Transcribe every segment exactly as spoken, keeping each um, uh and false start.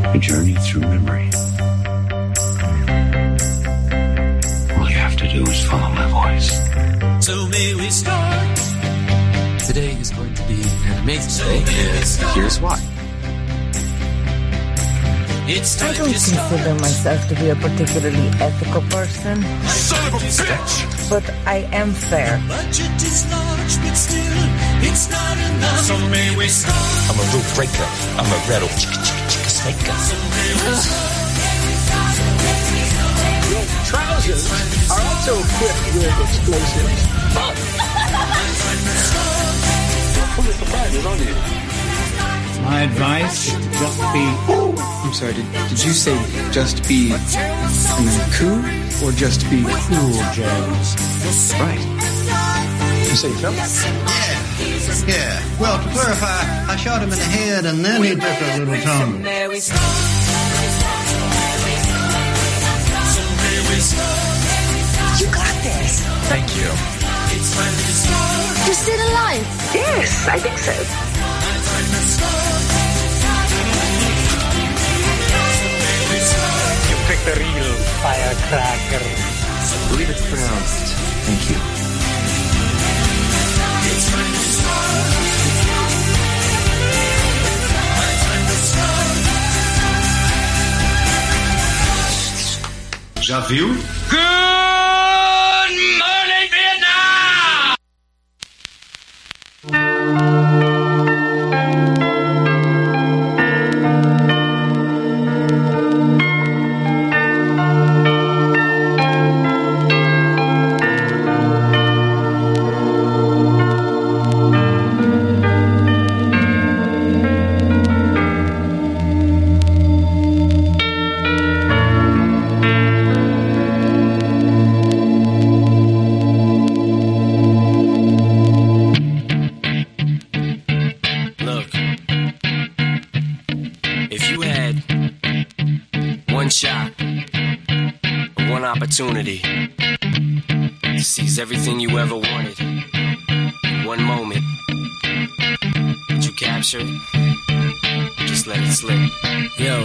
A journey through memory. All you have to do is follow my voice. So may we start. Today is going to be an amazing day, and here's why. It's I don't consider myself to be a particularly ethical person. Son of a bitch! But I am fair. Budget is large, but still, it's not enough. So may we start. I'm a rule breaker. I'm a rattle chicka chicka chicka snaker. So may we start. Your trousers are also equipped with explosives. Full of surprises, aren't you? My advice is to just be... I'm sorry, did, did you say just be and then cool? Or just be cool, James? Right. You say Phil? Yeah. Yeah. Well, to clarify, I shot him in the head and then he took a little tumble. You got this. Thank you. You're still alive? Yes, I think so. You picked the real firecracker. I believe it's pronounced thank you. Já viu? Good morning, Vietnam! Shot, one opportunity to seize everything you ever wanted in one moment. Did you capture it? Just let it slip. Yo,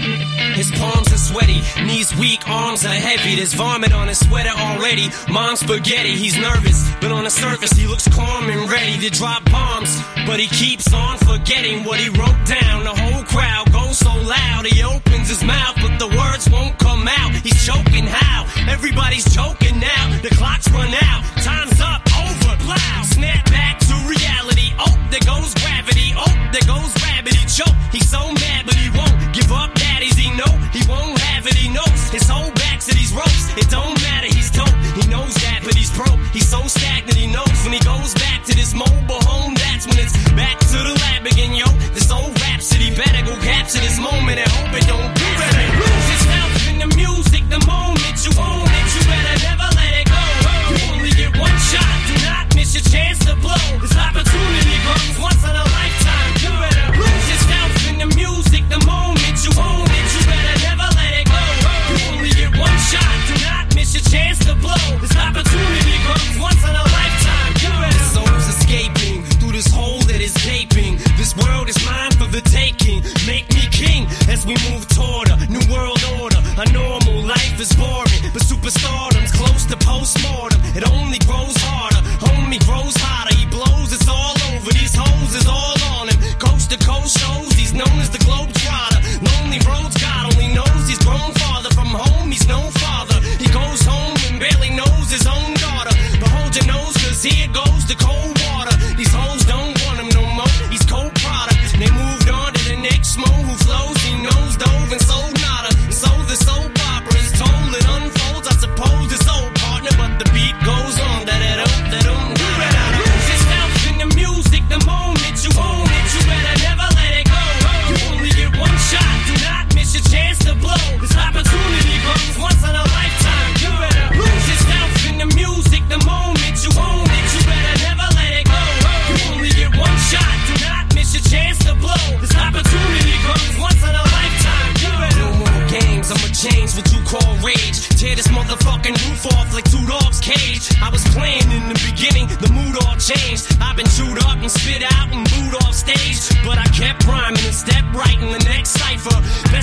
his palms are sweaty, knees weak, arms are heavy. There's vomit on his sweater already. Mom's spaghetti, he's nervous, but on the surface he looks calm and ready to drop bombs. But he keeps on forgetting what he wrote down. The whole crowd goes so loud, he opens his mouth, but the words won't come out. He's choking how? Everybody's choking now. The clock's run out, time's up, over, plow. Snap back to reality. Oh, there goes gravity. Oh, there goes rabbit. He choke. He's so mad, but he won't give up. Daddies, he know he won't have it. He knows his whole back to these ropes. It don't matter. He's dope. He knows that, but he's broke. He's so stagnant. He knows when he goes back to this mobile home. That's when it's back to the lab again, yo. This old rhapsody better go capture this moment and hope it don't do better. Lose yourself in the music. The moment you own it, you better never let it go. You only get one shot. Do not miss your chance to blow. This opportunity comes once in a lifetime. You better lose yourself in the music. The moment you own it, you better never let it go. You only get one shot. Do not miss your chance to blow. This opportunity comes once in a lifetime. You better. The soul's escaping through this hole that is gaping. This world is mine for the taking. Make me king as we move toward a new world order. A normal life is boring, but superstardom's close to postmortem. It only grows harder, homie grows hotter. He blows, it's all over. These hoes is all on him. Coast to coast shows, he's known as the Globetrotter. Lonely roads, God only knows he's grown farther from home. He's no father. He goes home and barely knows his own daughter. But hold your nose, cause here goes the cold water. These hoes don't want him no more. He's cold product. They moved on to the next mo who flows. He knows dove and sold nada. And so the soap opera is told. It unfolds. I suppose it's old partner, but the beat goes on. Da da da da da. You better lose yourself in the music. The moment you own it, you better never let it go. You only get one shot. Do not miss your chance to blow. This opportunity comes once in a lifetime. You better lose yourself in the music. The moment you own it, you better never let it go. You only get one shot. Do not miss your chance to blow. This opportunity comes once in a lifetime. You better. No more games. I'ma change what you call rage. Tear this motherfucking roof off like two dogs' cage. I was playing in the beginning, the mood all changed. I've been chewed up and spit out and booed off stage, but I kept rhyming and stepped right in the next cipher. Best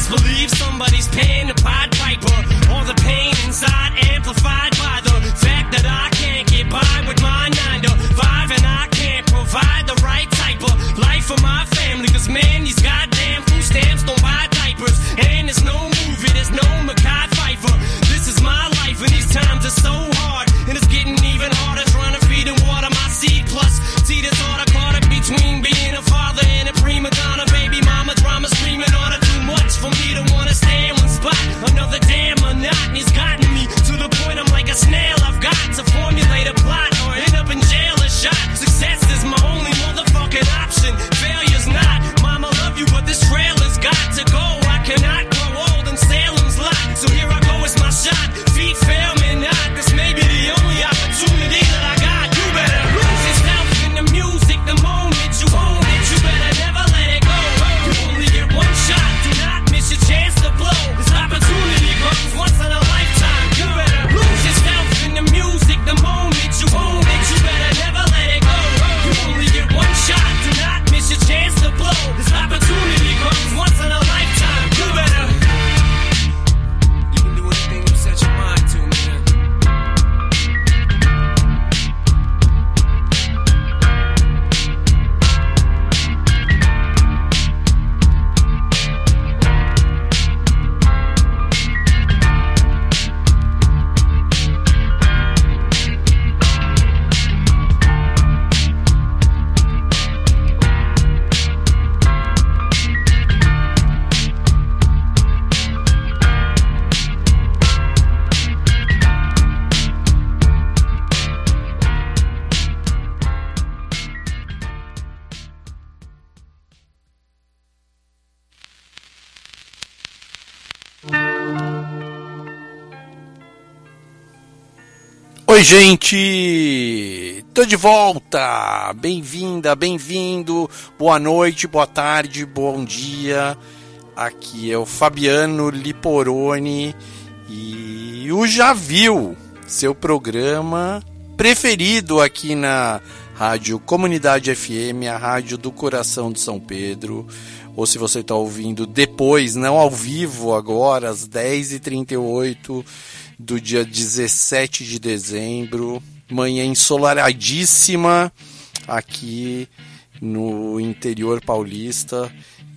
best believe somebody's paying the Pied Piper. All the pain inside amplified by the fact that I can't get by with my nine to five, and I can't provide the right type of life for my family. Cause man, these goddamn food stamps don't buy diapers. And there's no movie, there's no Mackay Pfeiffer. This is my life and these times are so hard. And it's getting even harder trying to feed and water my seed. Plus, see this order caught up between being a father and a prima donna. Baby mama drama screaming on her too much for me to wanna stay in one spot. Another damn monotony's gotten me to the point I'm like a snail. I've got to formulate a plot or end up in jail or shot. Success is my only motherfucking option. Failure's not. Mama love you, but this trailer's got to go. I cannot grow old in Salem's lot. So here I go, it's my shot. Feet fail me not. This may be the only opportunity that I got. You better lose yourself in the music the moment you own it. You better never let it go. You only get one shot. Do not miss your chance to blow. This opportunity comes once in a lifetime. You better lose yourself in the music the moment you own it. You better never let it go. You only get one shot. Do not miss your chance to blow. This opportunity comes once in a lifetime. You better. You can do anything you set your mind to, man. Oi, gente! Tô de volta! Bem-vinda, bem-vindo! Boa noite, boa tarde, bom dia! Aqui é o Fabiano Liporoni e o Já Viu, seu programa preferido aqui na Rádio Comunidade F M, a rádio do coração de São Pedro. Ou se você está ouvindo depois, não ao vivo agora, às dez e trinta e oito do dia dezessete de dezembro, manhã ensoladíssima aqui no interior paulista,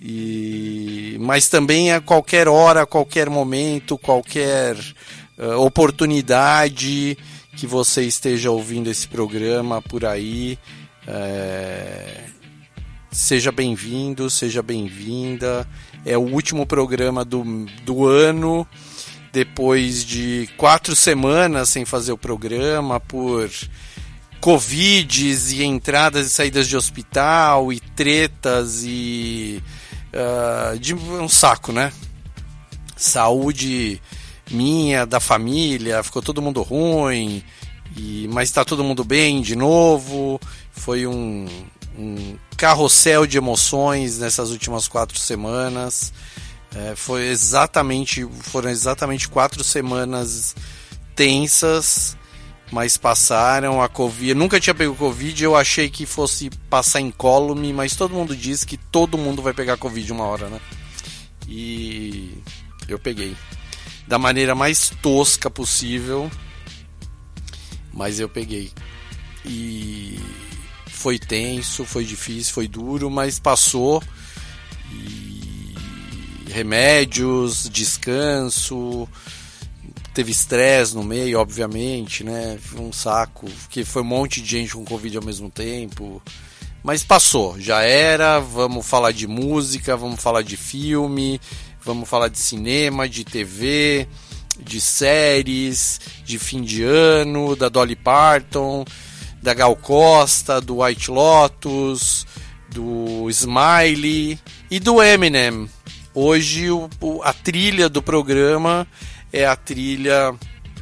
e mas também a qualquer hora, a qualquer momento, qualquer uh, oportunidade que você esteja ouvindo esse programa por aí, é... seja bem-vindo, seja bem-vinda. É o último programa do, do ano, depois de quatro semanas sem fazer o programa, por covides e entradas e saídas de hospital e tretas e uh, de um saco, né? Saúde minha, da família, ficou todo mundo ruim, e, mas está todo mundo bem de novo. Foi um, um carrossel de emoções nessas últimas quatro semanas. É, foi exatamente, foram exatamente quatro semanas tensas, mas passaram. A Covid, eu nunca tinha pego Covid, eu achei que fosse passar incólume, mas todo mundo diz que todo mundo vai pegar Covid uma hora, né? E eu peguei da maneira mais tosca possível, mas eu peguei. E foi tenso, foi difícil, foi duro, mas passou. E remédios, descanso, teve estresse no meio, obviamente, né? Foi um saco, porque foi um monte de gente com Covid ao mesmo tempo, mas passou, já era. Vamos falar de música, vamos falar de filme, vamos falar de cinema, de T V, de séries, de fim de ano, da Dolly Parton, da Gal Costa, do White Lotus, do Smiley e do Eminem. Hoje o, a trilha do programa é a trilha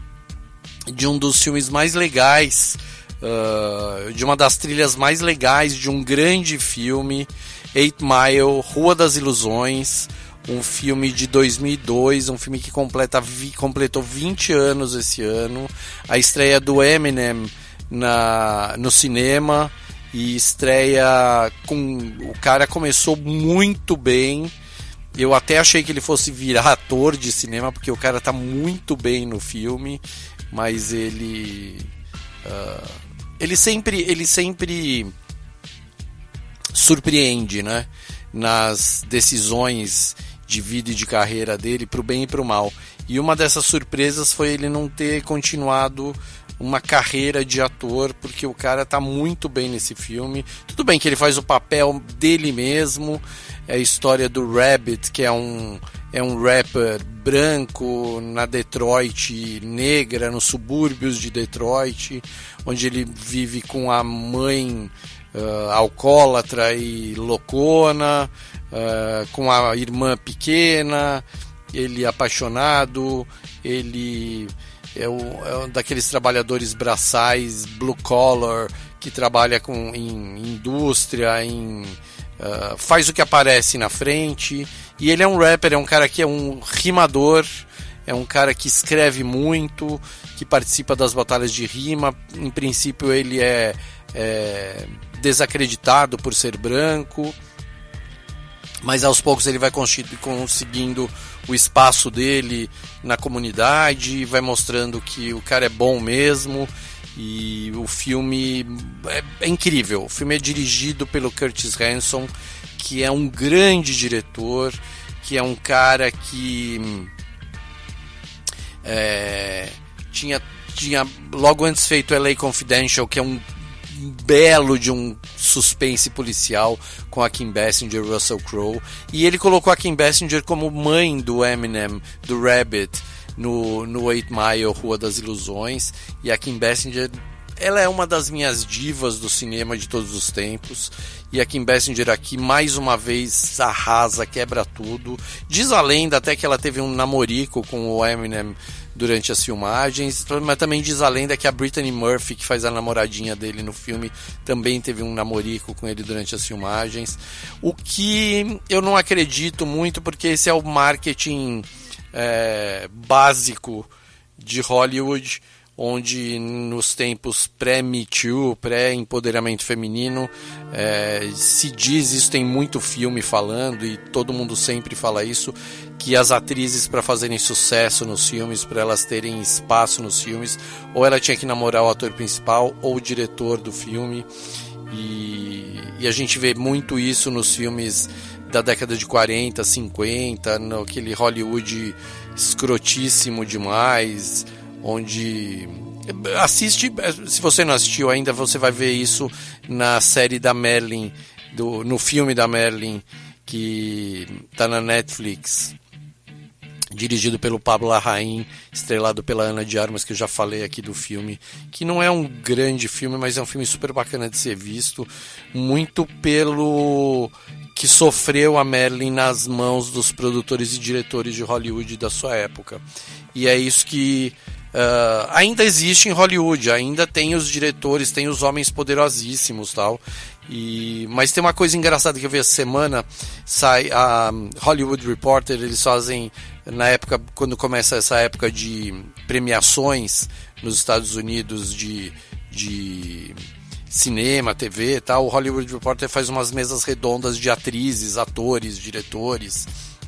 de um dos filmes mais legais, uh, de uma das trilhas mais legais de um grande filme, Eight Mile, Rua das Ilusões, um filme de dois mil e dois, um filme que completa, vi, completou vinte anos esse ano, a estreia do Eminem na, no cinema, e estreia com... o cara começou muito bem. Eu até achei que ele fosse virar ator de cinema, porque o cara tá muito bem no filme, mas ele uh, ele sempre ele sempre surpreende, né, nas decisões de vida e de carreira dele, pro bem e pro mal. E uma dessas surpresas foi ele não ter continuado uma carreira de ator, porque o cara tá muito bem nesse filme. Tudo bem que ele faz o papel dele mesmo, é a história do Rabbit, que é um, é um rapper branco na Detroit negra, nos subúrbios de Detroit, onde ele vive com a mãe uh, alcoólatra e loucona, uh, com a irmã pequena, ele apaixonado, ele é, o, é um daqueles trabalhadores braçais, blue collar, que trabalha com, em indústria, em, uh, faz o que aparece na frente. E ele é um rapper, é um cara que é um rimador, é um cara que escreve muito, que participa das batalhas de rima. Em princípio ele é, é desacreditado por ser branco, mas aos poucos ele vai conseguindo o espaço dele na comunidade, vai mostrando que o cara é bom mesmo. E o filme é, é incrível. O filme é dirigido pelo Curtis Hanson, que é um grande diretor, que é um cara que é, tinha, tinha logo antes feito L A Confidential, que é um belo de um suspense policial com a Kim Basinger e Russell Crowe, e ele colocou a Kim Basinger como mãe do Eminem, do Rabbit, no, no Eight Mile, Rua das Ilusões. E a Kim Basinger, ela é uma das minhas divas do cinema de todos os tempos, e a Kim Basinger aqui mais uma vez arrasa, quebra tudo. Diz a lenda até que ela teve um namorico com o Eminem durante as filmagens, mas também diz a lenda que a Brittany Murphy, que faz a namoradinha dele no filme, também teve um namorico com ele durante as filmagens, o que eu não acredito muito, porque esse é o marketing é, básico de Hollywood, onde nos tempos pré-Me Too, pré-empoderamento feminino, é, se diz, isso tem muito filme falando, e todo mundo sempre fala isso, que as atrizes, para fazerem sucesso nos filmes, para elas terem espaço nos filmes, ou ela tinha que namorar o ator principal ou o diretor do filme, e, e a gente vê muito isso nos filmes da década de quarenta, cinquenta, naquele Hollywood escrotíssimo demais, onde assiste, se você não assistiu ainda, você vai ver isso na série da Marilyn, do, no filme da Marilyn, que está na Netflix, dirigido pelo Pablo Larraín, estrelado pela Ana de Armas, que eu já falei aqui do filme, que não é um grande filme, mas é um filme super bacana de ser visto, muito pelo que sofreu a Marilyn nas mãos dos produtores e diretores de Hollywood da sua época. E é isso que Uh, ainda existe em Hollywood, ainda tem os diretores, tem os homens poderosíssimos, tal. E, mas tem uma coisa engraçada que eu vi essa semana, sai a Hollywood Reporter, eles fazem, na época, quando começa essa época de premiações nos Estados Unidos de, de cinema, T V e tal, o Hollywood Reporter faz umas mesas redondas de atrizes, atores, diretores.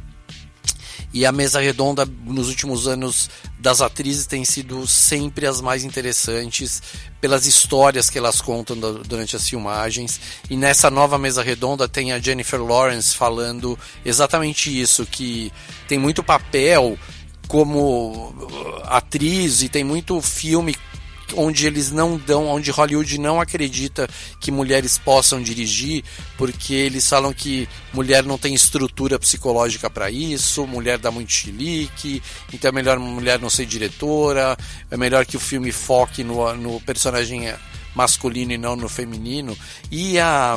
E a mesa redonda nos últimos anos das atrizes tem sido sempre as mais interessantes pelas histórias que elas contam durante as filmagens. E nessa nova mesa redonda tem a Jennifer Lawrence falando exatamente isso, que tem muito papel como atriz e tem muito filme onde eles não dão, onde Hollywood não acredita que mulheres possam dirigir, porque eles falam que mulher não tem estrutura psicológica para isso, mulher dá muito chilique, então é melhor mulher não ser diretora, é melhor que o filme foque no, no personagem masculino e não no feminino. E a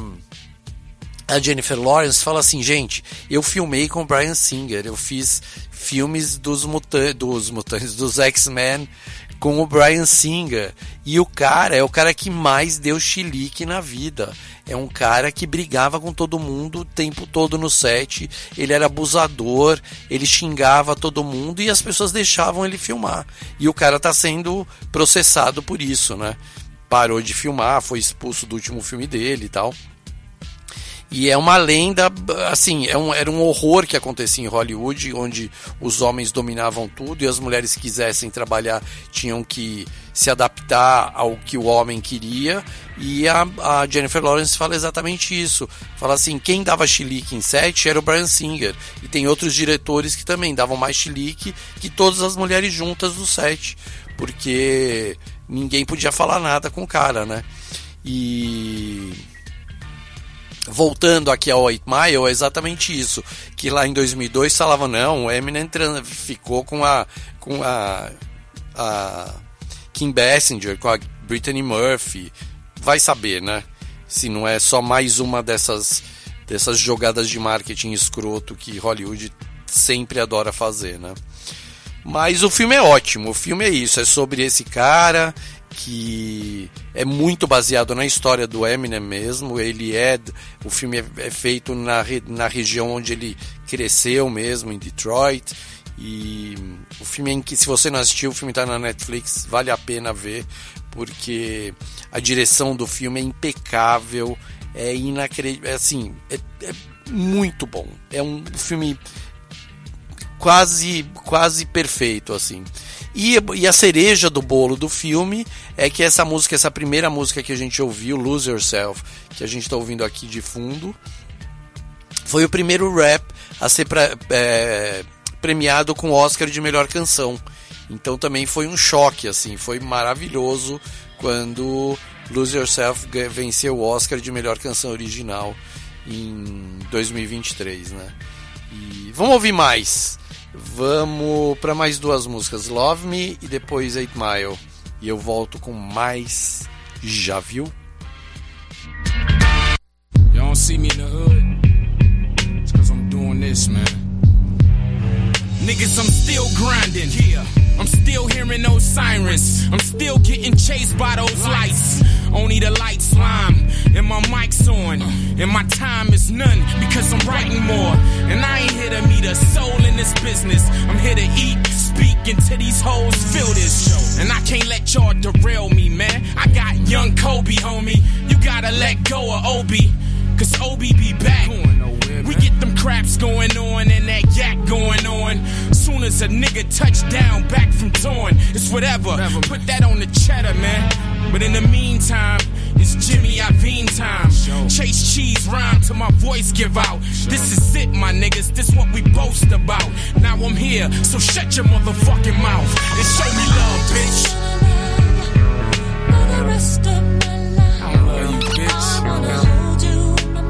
a Jennifer Lawrence fala assim: gente, eu filmei com o Bryan Singer, eu fiz filmes dos, muta- dos mutantes, dos X-Men com o Bryan Singer, e o cara é o cara que mais deu chilique na vida, é um cara que brigava com todo mundo o tempo todo no set, ele era abusador, ele xingava todo mundo e as pessoas deixavam ele filmar, e o cara tá sendo processado por isso, né? Parou de filmar, foi expulso do último filme dele e tal. E é uma lenda, assim, é um, era um horror que acontecia em Hollywood, onde os homens dominavam tudo e as mulheres que quisessem trabalhar tinham que se adaptar ao que o homem queria. E a, a Jennifer Lawrence fala exatamente isso. Fala assim, quem dava chilique em set era o Bryan Singer. E tem outros diretores que também davam mais chilique que todas as mulheres juntas do set. Porque ninguém podia falar nada com o cara, né? E... voltando aqui ao Eight Mile, é exatamente isso. Que lá em dois mil e dois falavam, não, o Eminem ficou com a... com a... a Kim Basinger, com a Brittany Murphy. Vai saber, né? Se não é só mais uma dessas, dessas jogadas de marketing escroto que Hollywood sempre adora fazer, né? Mas o filme é ótimo. O filme é isso. É sobre esse cara que é muito baseado na história do Eminem mesmo. Ele é... O filme é, é feito na, na região onde ele cresceu mesmo, em Detroit. E o filme em que, se você não assistiu, o filme está na Netflix, vale a pena ver, porque a direção do filme é impecável, é inacreditável, é assim, é, é muito bom. É um filme quase, quase perfeito, assim. E, e a cereja do bolo do filme é que essa música, essa primeira música que a gente ouviu, Lose Yourself, que a gente está ouvindo aqui de fundo, foi o primeiro rap a ser pra, é, premiado com o Oscar de melhor canção. Então também foi um choque, assim, foi maravilhoso quando Lose Yourself venceu o Oscar de melhor canção original em dois mil e vinte e três, né? E vamos ouvir mais. Vamos para mais duas músicas, Love Me e depois Eight Mile. E eu volto com mais Já Viu? You don't see me in the hood. It's cause I'm doing this, man. Niggas, I'm still grinding. Yeah. I'm still hearing those sirens. I'm still getting chased by those lights. Only the lights lime and my mic's on. And my time is none because I'm writing more. And I ain't here to meet a soul in this business. I'm here to eat, speak until these hoes feel this. And I can't let y'all derail me, man. I got young Kobe, homie. You gotta let go of Obi. Cause Obi be back. We get them craps going on and that yak going on. Soon as a nigga touch down back from torn, it's whatever. Put that on the cheddar, man. But in the meantime, it's Jimmy Iovine time. Chase cheese rhyme till my voice give out. This is it, my niggas. This what we boast about. Now I'm here, so shut your motherfucking mouth and show me love, bitch. For the rest of my life, I love you, bitch. I wanna hold you.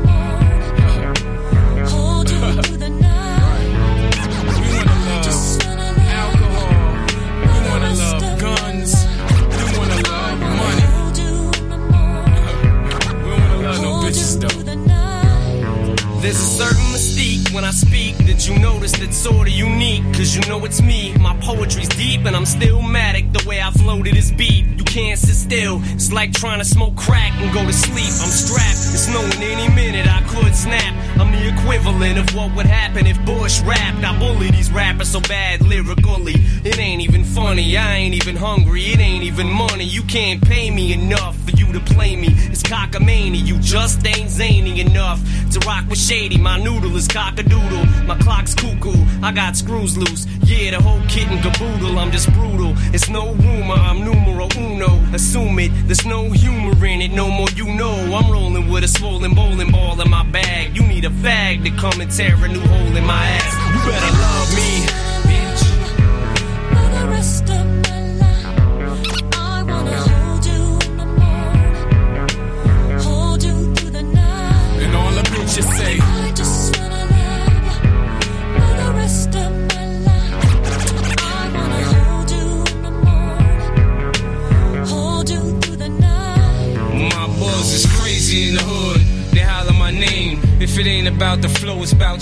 There's a certain mystique when I speak that you notice that's sorta unique. Cause you know it's me, my poetry's deep and I'm still matic the way I floated this beat. You can't sit still, it's like trying to smoke crack and go to sleep. I'm strapped, it's knowing any minute I could snap. I'm the equivalent of what would happen if Bush rapped. I bully these rappers so bad lyrically, it ain't even funny, I ain't even hungry, it ain't even money. You can't pay me enough for you to play me. It's cockamamie, you just ain't zany enough to rock with shady. My noodle is cock-a-doodle, my clock's cuckoo, I got screws loose. Yeah, the whole kit and caboodle, I'm just brutal. It's no rumor, I'm numero uno. Assume it, there's no humor in it, no more you know. I'm rolling with a swollen bowling ball in my bag. You need a fag to come and tear a new hole in my ass. You better love me, bitch. For the rest of my life, I wanna hold you no more. Hold you through the night. And all the bitches say, I just wanna love you for the rest of my life. I wanna hold you no more. Hold you through the night. My buzz is crazy in the hood. They holler my name. If it ain't about the flow, it's about the stones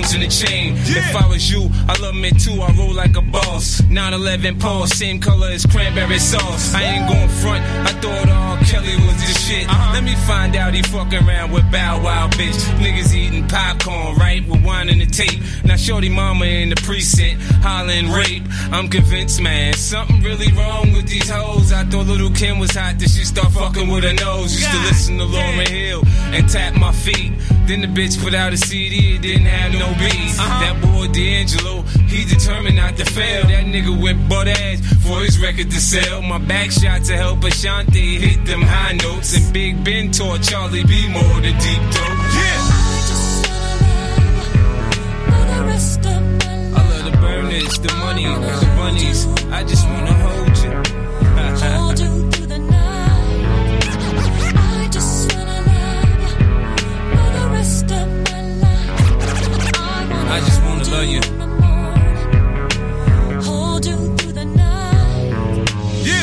diamonds in the chain. Yeah. If I was you, I love me too, I roll like a boss. nine eleven Pulse, same color as cranberry sauce. I ain't going front, I thought R. Kelly was the shit. Uh-huh. Let me find out he fucking around with Bow Wow, bitch. Niggas eating popcorn, right, with wine in the tape. Now shorty mama in the precinct, hollering rape. I'm convinced, man, something really wrong with these hoes. I thought Little Kim was hot, then she start fucking with her nose. Used to listen to Lauryn Hill and tap my feet. Then the bitch put out a C D, it didn't have no beats. Uh-huh. That boy D'Angelo, he determined not to fail. That nigga went butt ass for his record to sell. My back shot to help Ashanti hit them high notes. And Big Ben taught Charlie B more than deep dope. Yeah! I love the burners, the money, the bunnies. I just wanna hold you. Hold you through the night. I just wanna love you for the rest of my life. I just wanna love you. Hold you through the night. Yeah.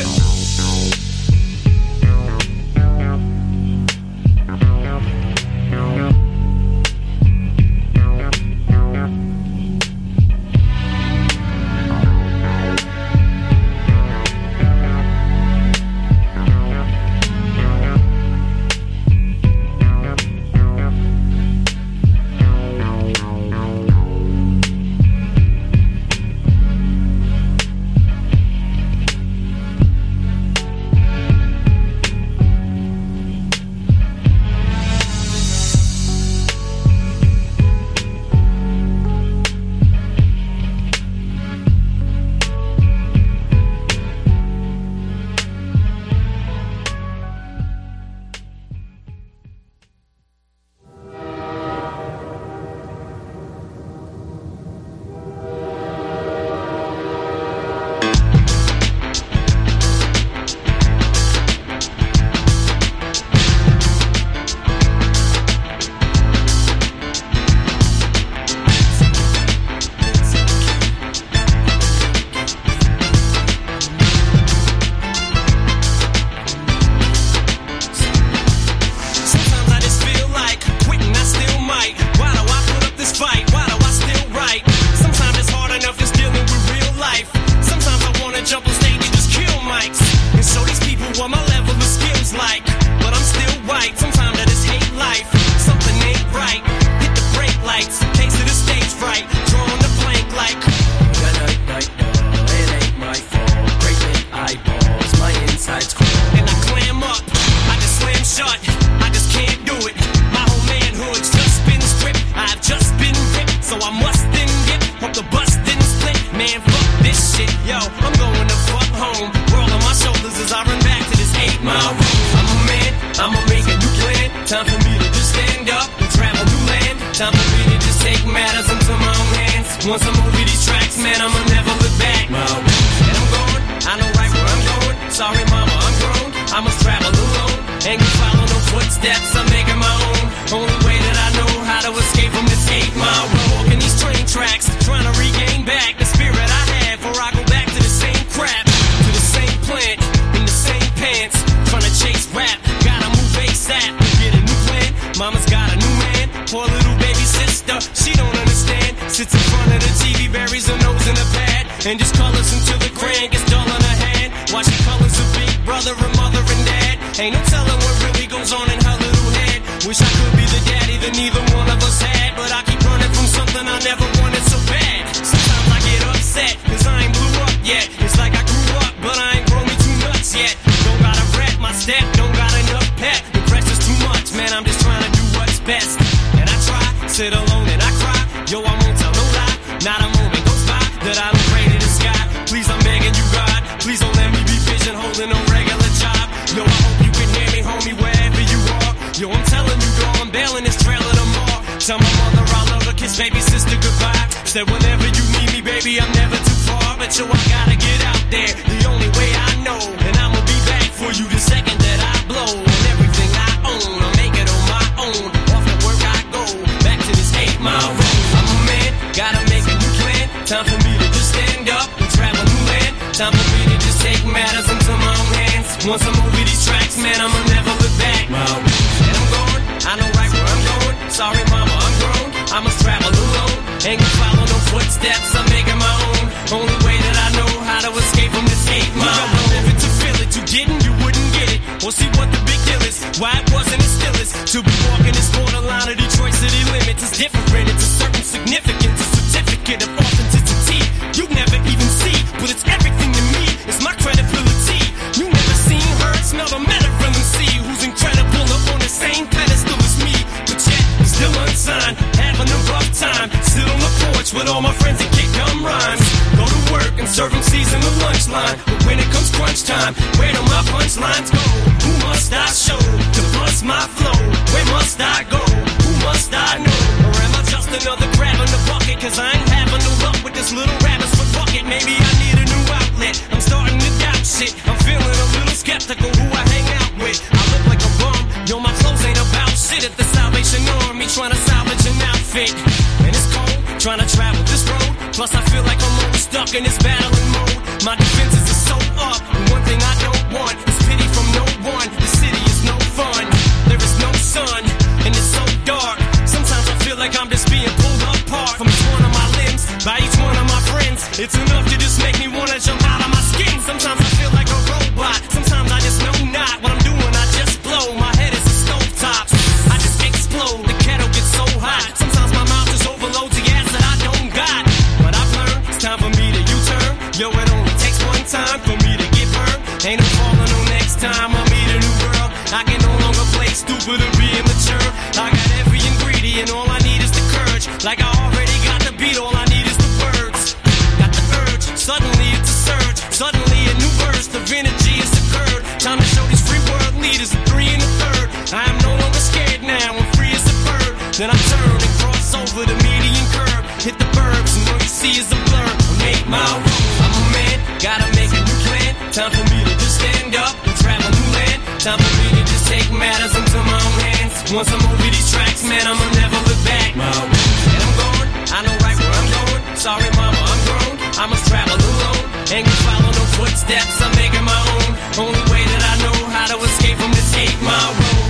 Sorry mama, I'm grown, I must travel alone. Ain't gonna follow no footsteps, I'm making my own. Only way that I know how to escape from this eight mile. You don't live it to feel it, you didn't, you wouldn't get it. Or see what the big deal is, why it wasn't it still is. To be walking this borderline of Detroit city limits is different. It's a certain significance, a certificate of authenticity. You never even see, but it's everything to me. It's my credibility. You never seen, heard, smelled, or met a real M C who's incredible or on the same pedestal as me. But yet, he's still unsigned, having a rough time. Sit on the porch with all my friends and kick gum rhymes. Go to work and serve M Cs in the lunch line. But when it comes crunch time, where do my punchlines go? Who must I show to bust my flow? Where must I go? Who must I know? Or am I just another crab in the bucket? Cause I ain't having no luck with this little rabbit's foot bucket. Maybe I need a new outlet. I'm starting to doubt shit. I'm feeling a little skeptical who I hang out with. I look like a bum. Yo, my clothes ain't about shit. At the Salvation Army trying to salvage an outfit. And it's cold, trying to travel this road. Plus I feel like I'm always stuck in this battling mode. My defenses are so up. And one thing I don't want is pity from no one. The city is no fun. There is no sun. And it's so dark. Sometimes I feel like I'm just being pulled apart from each one of my limbs, by each one of my friends. It's enough to just make me wanna jump out of my skin. Sometimes I feel like a robot. Sometimes I just know not what I'm doing. I just blow. My head is a stovetop. I just explode. The kettle gets so hot. Sometimes my mouth just overloads the gas that I don't got. But I've learned it's time for me to U-turn. Yo, it only takes one time for me to get burned. Ain't no falling no next time I meet a new girl. I can no longer play stupid or be immature. I got every ingredient, all I need is the courage. Like I already got the beat, all I need is the words. Got the urge, suddenly it's a surge. Suddenly a new burst of energy has occurred. Time to show these free world leaders a three and a third. I am no longer scared now, I'm free as a bird. Then I turn and cross over the median curve. Hit the burbs and all you see is a blur. I make my room, I'm a man, gotta make a new plan. Time for me to just stand up and travel new land. Time for me to just take matters into my own hands. Once I'm over these tracks, man, I'ma never look back. My and I'm gone, I know right where I'm going. Sorry mama, I'm grown, I must travel alone. Ain't gonna follow no footsteps, I'm making my own. Only way that I know how to escape from this eight mile road.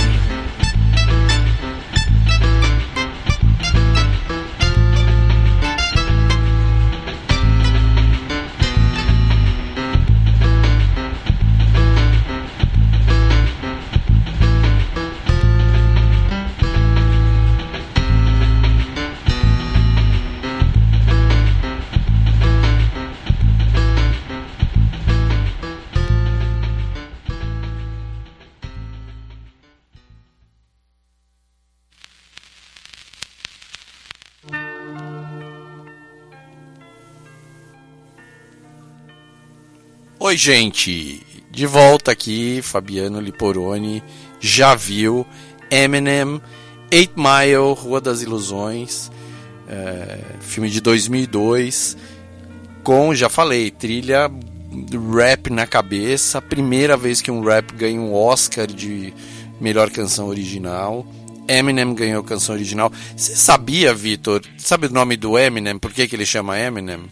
Oi gente, de volta aqui, Fabiano Liporoni, já viu Eminem, eight mile, Rua das Ilusões, é, filme de dois mil e dois, com, já falei, trilha rap na cabeça, primeira vez que um rap ganha um Oscar de melhor canção original. Eminem ganhou canção original. Você sabia, Vitor, sabe o nome do Eminem, por que que ele chama Eminem?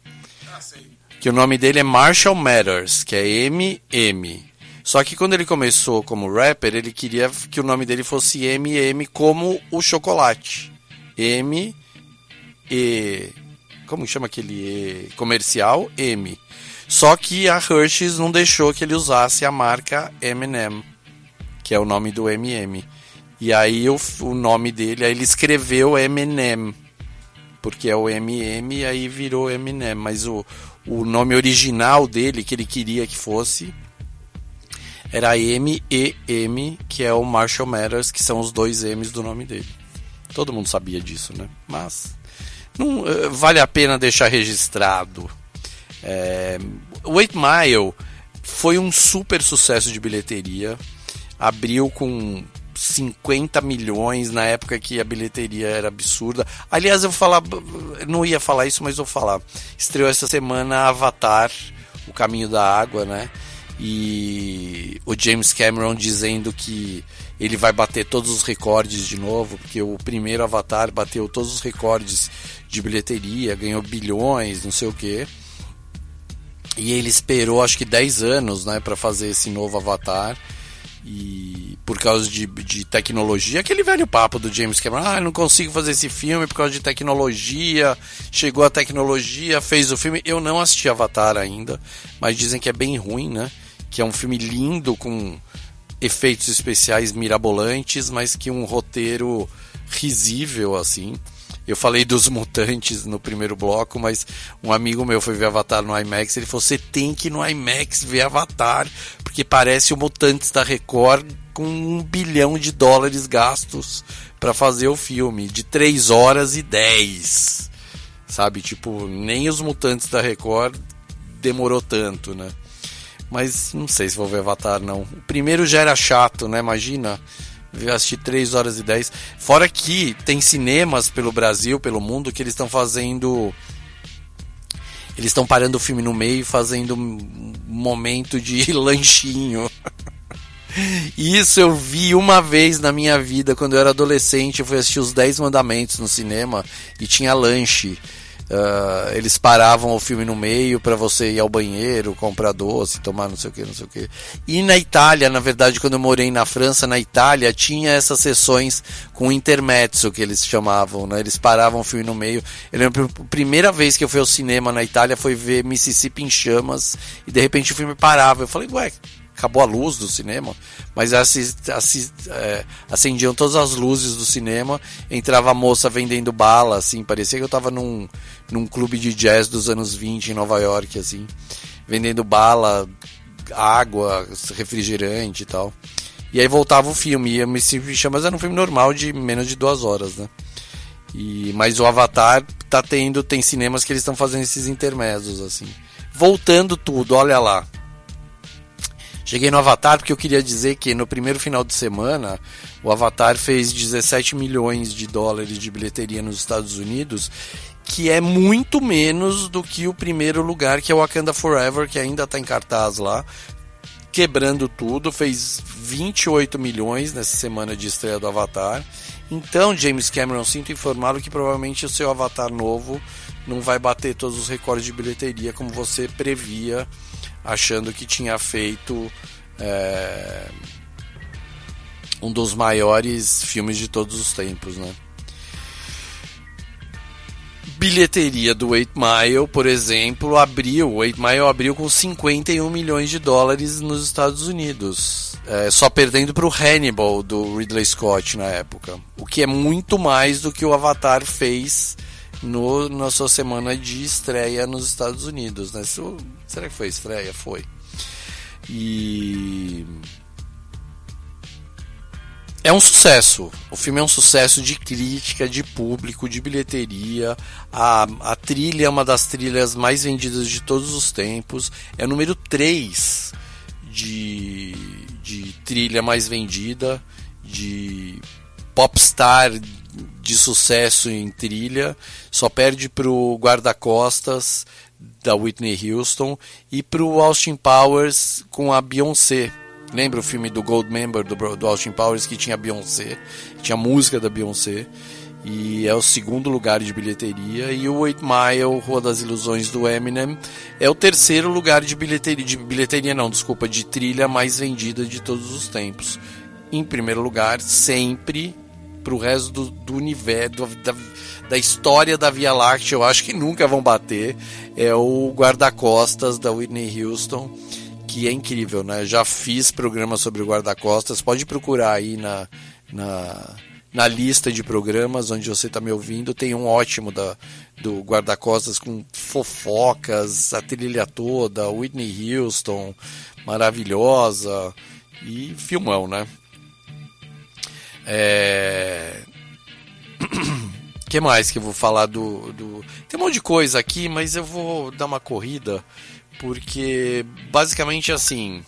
Que o nome dele é Marshall Mathers, que é M M. Só que quando ele começou como rapper, ele queria que o nome dele fosse M M como o chocolate. M E... Como chama aquele E comercial? M. Só que a Hershey's não deixou que ele usasse a marca M and M, que é o nome do M M. E aí o, o nome dele, aí ele escreveu Eminem, porque é o M M e aí virou Eminem. Mas o... O nome original dele, que ele queria que fosse, era M E M, que é o Marshall Mathers, que são os dois M's do nome dele. Todo mundo sabia disso, né? Mas não, uh, vale a pena deixar registrado. É, o eight mile foi um super sucesso de bilheteria. Abriu com cinquenta milhões na época que a bilheteria era absurda. Aliás, eu vou falar, não ia falar isso, mas vou falar. Estreou essa semana Avatar, O Caminho da Água, né? E o James Cameron dizendo que ele vai bater todos os recordes de novo, porque o primeiro Avatar bateu todos os recordes de bilheteria, ganhou bilhões, não sei o quê. E ele esperou acho que dez anos, né, para fazer esse novo Avatar. E por causa de, de tecnologia, aquele velho papo do James Cameron, ah, eu não consigo fazer esse filme por causa de tecnologia, chegou a tecnologia, fez o filme. Eu não assisti Avatar ainda, mas dizem que é bem ruim, né? Que é um filme lindo, com efeitos especiais mirabolantes, mas que um roteiro risível, assim. Eu falei dos mutantes no primeiro bloco, mas um amigo meu foi ver Avatar no IMAX, ele falou, você tem que ir no IMAX ver Avatar, porque parece o Mutantes da Record com um bilhão de dólares gastos para fazer o filme, de três horas e dez, sabe? Tipo, nem os Mutantes da Record demorou tanto, né? Mas não sei se vou ver Avatar, não. O primeiro já era chato, né? Imagina, eu assisti três horas e dez. Fora que tem cinemas pelo Brasil, pelo mundo, que eles estão fazendo... Eles estão parando o filme no meio e fazendo um momento de lanchinho. Isso eu vi uma vez na minha vida, quando eu era adolescente. Eu fui assistir Os Dez Mandamentos no cinema e tinha lanche. Uh, eles paravam o filme no meio para você ir ao banheiro, comprar doce, tomar não sei o que, não sei o que. E na Itália, na verdade, quando eu morei na França, na Itália, tinha essas sessões com intermezzo, que eles chamavam, né? Eles paravam o filme no meio. Eu lembro, a primeira vez que eu fui ao cinema na Itália foi ver Mississippi em Chamas, e de repente o filme parava. Eu falei, ué, acabou a luz do cinema? Mas assist, assist, é, acendiam todas as luzes do cinema, entrava a moça vendendo bala, assim, parecia que eu tava num, num clube de jazz dos anos vinte em Nova York, assim, vendendo bala, água, refrigerante e tal. E aí voltava o filme, e Mississippi Chamas era um filme normal de menos de duas horas, né? E, mas o Avatar tá tendo, tem cinemas que eles estão fazendo esses intermédios, assim. Voltando tudo, olha lá. Cheguei no Avatar porque eu queria dizer que no primeiro final de semana o Avatar fez dezessete milhões de dólares de bilheteria nos Estados Unidos, que é muito menos do que o primeiro lugar, que é o Wakanda Forever, que ainda está em cartaz lá, quebrando tudo, fez vinte e oito milhões nessa semana de estreia do Avatar. Então, James Cameron, sinto informá-lo que provavelmente o seu Avatar novo não vai bater todos os recordes de bilheteria como você previa, achando que tinha feito é, um dos maiores filmes de todos os tempos, né? Bilheteria do Eight Mile, por exemplo, abriu, o Eight Mile abriu com cinquenta e um milhões de dólares nos Estados Unidos, é, só perdendo para o Hannibal do Ridley Scott na época, o que é muito mais do que o Avatar fez No, na sua semana de estreia nos Estados Unidos, né? Isso, será que foi estreia? Foi. E é um sucesso. O filme é um sucesso de crítica, de público, de bilheteria. A, a trilha é uma das trilhas mais vendidas de todos os tempos. É o número três de, de trilha mais vendida, de popstar de sucesso em trilha, só perde pro Guarda-Costas da Whitney Houston e pro Austin Powers com a Beyoncé. Lembra o filme do Goldmember do, do Austin Powers, que tinha a Beyoncé, tinha a música da Beyoncé, e é o segundo lugar de bilheteria. E o Eight Mile, Rua das Ilusões do Eminem, é o terceiro lugar de bilheteria, de bilheteria não, desculpa, de trilha mais vendida de todos os tempos. Em primeiro lugar, sempre pro resto do, do universo, da, da história da Via Láctea, eu acho que nunca vão bater, é o Guarda-Costas da Whitney Houston, que é incrível, né? Já fiz programa sobre o Guarda-Costas, pode procurar aí na, na, na lista de programas onde você está me ouvindo, tem um ótimo da, do Guarda-Costas com fofocas, a trilha toda, Whitney Houston, maravilhosa, e filmão, né? É... que mais que eu vou falar do, do... Tem um monte de coisa aqui, mas eu vou dar uma corrida, porque basicamente assim,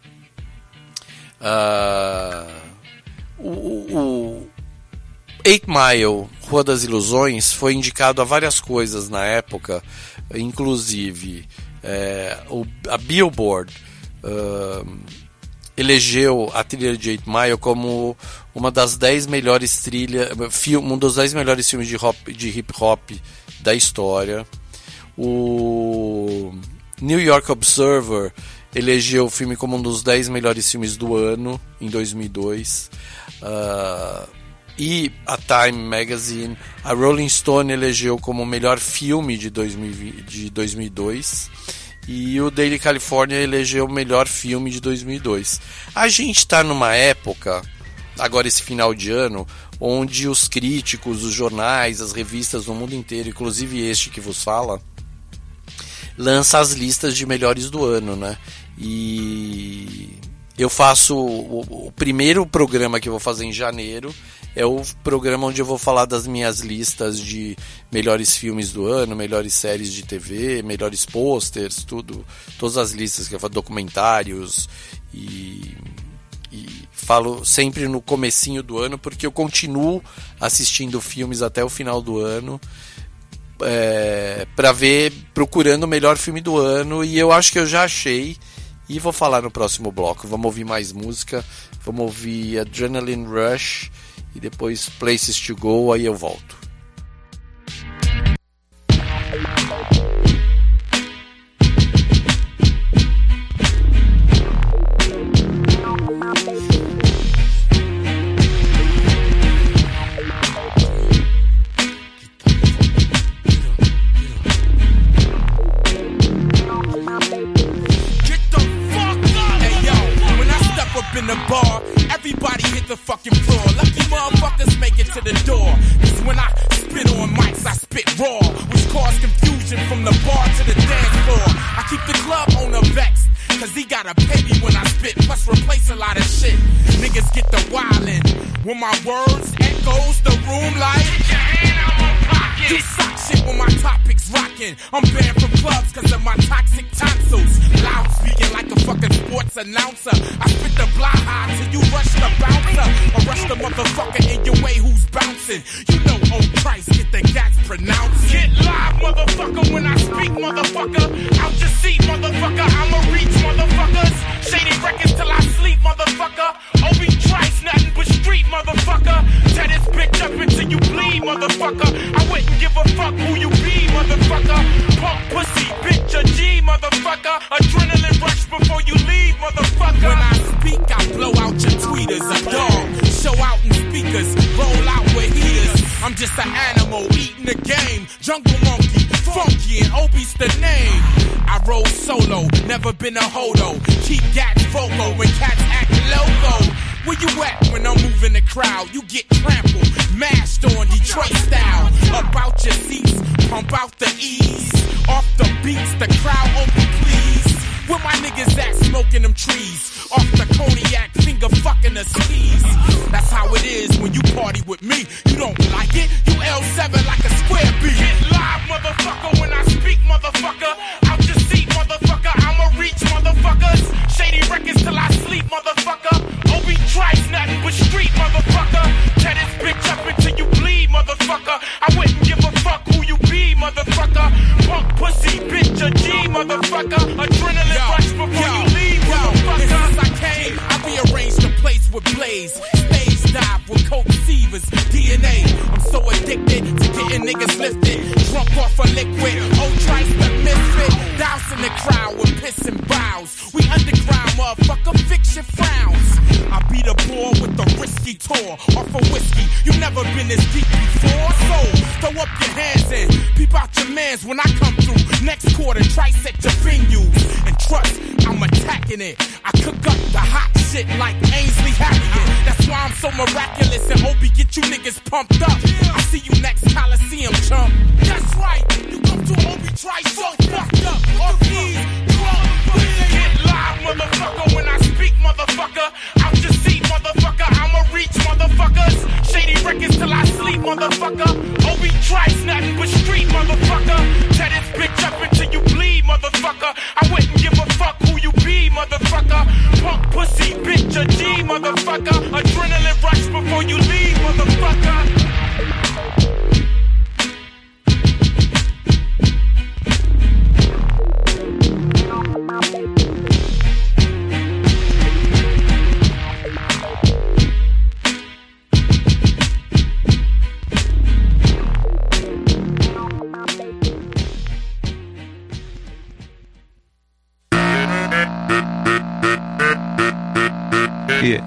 uh... o, o Eight Mile, Rua das Ilusões, foi indicado a várias coisas na época, inclusive é, o, a Billboard uh... elegeu a trilha de Eight Mile como uma das dez melhores trilhas, um dos dez melhores filmes de, hop, de hip hop da história. O New York Observer elegeu o filme como um dos dez melhores filmes do ano, em dois mil e dois. Uh, e a Time Magazine, a Rolling Stone elegeu como o melhor filme de, dois mil e dois. E o Daily California elegeu o melhor filme de dois mil e dois. A gente está numa época, agora esse final de ano, onde os críticos, os jornais, as revistas do mundo inteiro, inclusive este que vos fala, lança as listas de melhores do ano, né? E eu faço o, o primeiro programa que eu vou fazer em janeiro é o programa onde eu vou falar das minhas listas de melhores filmes do ano, melhores séries de T V, melhores posters, tudo, todas as listas que eu falo, documentários, e, e falo sempre no comecinho do ano, porque eu continuo assistindo filmes até o final do ano, é, para ver, procurando o melhor filme do ano, e eu acho que eu já achei, e vou falar no próximo bloco. Vamos ouvir mais música, vamos ouvir Adrenaline Rush e depois Places to Go, aí eu volto. In the bar, everybody hit the fucking floor. Lucky motherfuckers make it to the door. Cause when I spit on mics, I spit raw, which cause confusion from the bar to the dance floor. I keep the club owner vexed, cause he gotta pay me when I spit, plus replace a lot of shit. Niggas get the wildin', when my words echoes the room like get your hand out my pocket. Do sock shit when my topic's rockin'. I'm banned from clubs cause of my toxic tonsils. Loud speaking like a fucking sports announcer. I spit the blah high till you rush the bouncer, or rush the motherfucker in your way who's bouncing. You know, oh Christ, get the gats pronounced. Get live, motherfucker, when I speak, motherfucker. Out your seat, motherfucker, I'ma reach, motherfuckers. Shady records till I sleep, motherfucker. Obi Trice, nothing but street, motherfucker. Tear this bitch up until you bleed, motherfucker. I wouldn't give a fuck who you be, motherfucker. Punk pussy, bitch, a G, motherfucker. Adrenaline rush before you leave, motherfucker. When I speak, I blow out your tweeters. A dog, show out in speakers, roll out with heaters. I'm just an animal eating the game. Jungle monkey, funky, and Obi's the name. I roll solo, never been a hodo. Keep gats vocal when cats act loco. Where you at when I'm moving the crowd? You get trampled, mashed on Detroit style. Up out your seats, pump out the ease. Off the beats, the crowd open please. Where my niggas at smoking them trees? Off the cognac, finger fucking the skis. That's how it is when you party with me. You don't like it? You L seven like a square B. Get live, motherfucker, when I speak, motherfucker. Out your seat, motherfucker, I'ma reach, motherfuckers. Shady records till I sleep, motherfucker. Obi Trice, nothing but street, motherfucker. Tear this bitch up until you bleed, motherfucker. I wouldn't give a fuck who you be, motherfucker. Punk pussy, bitch, a G, motherfucker. Adrenaline yo, rush before yo, you leave, yo, motherfucker. Since I came, I rearranged the place with Blaze. Stage dive with Coke Sievers, D N A. I'm so addicted to getting niggas lifted. Drunk off a liquid, old Trice the misfit. Dousing the crowd with piss and bows. We underground, motherfucker, fix your frowns. I beat a ball with the risky tour off a whiskey. You never been this deep before, so throw up your hands and peep out your mans when I come through. Next quarter, Trice at your venues. And trust, I'm attacking it. I cook up the hot shit like Ainsley Harriet. That's why I'm so miraculous and Obi get you niggas pumped up. I see you next Coliseum, chump. That's right, you come to Obi Trice so fucked up. Off these drunk, get live, motherfucker, when I speak, motherfucker. Out your seat, motherfucker, I'ma reach, motherfuckers. Shady records till I sleep, motherfucker. Obi Trice, nothing but street, motherfucker. Tear this bitch up until you bleed, motherfucker. I wouldn't give a fuck who you be, motherfucker. Punk pussy, bitch, a G, motherfucker. Adrenaline rush before you leave, motherfucker. Yeah.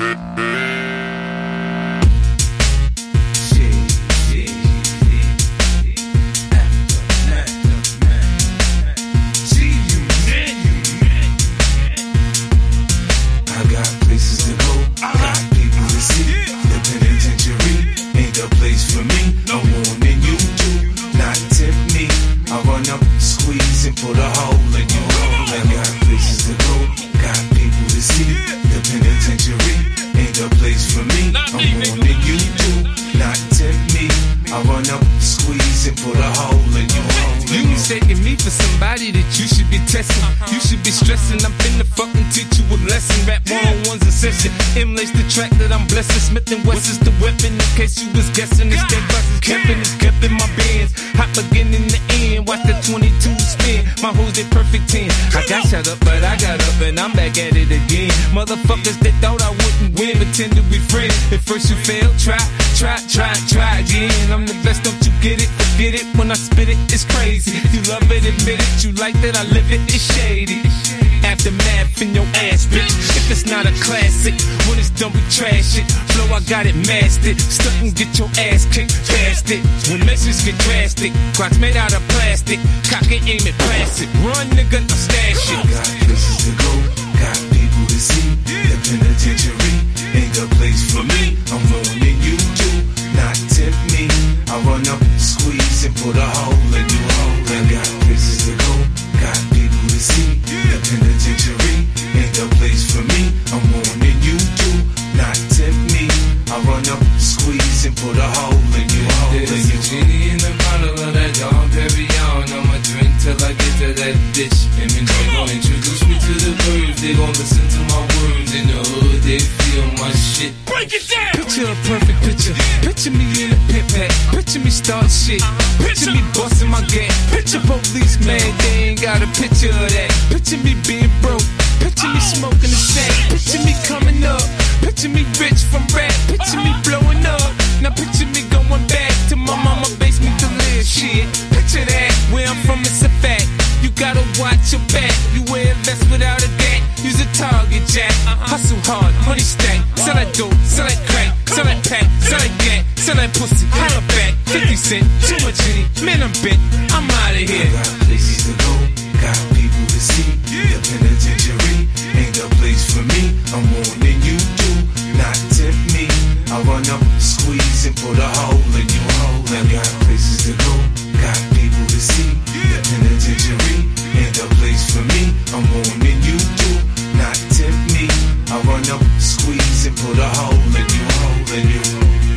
Emulates the track that I'm blessing. Smith and West is the weapon. In case you was guessing, it's that buses kept in, it's kept in my bands. Hot again in the end. Watch the twenty-two spin. My hoes they perfect ten. I got shut up, but I got up and I'm back at it again. Motherfuckers that thought I wouldn't win, pretend to be friends. At first you fail, try, try, try, try again. I'm the best, don't you get it? Forget it when I spit it. It's crazy. You love it, admit it. You like that I live it. It's shady. Aftermath in your ass, bitch. If it's not a classic, when it's done we trash it. Flow, I got it mastered. Stunt and get your ass kicked, fast it. When messages get drastic, clocks made out of plastic. Cock it, aim it, blast it. Run, nigga, I'm stash it. Got places to go, got people to see. The penitentiary ain't the place for me. I'm warning you to not tempt me. I run up, squeeze, and put a hole in you. I got places to go, got people to see. The penitentiary ain't the place for me. I'm warning you to not tempt me. I run up, squeeze, and put a hole in you. There's a genie in the bottle of that Dom Perignon. I'ma drink till I get to that ditch. And then they gon' introduce me to the birds. They gon' listen to my words. In the hood, they feel my shit. Break it down! Picture a perfect picture. Picture me in a pit pack. Picture me start shit. Picture me busting my gas. Picture police, man, they ain't got a picture of that. Picture me being broke. Picture me smoking a sack. Picture me coming up. Picture me rich from rap. Picture me blowing up. Now picture me going back to my mama basement to live. Shit, picture that. Where I'm from, it's a fact. You gotta watch your back. You wear a vest without a gap. Use a target jack. Hustle hard, money stack. Sell that dope, sell that crack, sell that pack, sell that gat, sell that pussy. Holla back, fifty cent, too much in it. Man, I'm bent. I'm out of here. I got places to go, got people to see. The penitentiary ain't the place for me. I'm warning you to not tempt me. I run up, squeeze, and put a hole in you. I got places to go, got people to see. The penitentiary ain't the place for me. I'm warning you to not tempt me. I run up, squeeze, and put a hole in you. Hole in you.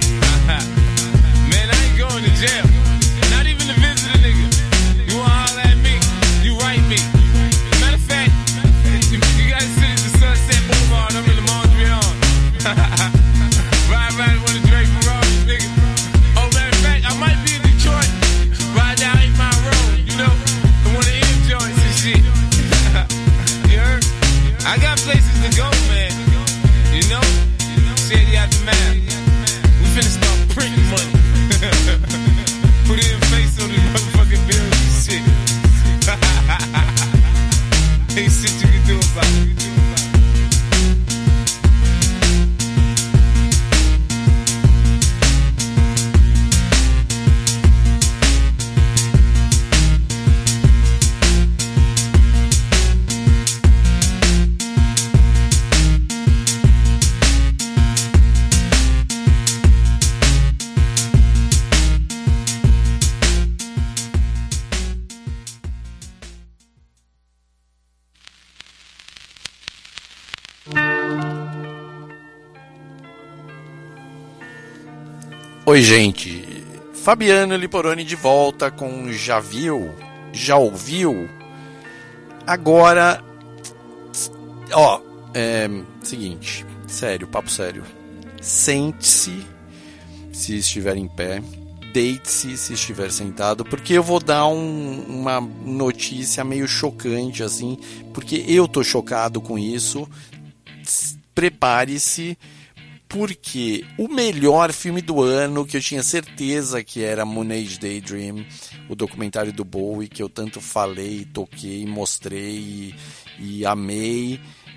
Man, I ain't going to jail. Not even to visit a nigga. You wanna holler at me? You write me. Matter of fact, you, you gotta sit at the Sunset Boulevard. I'm in the Mondrian. Ride around with a Drake Ferrari, nigga. Oh, matter of fact, I might be in Detroit. Ride down eight Mile Road, you know, in one of the M joints and shit. You heard? I got places to go, man. You know? Shady aftermath. We finna start printing money. Put it in face on these motherfucking bills and shit. Ain't shit you can do about it. Oi, gente. Fabiano Liporoni de volta com Já Viu? Já Ouviu? Agora, ó, é seguinte, sério, papo sério. Sente-se se estiver em pé, deite-se se estiver sentado, porque eu vou dar um, uma notícia meio chocante, assim, porque eu tô chocado com isso. Prepare-se, porque o melhor filme do ano, que eu tinha certeza que era Moon Age Daydream, o documentário do Bowie, que eu tanto falei, toquei, mostrei e, e amei,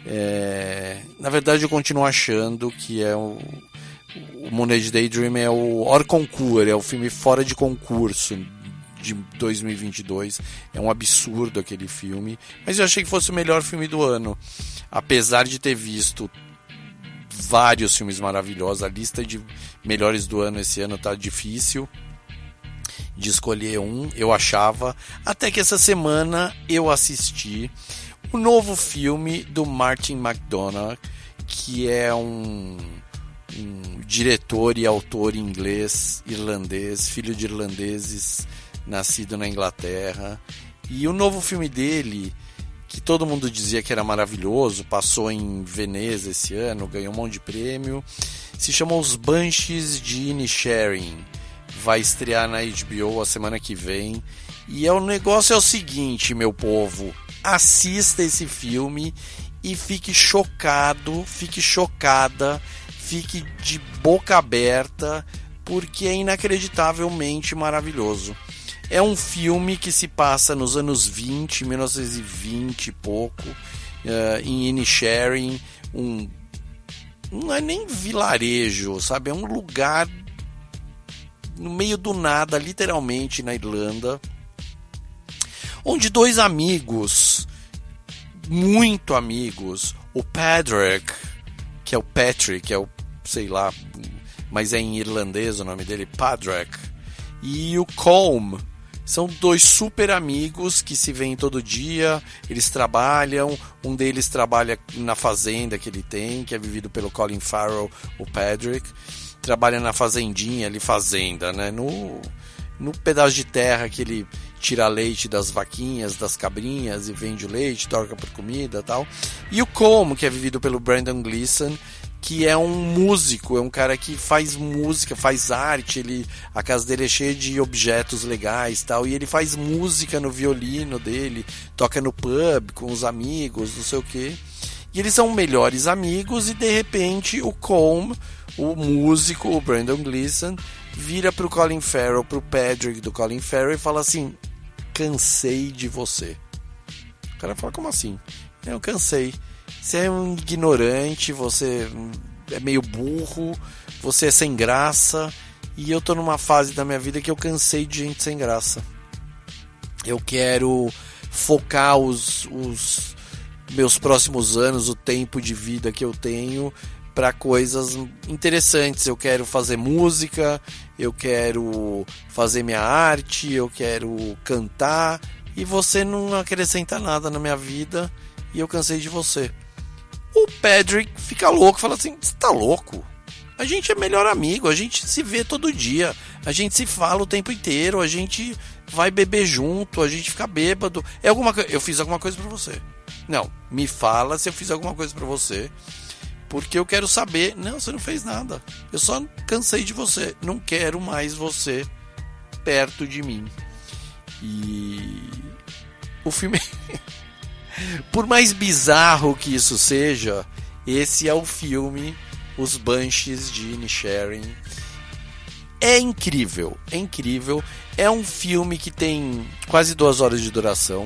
É, na verdade, eu continuo achando que é o, o Moonage Daydream é o hors concours, é o filme fora de concurso de dois mil e vinte e dois. É um absurdo aquele filme, mas eu achei que fosse o melhor filme do ano, apesar de ter visto vários filmes maravilhosos. A lista de melhores do ano esse ano tá difícil de escolher um, eu achava, até que essa semana eu assisti o novo filme do Martin McDonagh, que é um, um diretor e autor inglês, irlandês, filho de irlandeses, nascido na Inglaterra. E o novo filme dele, que todo mundo dizia que era maravilhoso, passou em Veneza esse ano, ganhou um monte de prêmio, se chama Os Banshees de Inisherin. Vai estrear na H B O a semana que vem. E é, o negócio é o seguinte, meu povo, assista esse filme e fique chocado, fique chocada, fique de boca aberta, porque é inacreditavelmente maravilhoso. É um filme que se passa nos anos vinte, mil novecentos e vinte e pouco, uh, em Inisherin, um, não é nem vilarejo, sabe? É um lugar no meio do nada, literalmente, na Irlanda, onde dois amigos, muito amigos, o Padraig, que é o Patrick, é o, sei lá, mas é em irlandês o nome dele, Padraig, e o Colm, são dois super amigos que se veem todo dia, eles trabalham, um deles trabalha na fazenda que ele tem, que é vivido pelo Colin Farrell, o Padraig, trabalha na fazendinha ali, fazenda, né, no, no pedaço de terra que ele tira leite das vaquinhas, das cabrinhas e vende o leite, troca por comida e tal. E o Colm, que é vivido pelo Brendan Gleeson, que é um músico, é um cara que faz música, faz arte, ele, a casa dele é cheia de objetos legais e tal, e ele faz música no violino dele, toca no pub com os amigos, não sei o que. E eles são melhores amigos e de repente o Colm, o músico, o Brendan Gleeson, vira pro Colin Farrell, pro Padraig do Colin Farrell e fala assim: cansei de você. O cara fala: como assim? Eu cansei. Você é um ignorante, você é meio burro, você é sem graça, e eu tô numa fase da minha vida que eu cansei de gente sem graça. Eu quero focar os, os meus próximos anos, o tempo de vida que eu tenho, para coisas interessantes. Eu quero fazer música, eu quero fazer minha arte, eu quero cantar, e você não acrescenta nada na minha vida e eu cansei de você. O Padraig fica louco, fala assim: você tá louco? A gente é melhor amigo, a gente se vê todo dia, a gente se fala o tempo inteiro, a gente vai beber junto, a gente fica bêbado. É alguma co- eu fiz alguma coisa pra você? Não, me fala se eu fiz alguma coisa pra você, porque eu quero saber. Não, você não fez nada. Eu só cansei de você. Não quero mais você perto de mim. E o filme, por mais bizarro que isso seja, esse é o filme Os Banshees de Inisherin. É incrível, é incrível. É um filme que tem quase duas horas de duração.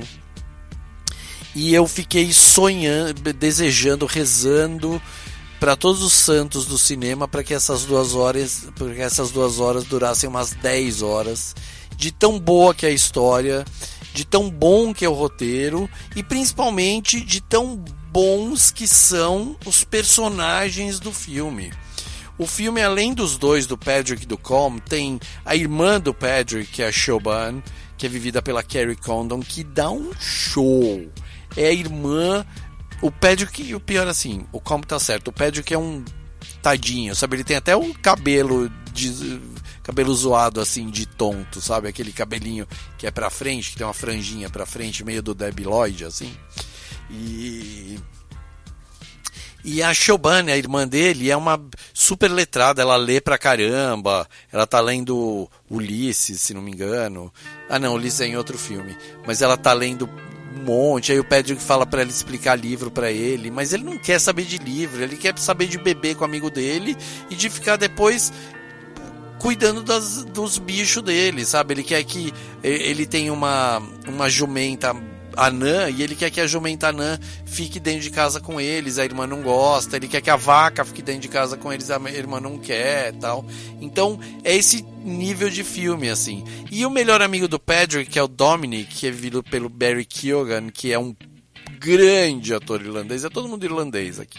E eu fiquei sonhando, desejando, rezando para todos os santos do cinema para que essas duas horas, para que essas duas horas durassem umas dez horas, de tão boa que é a história, de tão bom que é o roteiro e principalmente de tão bons que são os personagens do filme. O filme, além dos dois, do Padraig e do Colm, tem a irmã do Padraig, que é a Siobhan, que é vivida pela Kerry Condon, que dá um show. É a irmã. O Padraig, e o pior assim, o Colm tá certo, o Padraig é um tadinho, sabe? Ele tem até um cabelo de, cabelo zoado assim, de tonto, sabe? Aquele cabelinho que é pra frente, que tem uma franjinha pra frente, meio do Debi Lloyd, assim. E... E a Siobhan, a irmã dele, é uma super letrada, ela lê pra caramba, ela tá lendo Ulisses, se não me engano. Ah não, Ulisses é em outro filme, mas ela tá lendo um monte, aí o Padraig fala pra ela explicar livro pra ele, mas ele não quer saber de livro, ele quer saber de beber com o amigo dele e de ficar depois cuidando das, dos bichos dele, sabe? Ele quer que ele tenha uma, uma jumenta anã e ele quer que a jumenta anã fique dentro de casa com eles, a irmã não gosta, ele quer que a vaca fique dentro de casa com eles, a irmã não quer, tal. Então é esse nível de filme, assim. E o melhor amigo do Patrick, que é o Dominic, que é vivido pelo Barry Keoghan, que é um grande ator irlandês, é todo mundo irlandês aqui.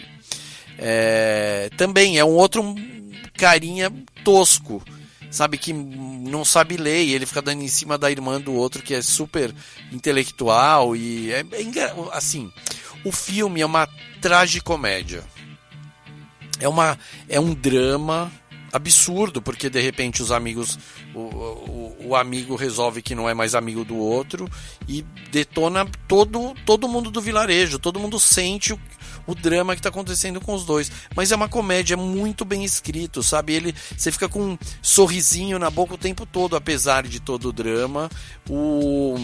É, também é um outro carinha tosco, sabe, que não sabe ler, e ele fica dando em cima da irmã do outro, que é super intelectual, e é, é assim, o filme é uma tragicomédia, é, uma, é um drama absurdo, porque de repente os amigos, o, o, o amigo resolve que não é mais amigo do outro, e detona todo, todo mundo do vilarejo, todo mundo sente o o drama que está acontecendo com os dois, mas é uma comédia muito bem escrito, sabe? Ele, você fica com um sorrisinho na boca o tempo todo, apesar de todo o drama. O,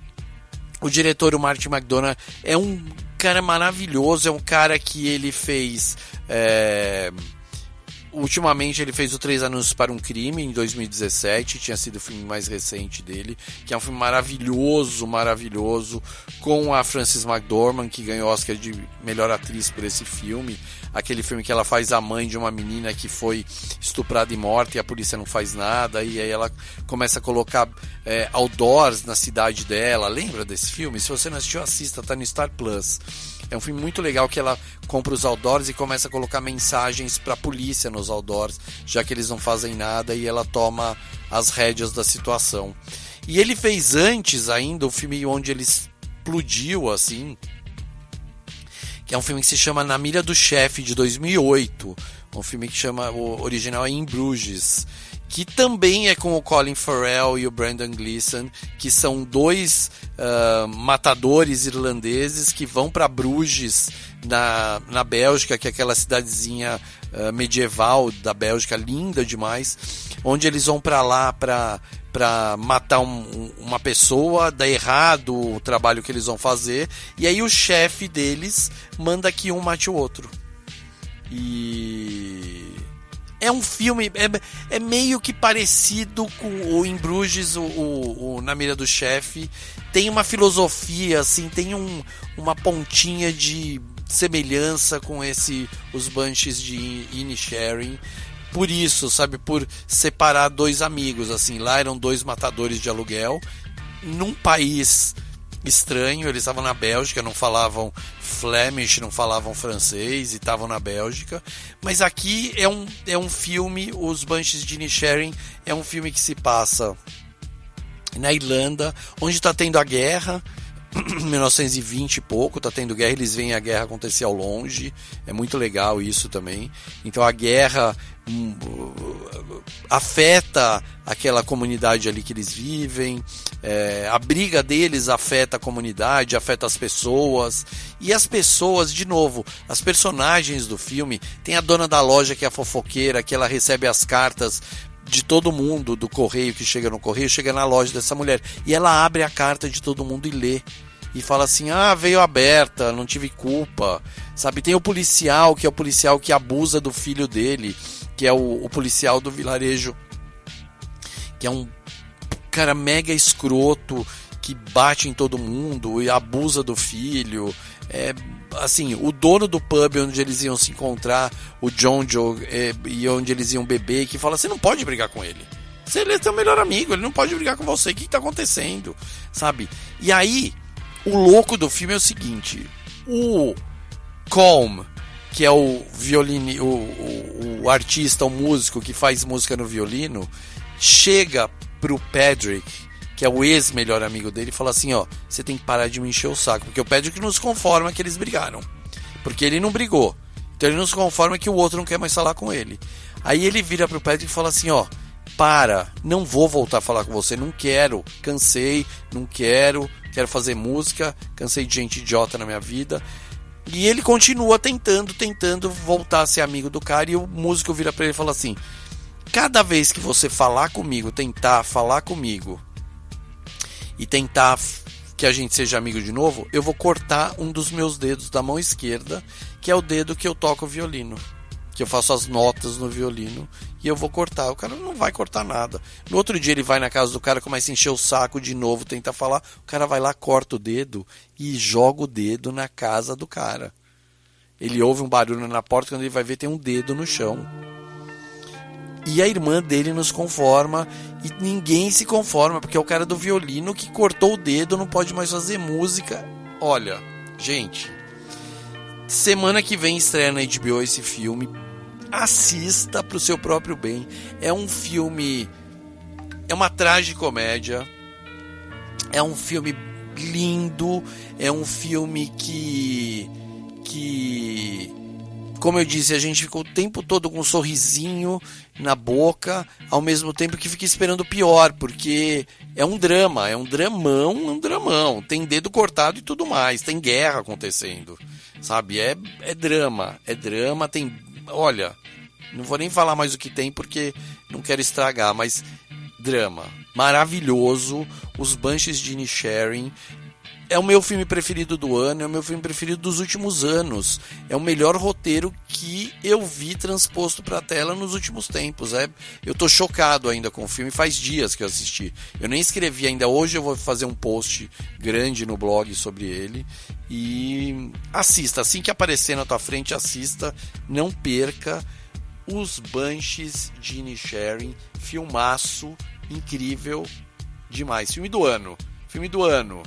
o diretor, o Martin McDonagh, é um cara maravilhoso, é um cara que ele fez... É... Ultimamente ele fez o Três Anúncios para um Crime em dois mil e dezessete, tinha sido o filme mais recente dele, que é um filme maravilhoso, maravilhoso, com a Frances McDormand, que ganhou o Oscar de melhor atriz por esse filme, aquele filme que ela faz a mãe de uma menina que foi estuprada e morta e a polícia não faz nada, e aí ela começa a colocar é, outdoors na cidade dela. Lembra desse filme? Se você não assistiu, assista, tá no Star Plus. É um filme muito legal que ela compra os outdoors e começa a colocar mensagens para a polícia nos outdoors, já que eles não fazem nada, e ela toma as rédeas da situação. E ele fez antes ainda o filme onde ele explodiu, assim, que é um filme que se chama Na Mira do Chefe, de dois mil e oito. Um filme que chama, o original é Em Bruges, que também é com o Colin Farrell e o Brendan Gleeson, que são dois uh, matadores irlandeses que vão para Bruges, na, na Bélgica, que é aquela cidadezinha uh, medieval da Bélgica, linda demais, onde eles vão para lá para para matar um, uma pessoa, dá errado o trabalho que eles vão fazer, e aí o chefe deles manda que um mate o outro. E... é um filme, é, é meio que parecido com o Em Bruges, o, o, o Na Mira do Chefe. Tem uma filosofia, assim, tem um, uma pontinha de semelhança com esse Os Banshees de Inisherin. Por isso, sabe, por separar dois amigos, assim. Lá eram dois matadores de aluguel, num país estranho, eles estavam na Bélgica, não falavam Flemish, não falavam francês, e estavam na Bélgica. Mas aqui é um, é um filme, Os Banshees de Inisherin é um filme que se passa na Irlanda, onde está tendo a guerra, mil novecentos e vinte e pouco, tá tendo guerra, eles veem a guerra acontecer ao longe, é muito legal isso também. Então a guerra hum, afeta aquela comunidade ali que eles vivem, é, a briga deles afeta a comunidade, afeta as pessoas, e as pessoas, de novo, as personagens do filme, tem a dona da loja que é a fofoqueira, que ela recebe as cartas de todo mundo, do correio que chega no correio, chega na loja dessa mulher, e ela abre a carta de todo mundo e lê, e fala assim, ah, veio aberta, não tive culpa, sabe? Tem o policial, que é o policial que abusa do filho dele, que é o, o policial do vilarejo, que é um cara mega escroto, que bate em todo mundo e abusa do filho. É, assim, o dono do pub onde eles iam se encontrar, o John Joe, é, e onde eles iam beber, que fala, você não pode brigar com ele, você é seu melhor amigo, ele não pode brigar com você, o que está acontecendo, sabe? E aí, o louco do filme é o seguinte, o Colm, que é o violino, o, o, o artista, o músico que faz música no violino, chega pro Patrick, que é o ex-melhor amigo dele, e fala assim, ó, você tem que parar de me encher o saco, porque o Patrick não se conforma que eles brigaram, porque ele não brigou, então ele não se conforma que o outro não quer mais falar com ele. Aí ele vira pro Patrick e fala assim, ó, para, não vou voltar a falar com você, não quero, cansei, não quero, quero fazer música, cansei de gente idiota na minha vida. E ele continua tentando, tentando voltar a ser amigo do cara, e o músico vira pra ele e fala assim, cada vez que você falar comigo, tentar falar comigo e tentar que a gente seja amigo de novo, eu vou cortar um dos meus dedos da mão esquerda, que é o dedo que eu toco o violino, que eu faço as notas no violino e eu vou cortar. O cara não vai cortar nada. No outro dia ele vai na casa do cara, começa a encher o saco de novo, tenta falar, o cara vai lá, corta o dedo e joga o dedo na casa do cara. Ele ouve um barulho na porta, quando ele vai ver tem um dedo no chão. E a irmã dele nos conforma e ninguém se conforma, porque é o cara do violino que cortou o dedo, não pode mais fazer música. Olha, gente, semana que vem estreia na H B O esse filme. Assista pro seu próprio bem. É um filme, é uma tragicomédia, é um filme lindo, é um filme que que como eu disse, a gente fica o tempo todo com um sorrisinho na boca, ao mesmo tempo que fica esperando o pior, porque é um drama, é um dramão, um dramão, tem dedo cortado e tudo mais, tem guerra acontecendo, sabe, é, é drama, é drama, tem, olha, não vou nem falar mais o que tem porque não quero estragar, mas drama, maravilhoso, os Banshees de Inisherin. É o meu filme preferido do ano, é o meu filme preferido dos últimos anos. É o melhor roteiro que eu vi transposto para a tela nos últimos tempos. É, eu tô chocado ainda com o filme, faz dias que eu assisti. Eu nem escrevi ainda, hoje eu vou fazer um post grande no blog sobre ele. E assista, assim que aparecer na tua frente, assista, não perca Os Banshees de Inisherin, filmaço, incrível demais. Filme do ano, filme do ano.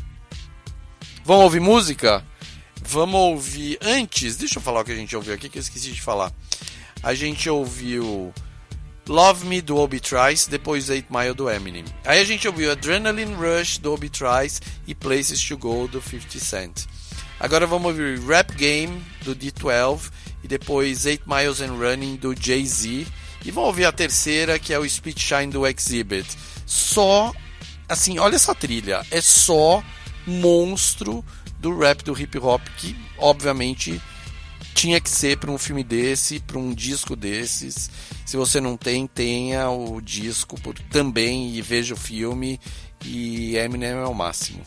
Vamos ouvir música? Vamos ouvir... Antes, deixa eu falar o que a gente ouviu aqui, que eu esqueci de falar. A gente ouviu Love Me, do Obi Trice, depois eight mile, do Eminem. Aí a gente ouviu Adrenaline Rush, do Obi Trice, e Places to Go, do fifty cent. Agora vamos ouvir Rap Game, do D twelve, e depois eight miles and Running, do Jay-Z. E vamos ouvir a terceira, que é o Speed Shine, do Exhibit. Só... Assim, olha essa trilha. É só... monstro do rap, do hip hop, que obviamente tinha que ser para um filme desse, para um disco desses. Se você não tem, tenha o disco por, também, e veja o filme, e Eminem é o máximo.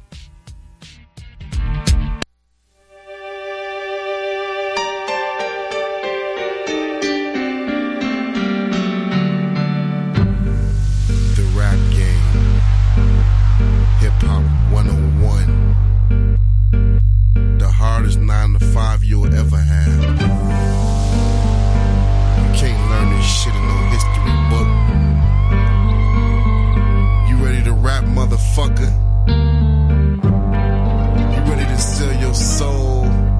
nine to five you'll ever have. You can't learn this shit in no history book. You ready to rap, motherfucker? You ready to sell your soul?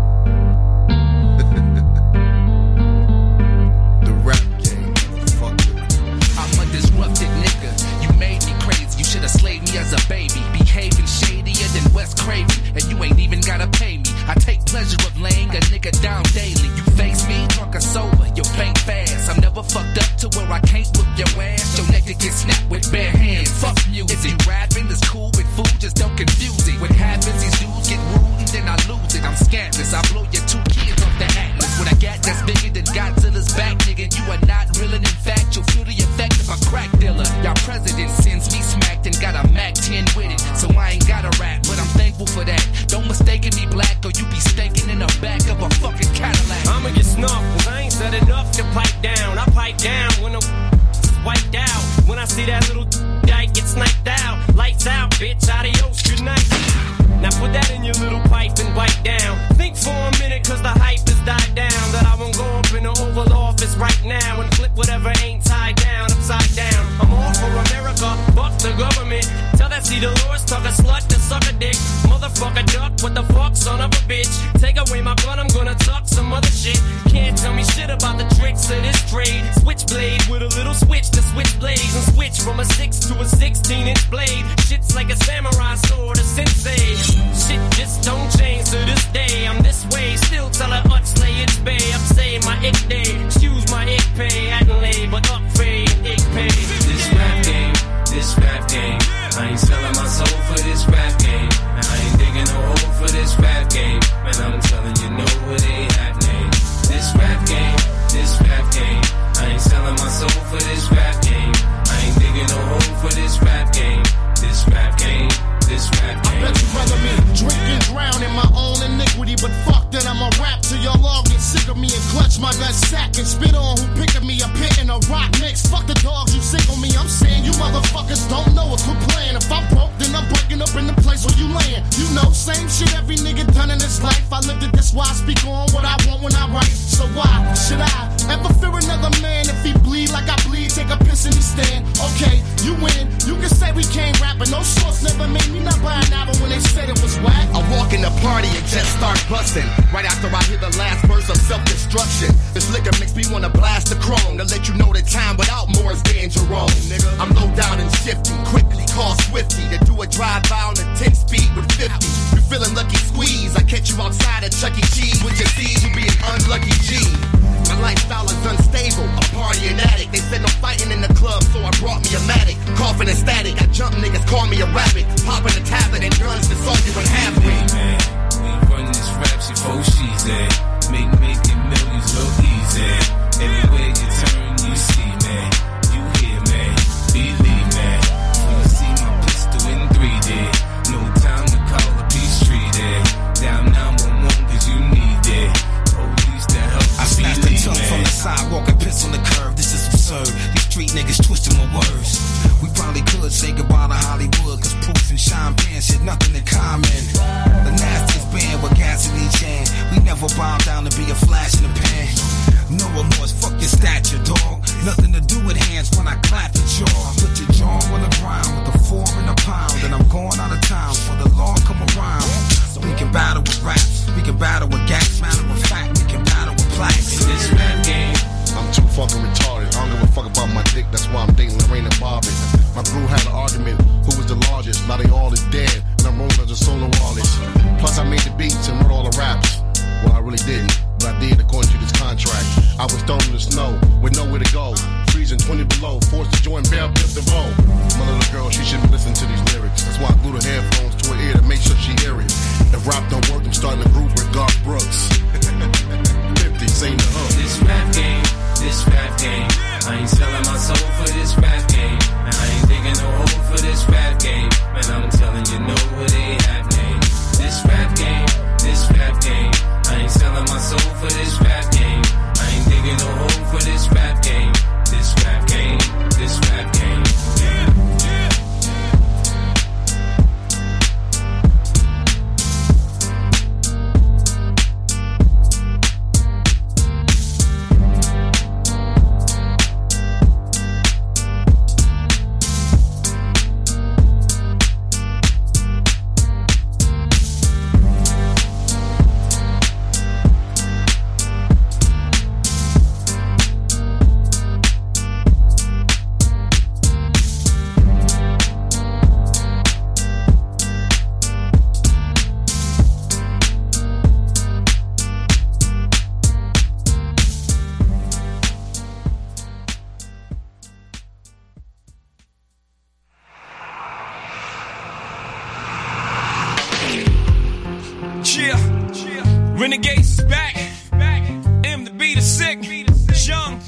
The rap game, motherfucker. I'm a disrupted nigga. You made me crazy. You should have slaved me as a baby. Behaving shadier than Wes Craven, and you ain't even gotta pay me. I take pleasure of laying a nigga down daily. You face me, drunk or sober, you paint fast. I'm never fucked up to where I can't whip your ass. Your neck to get snapped with bare hands. Fuck music. Is it rapping? That's cool with food, just don't confuse it. What happens, these dudes get rude and then I lose it. I'm scandalous, I blow your two kids off the atlas. What I got that's bigger than Godzilla's back, nigga. You are not real, and in fact, you'll feel the effect of a crack dealer. Y'all president sends me smacked and got a Mac ten with it. So I ain't gotta rap, but I'm thankful for that. Don't mistake me black or you be stinking in the back of a fucking Cadillac. I'ma get snuffed, cause I ain't said enough to pipe down. I pipe down when the wiped out. When I see that little dyke get sniped out. Lights out, bitch, adios, good night. Now put that in your little pipe and wipe down. Think for a minute, cause the hype has died down. That I won't go up in the Oval Office right now and flip whatever ain't tied down upside down. I'm all for America, fuck the government. Tell that see Dolores, talk a slut to suck a dick. Motherfucker duck, what the fuck, son of a bitch. Take away my gun, I'm gonna tuck some other shit. Can't tell me shit about the tricks of this trade. Switchblade with a little switch to switch blades. And switch from a six to a sixteen inch blade. Shit's like a samurai sword, a sensei. Shit just don't change to this day. I'm this way, still tell her Utsley it's bay. I'm saying my ick day, excuse my ick pay. Hadn't lay, but up fade, ick pay. This rap game, this rap game. I ain't selling my soul for this rap game. And I ain't digging no hole for this rap game. Man, I'm telling you, know what ain't happening. This rap game, this rap game. I ain't selling my soul for this rap game. I ain't digging no hole in the party and just start busting. Right after I hear the last verse of self-destruction. This liquor makes me wanna blast the chrome to let you know the time without more is being Jerome. Nigga, I'm low down and shifty, quickly call Swifty to do a drive-by on a ten speed with fifty. You feeling lucky squeeze? I catch you outside at Chuck E. Cheese with your C's. You be an unlucky G. My lifestyle is unstable, a party and addict. They said no fighting in the club, so I brought me a Matic. Coughing and static, I jump niggas, call me a rabbit. Popping a tablet and guns, the song you in half Hey man, we run this rap shit for she's at. Make making millions look easy. Everywhere you turn, you see man. You hear man, believe man. When you see my pistol in three D, no time to call a peace treaty. Down nine one one cause you need it. Police that help I snatched the tongue from the sidewalk and piss on the curve. This is absurd. These street niggas twisting my words. We probably could say goodbye to Hollywood, cause Proof and Sean Penn shit nothing in common. The nastiest band with gas in each hand. We never bow down to be a flash in the pan. No remorse, fuck your stature, dog. Nothing to do with hands when I clap your jaw. Put your jaw on the ground with a four and a pound. And I'm going out of town for the law come around. We can battle with raps, we can battle with gas. Matter of fact, we can battle with plaques. In this rap game, I'm too fucking retarded. I don't give a fuck about my dick, that's why I'm dating Lorraine and Bobby. My crew had an argument, who was the largest? Now they all is dead, and I'm rolling as a solo artist. Plus I made the beats and wrote all the raps. Well, I really didn't, but I did according to this contract. I was thrown in the snow, with nowhere to go. Freezing twenty below, forced to join Bell Biv DeVoe. My little girl, she shouldn't listen to these lyrics. That's why I glue the headphones to her ear to make sure she hear it. If rap don't work, I'm starting a group with Garth Brooks. fifty, sing the hook. This rap game, this rap game. I ain't selling my soul for this rap game. And I ain't digging no hole for this rap game. Man, I'm telling you, know what they happening. This rap game, this rap game. I ain't selling my soul for this rap game. I ain't digging no hole for this rap game. This rap game, this rap game. Yeah, yeah. Renegades is back. M the beat is sick. Young,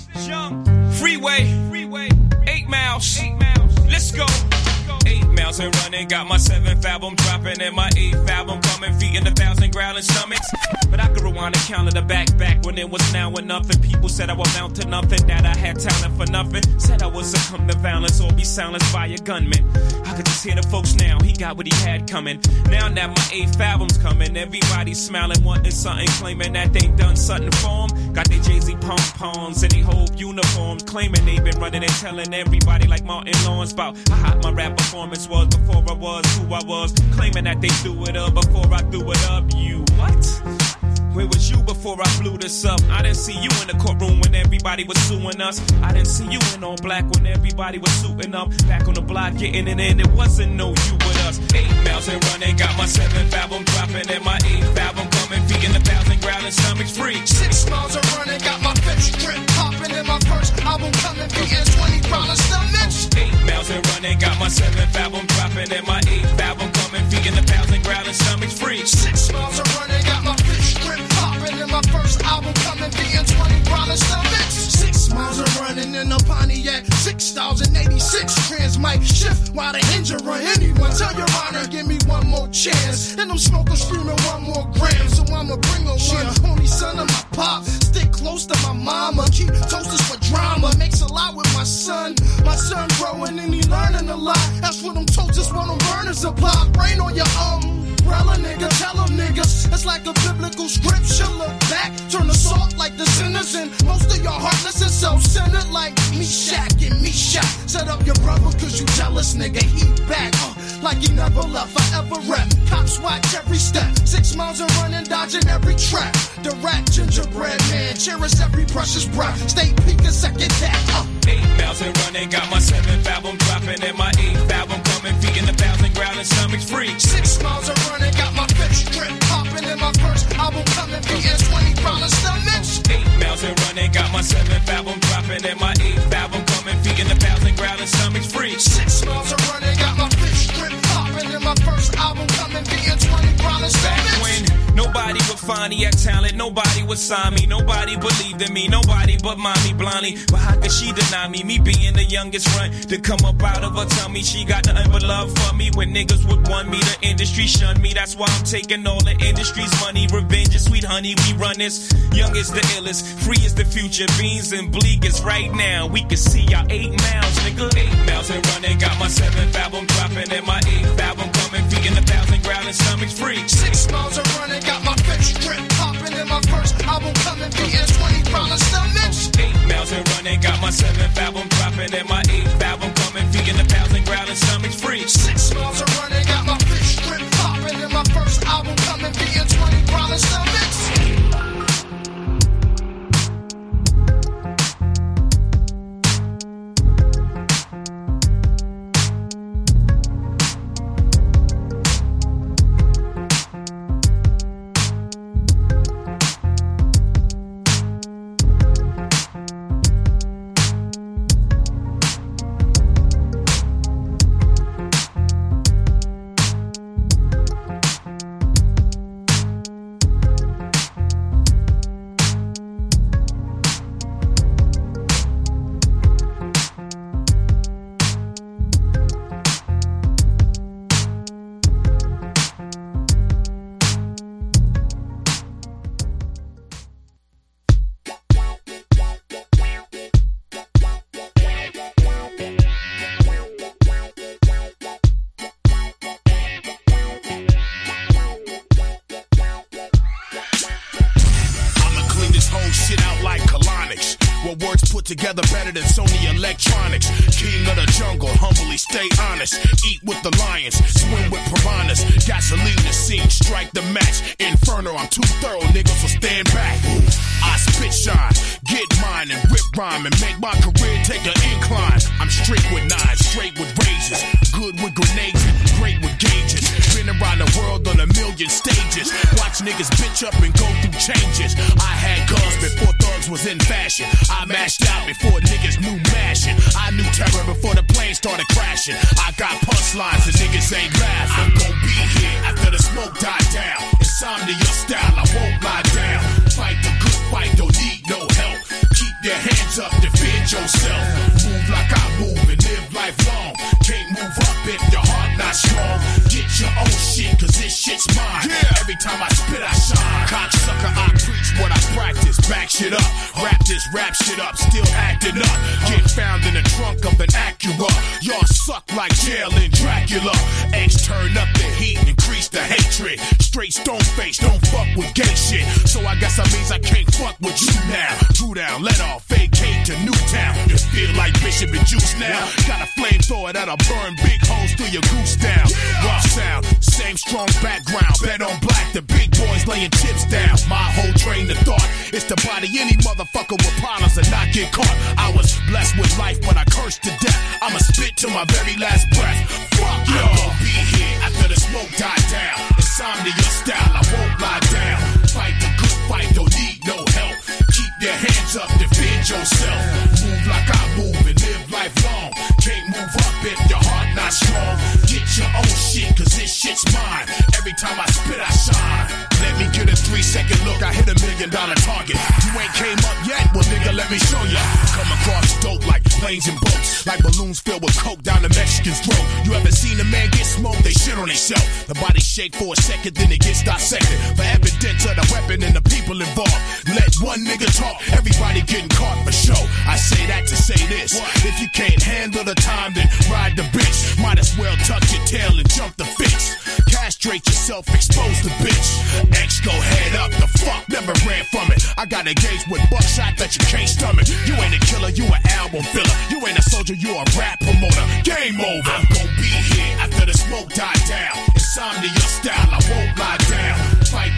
freeway, eight miles. Let's go. Eight miles and running, got my seventh album dropping and my eighth album coming, feeding a thousand growling stomachs. But I could rewind and count in the back, back when it was now or nothing. People said I would amount to nothing, that I had talent for nothing. Said I would succumb to violence or be silenced by a gunman. I could just hear the folks now, he got what he had coming. Now that my eighth album's coming, everybody's smiling, wanting something, claiming that they done something for them. Got their Jay-Z pom-poms and they whole uniforms, claiming they been running and telling everybody like Martin Lawrence about how hot my rap performance was before I was who I was, claiming that they threw it up before I threw it up. You what? Where was you before I blew this up? I didn't see you in the courtroom when everybody was suing us. I didn't see you in all black when everybody was suiting up. Back on the block getting it in, it wasn't no you but us. Eight miles and running, got my seventh album dropping and my eighth album coming, feeding a thousand growling stomachs free. Six miles and running, got my fifth strip popping and my first album coming, beating twenty growling stomachs. Eight miles and running, got my seventh album dropping and my eighth album coming, feeding a thousand growling stomachs free. Six miles and running, got my fifth strip popping and my first album coming, beating twenty growling stomachs. Six miles and running in a Pontiac, six thousand eighty-six trans mic shift while the engine run. Anyone tell your honor, give me one more chance. And I'm smoking, screaming one more gram, so I'ma bring her one. Yeah. Only son of my pop, stick close to my mama. Keep toasters for drama, makes a lot with my son. My son growing and he learning a lot. That's what them toasters, what them burners apply. Rain on your umbrella, nigga, tell them niggas. It's like a biblical scripture. Look back, turn the salt like the sinners. And most of y'all heartless and self-centered like Meshach and Meshach. Set up your brother cause you jealous, nigga. He back, uh, like he never left, forever rep. Cops watch every step. Six miles of running, dodging every trap. The rat gingerbread man, cherish every precious breath. Stay peeking second that. Uh. Eight miles and running, got my seventh album dropping, and my eighth album coming, feeding the thousand growling stomachs free. Six miles of running, got my fifth strip popping, and my first album coming, beating twenty growling stomachs. Eight miles and running, got my seventh album dropping, and my eighth album coming, feeding the thousand growling stomachs free. Six miles of running, got my fifth strip popping, and my first album coming, beating twenty growling stomachs. Back when nobody would find me at talent, nobody would sign me, nobody believed in me, nobody but mommy blindly. But how could she deny me? Me being the youngest run to come up out of her tummy. She got nothing but love for me. When niggas would want me, the industry shunned me. That's why I'm taking all the industry's money. Revenge is sweet honey, we run this. Young is the illest, free is the future. Beans and bleak is right now. We can see y'all eight miles, nigga. Eight miles and running, got my seventh album dropping, and my eighth album coming, feeding a thousand growling stomachs free. Six miles of running, got my fifth strip popping, and my first album coming, beating twenty growling stomachs. Eight miles and running, got my seventh album dropping, and my eighth album coming, feeding a thousand growling stomachs free. Six miles of running, got my fifth strip popping, and my first album coming, beating twenty growling stomachs. Together better than Sony Electronics. King of the jungle, humbly stay honest. Eat with the lions, swim with piranhas. Gasoline the scene, strike the match. Inferno, I'm too thorough, niggas, so stand back. I spit shine, get mine and rip rhyme and make my career take an incline. I'm straight with knives, straight with razors, good with grenades, great with gauges. Been around the world on a million stages. Watch niggas bitch up and go through changes. I had guns before thugs was in fashion. I mashed out before niggas knew mashing. I knew terror before the plane started crashing. I got punchlines and niggas ain't laughing. I'm gon' be here after the smoke died down. Insomnia style, I won't lie down. Fight the good fight, don't need no help. Keep your hands up, defend yourself. Move like I move and live life long. Can't move up if your heart not strong. Get your own shit, cause this shit's mine. Yeah. Every time I spit, I shine. Cocksucker, I preach what I practice. Back shit up, rap this rap shit up, still acting up. Get found in the trunk of an Acura. Y'all suck like jail in Dracula. X turn up the heat, increase the hatred. Straight stone face, don't fuck with gay shit. So I guess that means I can't fuck with you now. Drew down, let off, vacate to Newtown. You feel like Bishop and Juice now. Got a flamethrower that'll burn big holes through your goose down. Rough sound, same strong background. Bet on black, the big boys laying chips down. My whole train of thought is to body any motherfucker with problems and not get caught. I was blessed with life, but I cursed to death. I'ma spit to my very last breath. Fuck y'all. I'm gon' be here after the smoke died down. Insomnia style, I won't lie down. Fight the good fight, don't need no help. Keep your hands up, defend yourself. Move like I move and live life long. Can't move up if your heart not strong. Get your own shit, cause this shit's mine. Every time I spit, I shine. Let me get a three second look, I hit a million dollar target. You ain't came up yet, well nigga, let me show ya. Come across dope like planes and boats, like balloons filled with coke down the Mexican's throat. You ever seen a man get smoked? They shit on themselves. The body shake for a second, then it gets dissected. For evidence of the weapon and the people involved. Let one nigga talk, everybody getting caught for show. I say that to say this. If you can't handle the time, then ride the bitch. Might as well tuck your tail and jump the fence. Castrate yourself, expose the bitch. X go head up, the fuck never ran from it. I got engaged with buckshot that you can't stomach. You ain't a killer, you an album filler. You ain't a soldier, you a rap promoter. Game over. I'm gon' be here after the smoke died down. Insomnia style, I won't lie down. Fight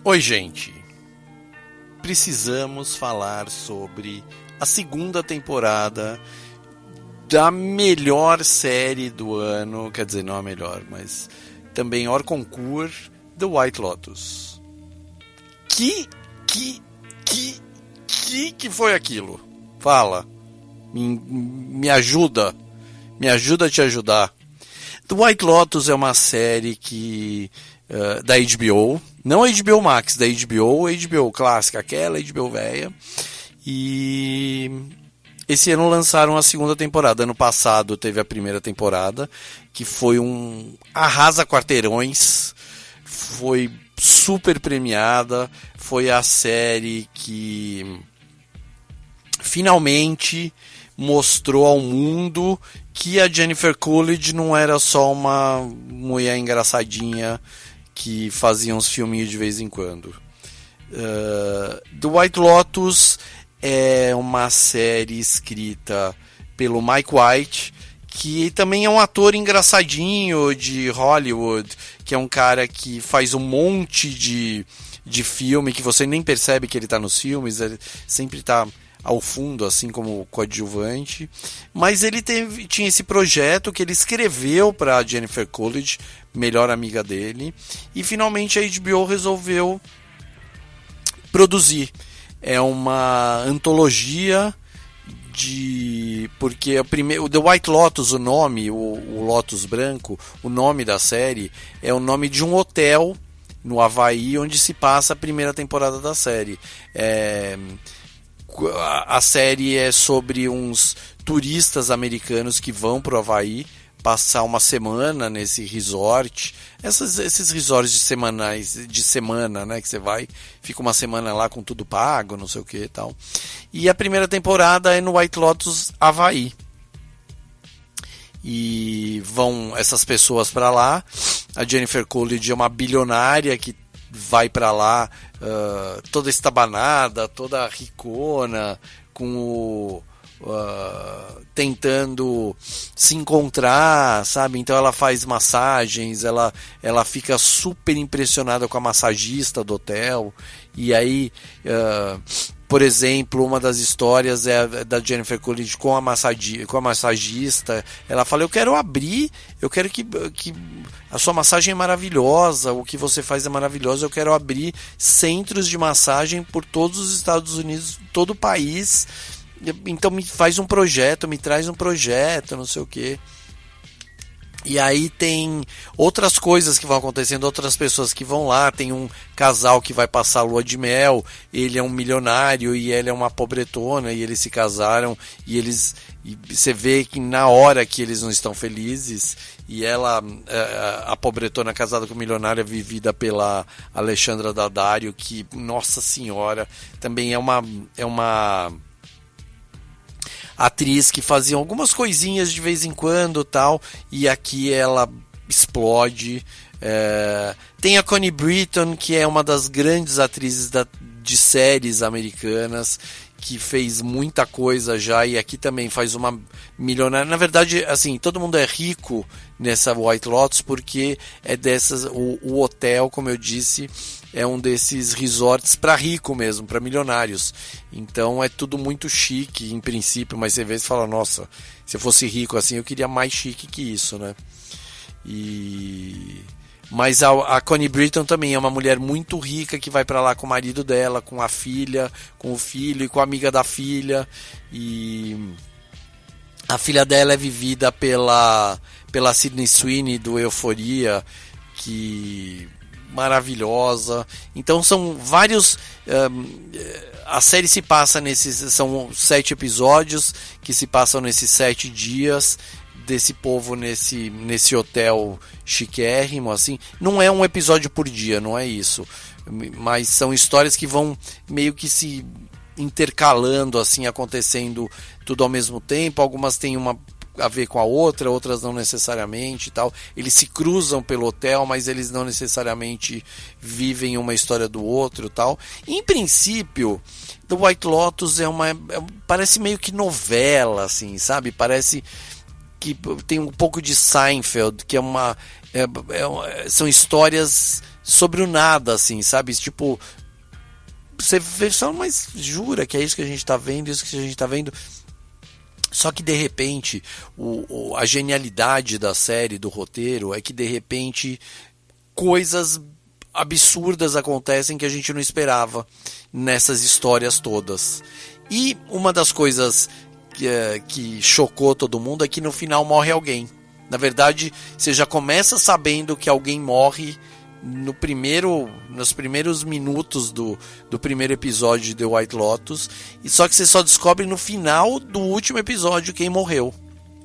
Oi, gente. Precisamos falar sobre a segunda temporada da melhor série do ano, quer dizer, não a melhor, mas também hors concurso, The White Lotus. Que, que, que, que, que foi aquilo? Fala. Me, me ajuda. Me ajuda a te ajudar. The White Lotus é uma série que uh, da H B O, não a H B O Max, da H B O, H B O clássica, aquela H B O velha. E esse ano lançaram a segunda temporada. Ano passado teve a primeira temporada, que foi um arrasa quarteirões, foi super premiada, foi a série que finalmente mostrou ao mundo que a Jennifer Coolidge não era só uma mulher engraçadinha que fazia uns filminhos de vez em quando. Uh, The White Lotus é uma série escrita pelo Mike White, que também é um ator engraçadinho de Hollywood, que é um cara que faz um monte de, de filme que você nem percebe que ele está nos filmes, ele sempre está ao fundo, assim como coadjuvante. Mas ele teve, tinha esse projeto que ele escreveu para a Jennifer Coolidge, melhor amiga dele, e finalmente a H B O resolveu produzir. É uma antologia de... porque o, primeiro, o The White Lotus, o nome, o, o Lotus branco, o nome da série é o nome de um hotel no Havaí onde se passa a primeira temporada da série. É... A série é sobre uns turistas americanos que vão para o Havaí passar uma semana nesse resort. Essas, esses resorts de semanais, de semana, né, que você vai, fica uma semana lá com tudo pago, não sei o que e tal. E a primeira temporada é no White Lotus Havaí. E vão essas pessoas para lá. A Jennifer Coolidge é uma bilionária que vai para lá uh, toda estabanada, toda ricona, com o, uh, tentando se encontrar, sabe? Então ela faz massagens, ela, ela fica super impressionada com a massagista do hotel. E aí, uh, por exemplo, uma das histórias é da Jennifer Coolidge com a, massagi, com a massagista. Ela fala, eu quero abrir, eu quero que, que a sua massagem é maravilhosa, o que você faz é maravilhoso, eu quero abrir centros de massagem por todos os Estados Unidos, todo o país. Então me faz um projeto, me traz um projeto, não sei o quê. E aí tem outras coisas que vão acontecendo, outras pessoas que vão lá. Tem um casal que vai passar a lua de mel, ele é um milionário e ela é uma pobretona, e eles se casaram, e eles e você vê que na hora que eles não estão felizes, e ela, a pobretona casada com o milionário, é vivida pela Alexandra Daddario, que, nossa senhora, também é uma... É uma atriz que fazia algumas coisinhas de vez em quando tal, e aqui ela explode. É... Tem a Connie Britton, que é uma das grandes atrizes da... de séries americanas, que fez muita coisa já, e aqui também faz uma milionária. Na verdade, assim, todo mundo é rico nessa White Lotus, porque é dessas, o, o hotel, como eu disse, é um desses resorts para rico mesmo, para milionários. Então é tudo muito chique em princípio, mas você vê e fala, nossa, se eu fosse rico assim, eu queria mais chique que isso, né? E... Mas a, a Connie Britton também é uma mulher muito rica que vai para lá com o marido dela, com a filha, com o filho e com a amiga da filha. E a filha dela é vivida pela, pela Sydney Sweeney do Euphoria, que... maravilhosa. Então são vários... Um, a série se passa nesses... São sete episódios que se passam nesses sete dias desse povo nesse, nesse hotel chiquérrimo, assim. Não é um episódio por dia, não é isso. Mas são histórias que vão meio que se intercalando, assim, acontecendo tudo ao mesmo tempo. Algumas têm uma a ver com a outra, outras não necessariamente e tal. Eles se cruzam pelo hotel, mas eles não necessariamente vivem uma história do outro e tal. Em princípio, The White Lotus é uma... É, parece meio que novela, assim, sabe? Parece que tem um pouco de Seinfeld, que é uma... É, é, são histórias sobre o nada, assim, sabe? Tipo, você vê só, mas jura que é isso que a gente tá vendo, isso que a gente tá vendo. Só que de repente, o, o, a genialidade da série, do roteiro, é que de repente coisas absurdas acontecem que a gente não esperava nessas histórias todas. E uma das coisas que, que chocou todo mundo é que no final morre alguém. Na verdade, você já começa sabendo que alguém morre no primeiro, nos primeiros minutos do, do primeiro episódio de The White Lotus, e só que você só descobre no final do último episódio quem morreu.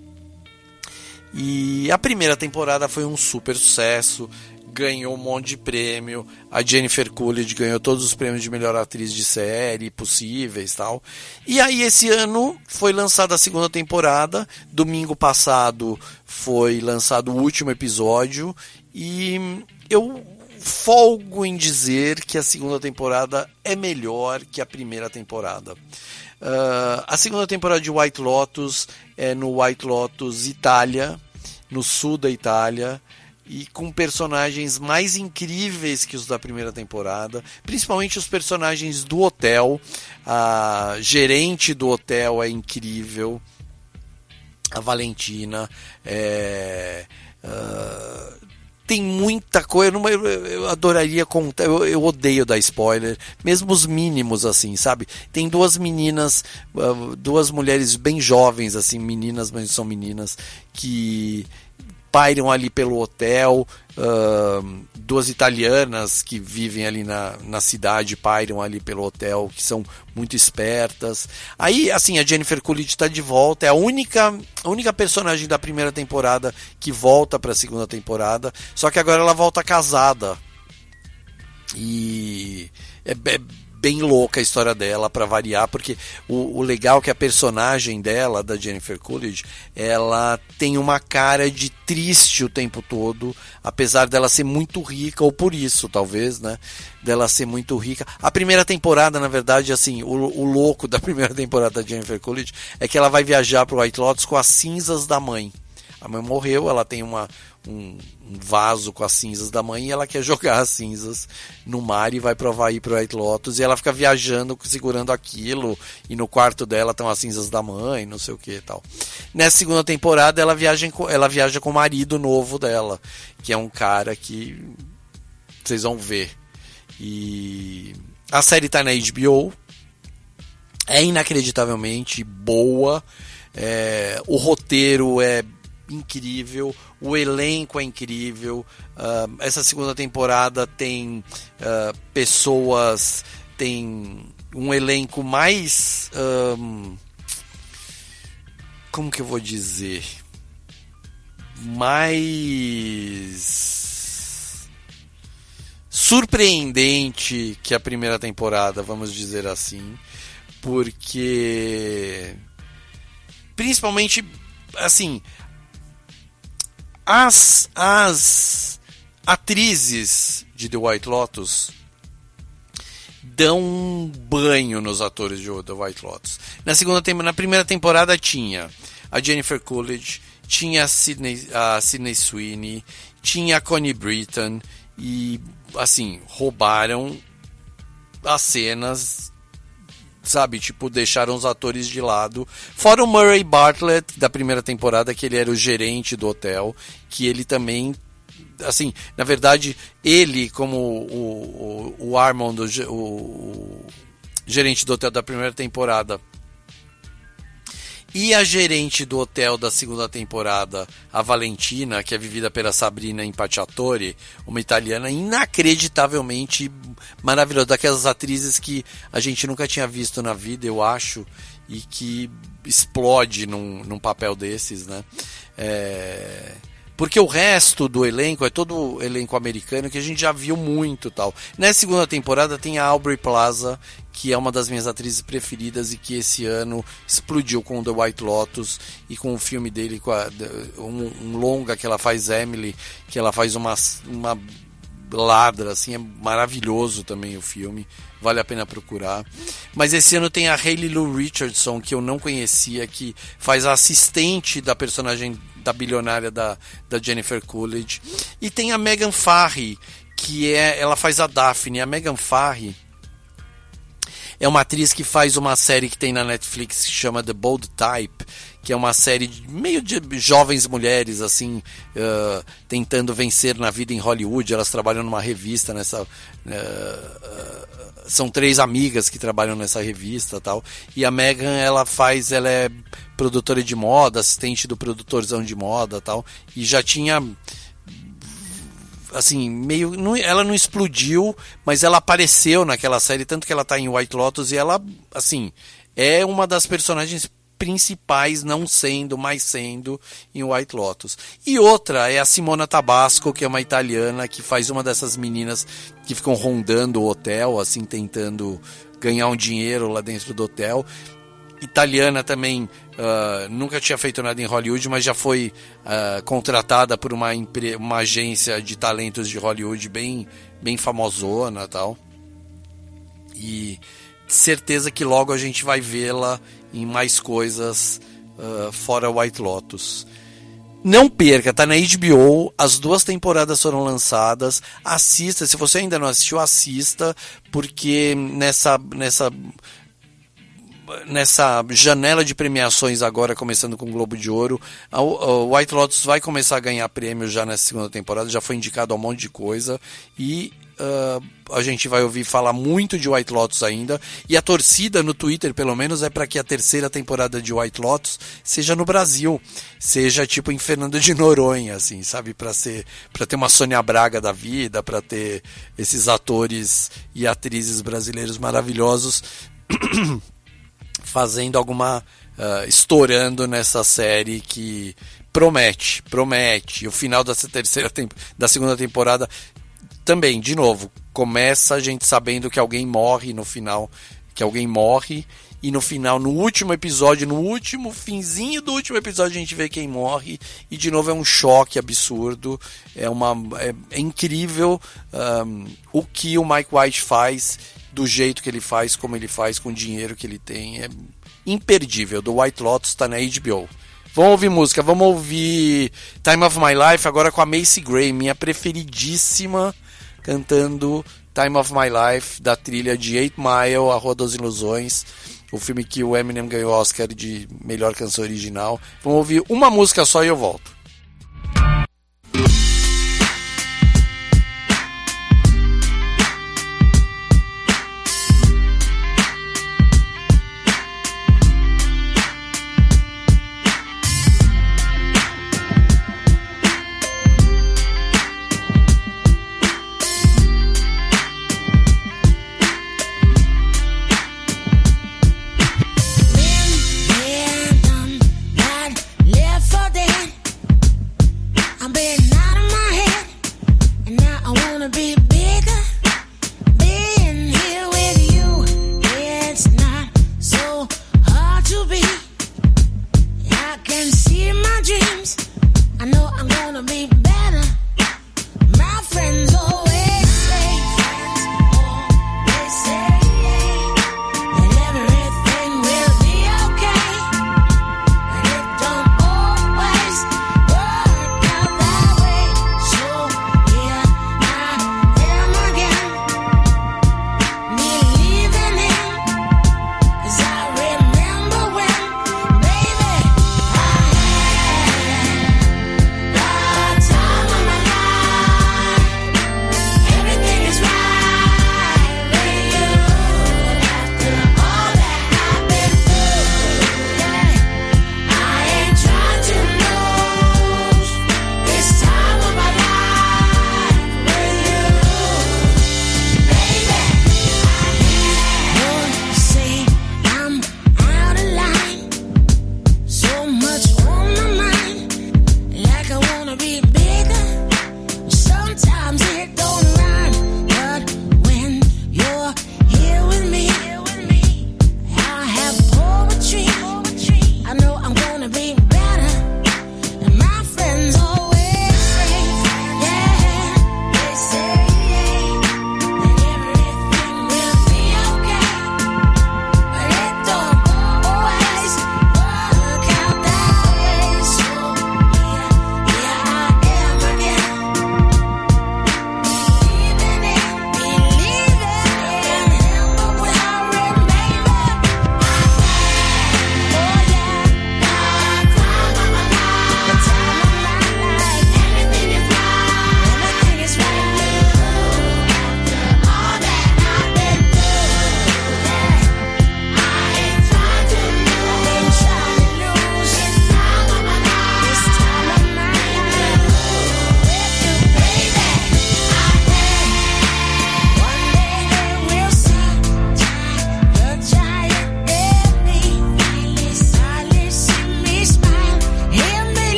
E a primeira temporada foi um super sucesso, ganhou um monte de prêmio, a Jennifer Coolidge ganhou todos os prêmios de melhor atriz de série possíveis, tal. E aí esse ano foi lançada a segunda temporada, domingo passado foi lançado o último episódio, e eu folgo em dizer que a segunda temporada é melhor que a primeira temporada. Uh, a segunda temporada de White Lotus é no White Lotus Itália, no sul da Itália, e com personagens mais incríveis que os da primeira temporada, principalmente os personagens do hotel. A gerente do hotel é incrível, a Valentina, é, uh, tem muita coisa, eu, não, eu, eu adoraria contar, eu, eu odeio dar spoiler, mesmo os mínimos, assim, sabe? Tem duas meninas, uh, duas mulheres bem jovens, assim, meninas, mas são meninas, que pairam ali pelo hotel, uh, duas italianas que vivem ali na, na cidade, pairam ali pelo hotel, que são muito espertas. Aí, assim, a Jennifer Coolidge está de volta, é a única, a única personagem da primeira temporada que volta para a segunda temporada, só que agora ela volta casada. E é, é bem louca a história dela, para variar, porque o, o legal é que a personagem dela, da Jennifer Coolidge, ela tem uma cara de triste o tempo todo, apesar dela ser muito rica, ou por isso, talvez, né, dela ser muito rica. A primeira temporada, na verdade, assim, o, o louco da primeira temporada da Jennifer Coolidge é que ela vai viajar para o White Lotus com as cinzas da mãe. A mãe morreu, ela tem uma, um, um vaso com as cinzas da mãe e ela quer jogar as cinzas no mar e vai provar ir para o White Lotus, e ela fica viajando, segurando aquilo, e no quarto dela estão as cinzas da mãe, não sei o que e tal. Nessa segunda temporada ela viaja, ela viaja com o marido novo dela, que é um cara que vocês vão ver. E a série está na H B O, é inacreditavelmente boa, é, o roteiro é incrível, o elenco é incrível. Uh, essa segunda temporada tem uh, pessoas, tem um elenco mais, um, como que eu vou dizer, mais surpreendente que a primeira temporada, vamos dizer assim, porque principalmente, assim, As, as atrizes de The White Lotus dão um banho nos atores de The White Lotus. Na segunda temporada, na primeira temporada tinha a Jennifer Coolidge, tinha a Sydney, a Sydney Sweeney, tinha a Connie Britton, e assim, roubaram as cenas, sabe, tipo, deixaram os atores de lado. Fora o Murray Bartlett da primeira temporada, que ele era o gerente do hotel, que ele também, assim, na verdade, ele como o, o, o Armand, o, o gerente do hotel da primeira temporada, e a gerente do hotel da segunda temporada, a Valentina, que é vivida pela Sabrina Impacciatore, uma italiana inacreditavelmente maravilhosa, daquelas atrizes que a gente nunca tinha visto na vida, eu acho, e que explode num, num papel desses, né? É... Porque o resto do elenco é todo elenco americano que a gente já viu muito, tal. Nessa segunda temporada tem a Aubrey Plaza, que é uma das minhas atrizes preferidas e que esse ano explodiu com The White Lotus e com o filme dele, com a, um, um longa que ela faz, Emily, que ela faz uma, uma ladra, assim, é maravilhoso também o filme, vale a pena procurar. Mas esse ano tem a Hayley Lou Richardson, que eu não conhecia, que faz a assistente da personagem da bilionária da, da Jennifer Coolidge, e tem a Megan Farrey, que é, ela faz a Daphne. A Megan Farrell é uma atriz que faz uma série que tem na Netflix que chama The Bold Type, que é uma série de, meio de jovens mulheres assim, uh, tentando vencer na vida em Hollywood. Elas trabalham numa revista nessa, uh, uh, são três amigas que trabalham nessa revista, tal. E a Megan, ela faz, ela é produtora de moda, assistente do produtorzão de moda, tal. E já tinha, assim, meio, não, ela não explodiu, mas ela apareceu naquela série, tanto que ela tá em White Lotus, e ela, assim, é uma das personagens principais, não sendo, mas sendo em White Lotus. E outra é a Simona Tabasco, que é uma italiana que faz uma dessas meninas que ficam rondando o hotel, assim, tentando ganhar um dinheiro lá dentro do hotel. Italiana também, uh, nunca tinha feito nada em Hollywood, mas já foi uh, contratada por uma, empre- uma agência de talentos de Hollywood bem, bem famosona e tal. E certeza que logo a gente vai vê-la em mais coisas uh, fora White Lotus. Não perca, tá na H B O, as duas temporadas foram lançadas, assista, se você ainda não assistiu, assista, porque nessa, nessa, nessa janela de premiações agora, começando com o Globo de Ouro, a, a White Lotus vai começar a ganhar prêmio já nessa segunda temporada, já foi indicado a um monte de coisa, e Uh, a gente vai ouvir falar muito de White Lotus ainda, e a torcida no Twitter, pelo menos, é para que a terceira temporada de White Lotus seja no Brasil, seja tipo em Fernando de Noronha, assim, sabe, para ser, para ter uma Sônia Braga da vida, para ter esses atores e atrizes brasileiros maravilhosos fazendo alguma, uh, estourando nessa série que promete, promete. O final dessa terceira temp- da segunda temporada também, de novo, começa a gente sabendo que alguém morre no final, que alguém morre, e no final, no último episódio, no último finzinho do último episódio, a gente vê quem morre, e de novo é um choque absurdo, é, uma, é, é incrível um, o que o Mike White faz, do jeito que ele faz, como ele faz, com o dinheiro que ele tem, é imperdível. Do White Lotus está na H B O. Vamos ouvir música, vamos ouvir Time of My Life agora com a Macy Gray, minha preferidíssima, cantando Time of My Life, da trilha de Eight Mile, A Rua das Ilusões, o filme que o Eminem ganhou o Oscar de melhor canção original. Vamos ouvir uma música só e eu volto.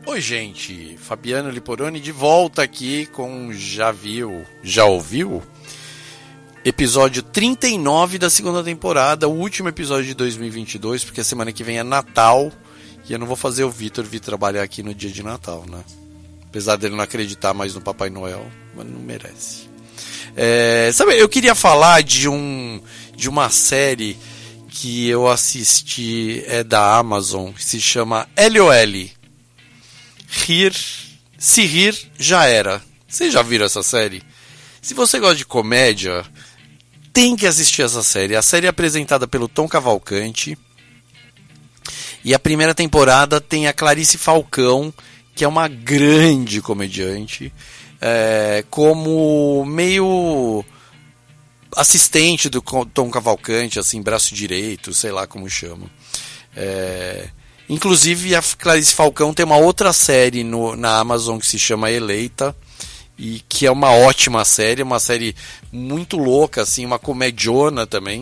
Oi, gente, Fabiano Liporoni de volta aqui com Já Viu, Já Ouviu? Episódio trinta e nove da segunda temporada, o último episódio de dois mil e vinte e dois, porque a semana que vem é Natal e eu não vou fazer o Vitor vir trabalhar aqui no dia de Natal, né? Apesar dele não acreditar mais no Papai Noel, mas não merece. É, sabe, eu queria falar de, um, de uma série que eu assisti, é da Amazon, que se chama L O L. Rir, se rir, já era. Vocês já viram essa série? Se você gosta de comédia, tem que assistir essa série. A série é apresentada pelo Tom Cavalcante. E a primeira temporada tem a Clarice Falcão, que é uma grande comediante, é, como meio assistente do Tom Cavalcante, assim, braço direito, sei lá como chama. É... Inclusive, a Clarice Falcão tem uma outra série no, na Amazon que se chama Eleita, e que é uma ótima série, uma série muito louca, assim, uma comediona também,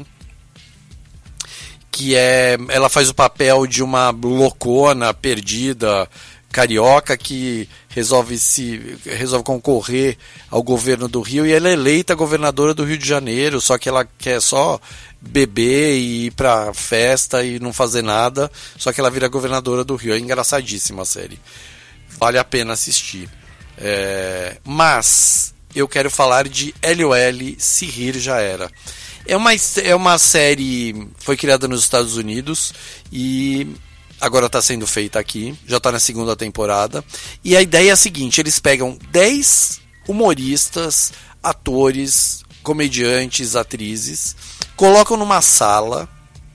que é, ela faz o papel de uma loucona perdida, carioca, que resolve, se, resolve concorrer ao governo do Rio, e ela é eleita governadora do Rio de Janeiro, só que ela quer só beber e ir pra festa e não fazer nada, só que ela vira governadora do Rio. É engraçadíssima a série, vale a pena assistir. É, mas eu quero falar de L O L, Se Rir Já Era. É uma, é uma série, foi criada nos Estados Unidos e agora está sendo feita aqui, já está na segunda temporada, e a ideia é a seguinte: eles pegam dez humoristas, atores, comediantes, atrizes, colocam numa sala,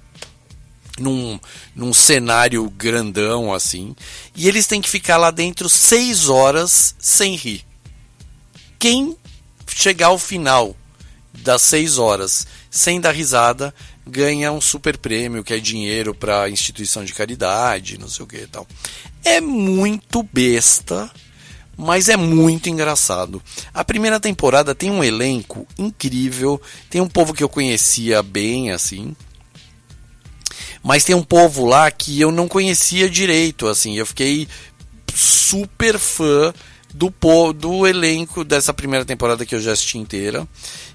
num, num cenário grandão assim, e eles têm que ficar lá dentro seis horas sem rir. Quem chegar ao final das seis horas sem dar risada ganha um super prêmio, que é dinheiro para instituição de caridade, não sei o que e tal. É muito besta, mas é muito engraçado. A primeira temporada tem um elenco incrível, tem um povo que eu conhecia bem, assim, mas tem um povo lá que eu não conhecia direito, assim, eu fiquei super fã do, po- do elenco dessa primeira temporada que eu já assisti inteira.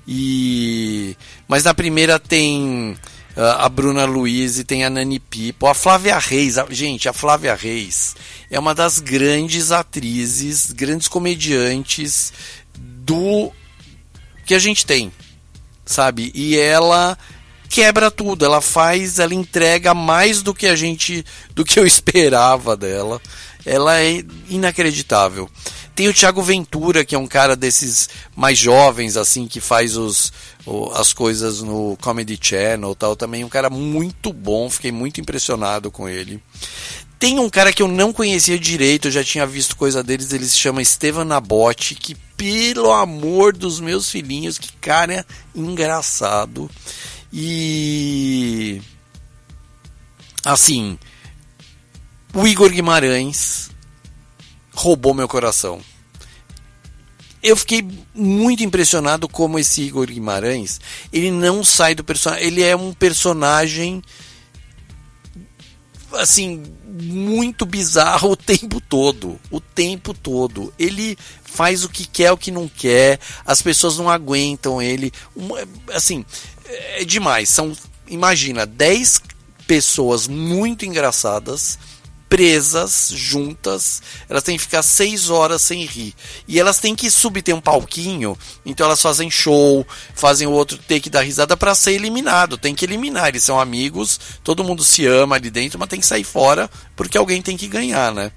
E... Mas na primeira tem uh, a Bruna Luiz e tem a Nani Pipo, a Flávia Reis. A... Gente, a Flávia Reis é uma das grandes atrizes, grandes comediantes do que a gente tem, sabe? E ela quebra tudo, ela faz, ela entrega mais do que a gente, do que eu esperava dela. Ela é inacreditável. Tem o Thiago Ventura, que é um cara desses mais jovens, assim, que faz os, o, as coisas no Comedy Channel e tal, também um cara muito bom, fiquei muito impressionado com ele. Tem um cara que eu não conhecia direito, eu já tinha visto coisa deles, ele se chama Estevan Nabote, que, pelo amor dos meus filhinhos, que cara engraçado. E... assim... O Igor Guimarães roubou meu coração. Eu fiquei muito impressionado como esse Igor Guimarães, ele não sai do personagem, ele é um personagem assim, muito bizarro o tempo todo, o tempo todo. Ele faz o que quer, o que não quer, as pessoas não aguentam ele, assim, é demais. São, imagina, dez pessoas muito engraçadas presas, juntas, elas têm que ficar seis horas sem rir, e elas têm que subir, tem um palquinho, então elas fazem show, fazem o outro ter que dar risada para ser eliminado, tem que eliminar, eles são amigos, todo mundo se ama ali dentro, mas tem que sair fora, porque alguém tem que ganhar, né?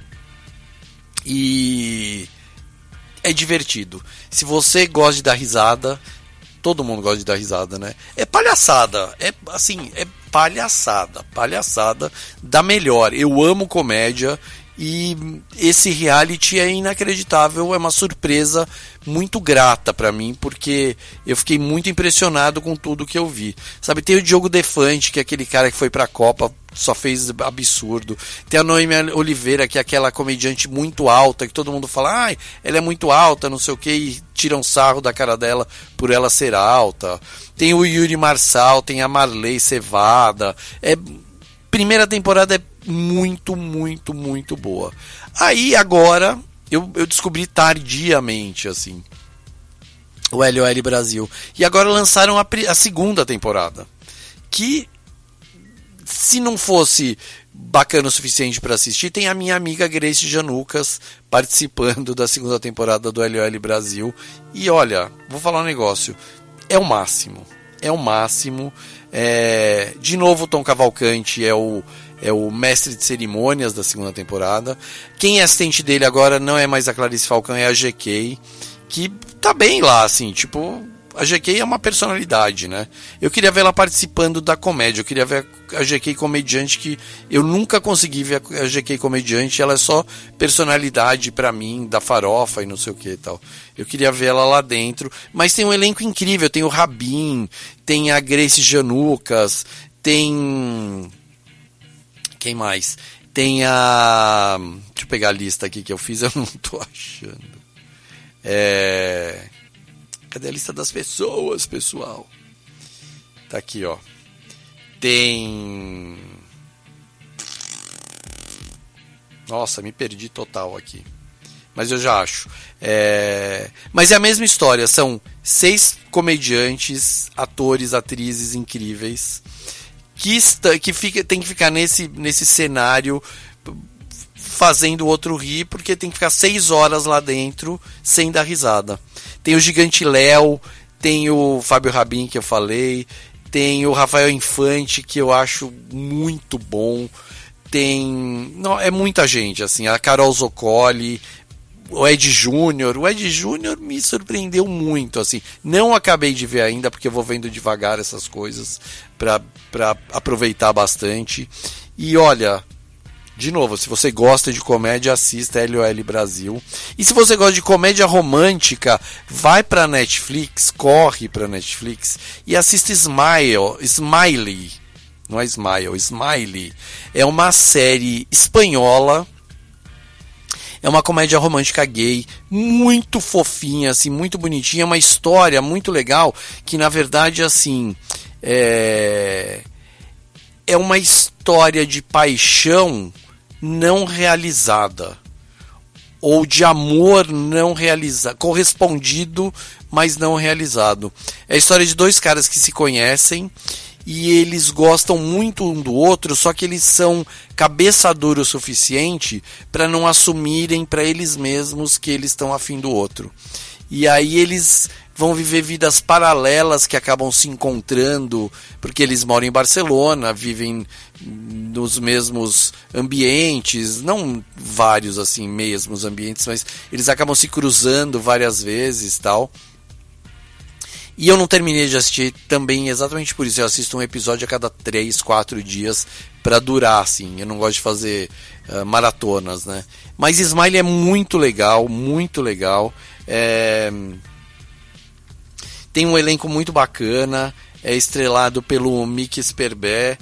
E é divertido. Se você gosta de dar risada, todo mundo gosta de dar risada, né? É palhaçada, é assim, é palhaçada, palhaçada da melhor. Eu amo comédia e esse reality é inacreditável, é uma surpresa muito grata pra mim, porque eu fiquei muito impressionado com tudo que eu vi. Sabe, tem o Diogo Defante, que é aquele cara que foi pra Copa, só fez absurdo. Tem a Noemi Oliveira, que é aquela comediante muito alta, que todo mundo fala, ai, ela é muito alta, não sei o que, e tiram sarro da cara dela por ela ser alta. Tem o Yuri Marçal, tem a Marley Cevada. É, primeira temporada é muito, muito, muito boa. Aí agora eu, eu descobri tardiamente, assim, o L O L Brasil. E agora lançaram a, a segunda temporada, que se não fosse bacana o suficiente para assistir, tem a minha amiga Grace Janucas participando da segunda temporada do L O L Brasil. E olha, vou falar um negócio, é o máximo, é o máximo. É... De novo, o Tom Cavalcante é o, é o mestre de cerimônias da segunda temporada. Quem é assistente dele agora não é mais a Clarice Falcão, é a G K, que tá bem lá, assim, tipo... A G K é uma personalidade, né? Eu queria ver ela participando da comédia. Eu queria ver a G K comediante, que eu nunca consegui ver a G K comediante. Ela é só personalidade pra mim, da farofa e não sei o que e tal. Eu queria ver ela lá dentro. Mas tem um elenco incrível. Tem o Rabin, tem a Grace Janucas, tem... Quem mais? Tem a... Deixa eu pegar a lista aqui que eu fiz, eu não tô achando. É... Cadê a lista das pessoas, pessoal? Tá aqui, ó. Tem... Nossa, me perdi total aqui. Mas eu já acho. É... Mas é a mesma história. São seis comediantes, atores, atrizes incríveis que, está... que fica... tem que ficar nesse, nesse cenário fazendo o outro rir, porque tem que ficar seis horas lá dentro sem dar risada. Tem o Gigante Léo, tem o Fábio Rabin, que eu falei, tem o Rafael Infante, que eu acho muito bom, tem... Não, é muita gente, assim, a Carol Zoccoli, o Ed Júnior. O Ed Júnior me surpreendeu muito, assim. Não acabei de ver ainda, porque eu vou vendo devagar essas coisas para para aproveitar bastante. E olha... De novo, se você gosta de comédia, assista L O L Brasil. E se você gosta de comédia romântica, vai pra Netflix, corre pra Netflix e assista Smile, Smiley. Não é Smile, Smiley. É uma série espanhola. É uma comédia romântica gay, muito fofinha, assim, muito bonitinha. Uma história muito legal, que na verdade, assim, é, é uma história de paixão não realizada, ou de amor não realizado, correspondido, mas não realizado. É a história de dois caras que se conhecem e eles gostam muito um do outro, só que eles são cabeça dura o suficiente para não assumirem para eles mesmos que eles estão afim do outro. E aí eles vão viver vidas paralelas que acabam se encontrando, porque eles moram em Barcelona, vivem nos mesmos ambientes, não vários assim mesmos ambientes, mas eles acabam se cruzando várias vezes, tal. E eu não terminei de assistir também exatamente por isso. Eu assisto um episódio a cada três, quatro dias para durar, assim. Eu não gosto de fazer uh, maratonas, né? Mas Smile é muito legal, muito legal. É... Tem um elenco muito bacana. É estrelado pelo Mickey Sperber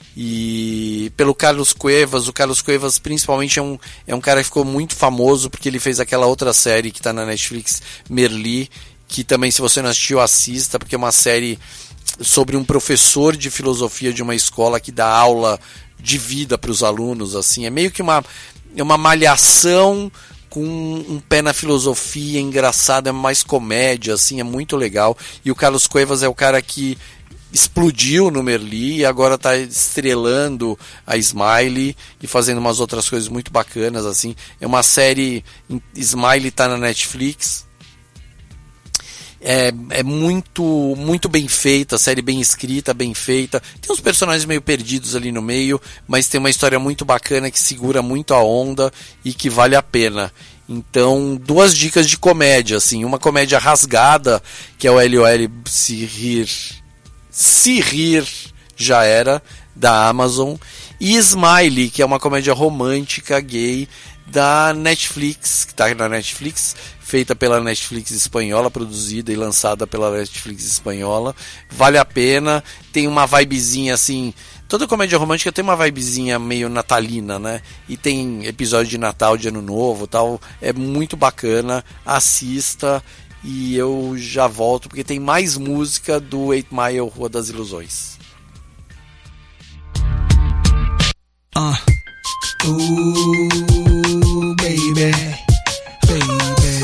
e pelo Carlos Cuevas. O Carlos Cuevas principalmente é um, é um cara que ficou muito famoso porque ele fez aquela outra série que está na Netflix, Merli, que também, se você não assistiu, assista, porque é uma série sobre um professor de filosofia de uma escola que dá aula de vida para os alunos, assim. É meio que uma, é uma malhação com um pé na filosofia, engraçado, é mais comédia, assim, é muito legal. E o Carlos Cuevas é o cara que explodiu no Merli e agora está estrelando a Smiley e fazendo umas outras coisas muito bacanas, assim. É uma série, Smiley está na Netflix. É, é muito, muito bem feita, a série bem escrita, bem feita. Tem uns personagens meio perdidos ali no meio, mas tem uma história muito bacana que segura muito a onda e que vale a pena. Então, duas dicas de comédia, assim, uma comédia rasgada, que é o L O L Se Rir, Se Rir Já Era, da Amazon, e Smiley, que é uma comédia romântica gay da Netflix, que está na Netflix, feita pela Netflix espanhola, produzida e lançada pela Netflix espanhola. Vale a pena, tem uma vibezinha assim, toda comédia romântica tem uma vibezinha meio natalina, né? E tem episódio de Natal, de Ano Novo, tal. É muito bacana, assista e eu já volto porque tem mais música do Eight Mile Rua das Ilusões. Uh. Ooh, baby, baby,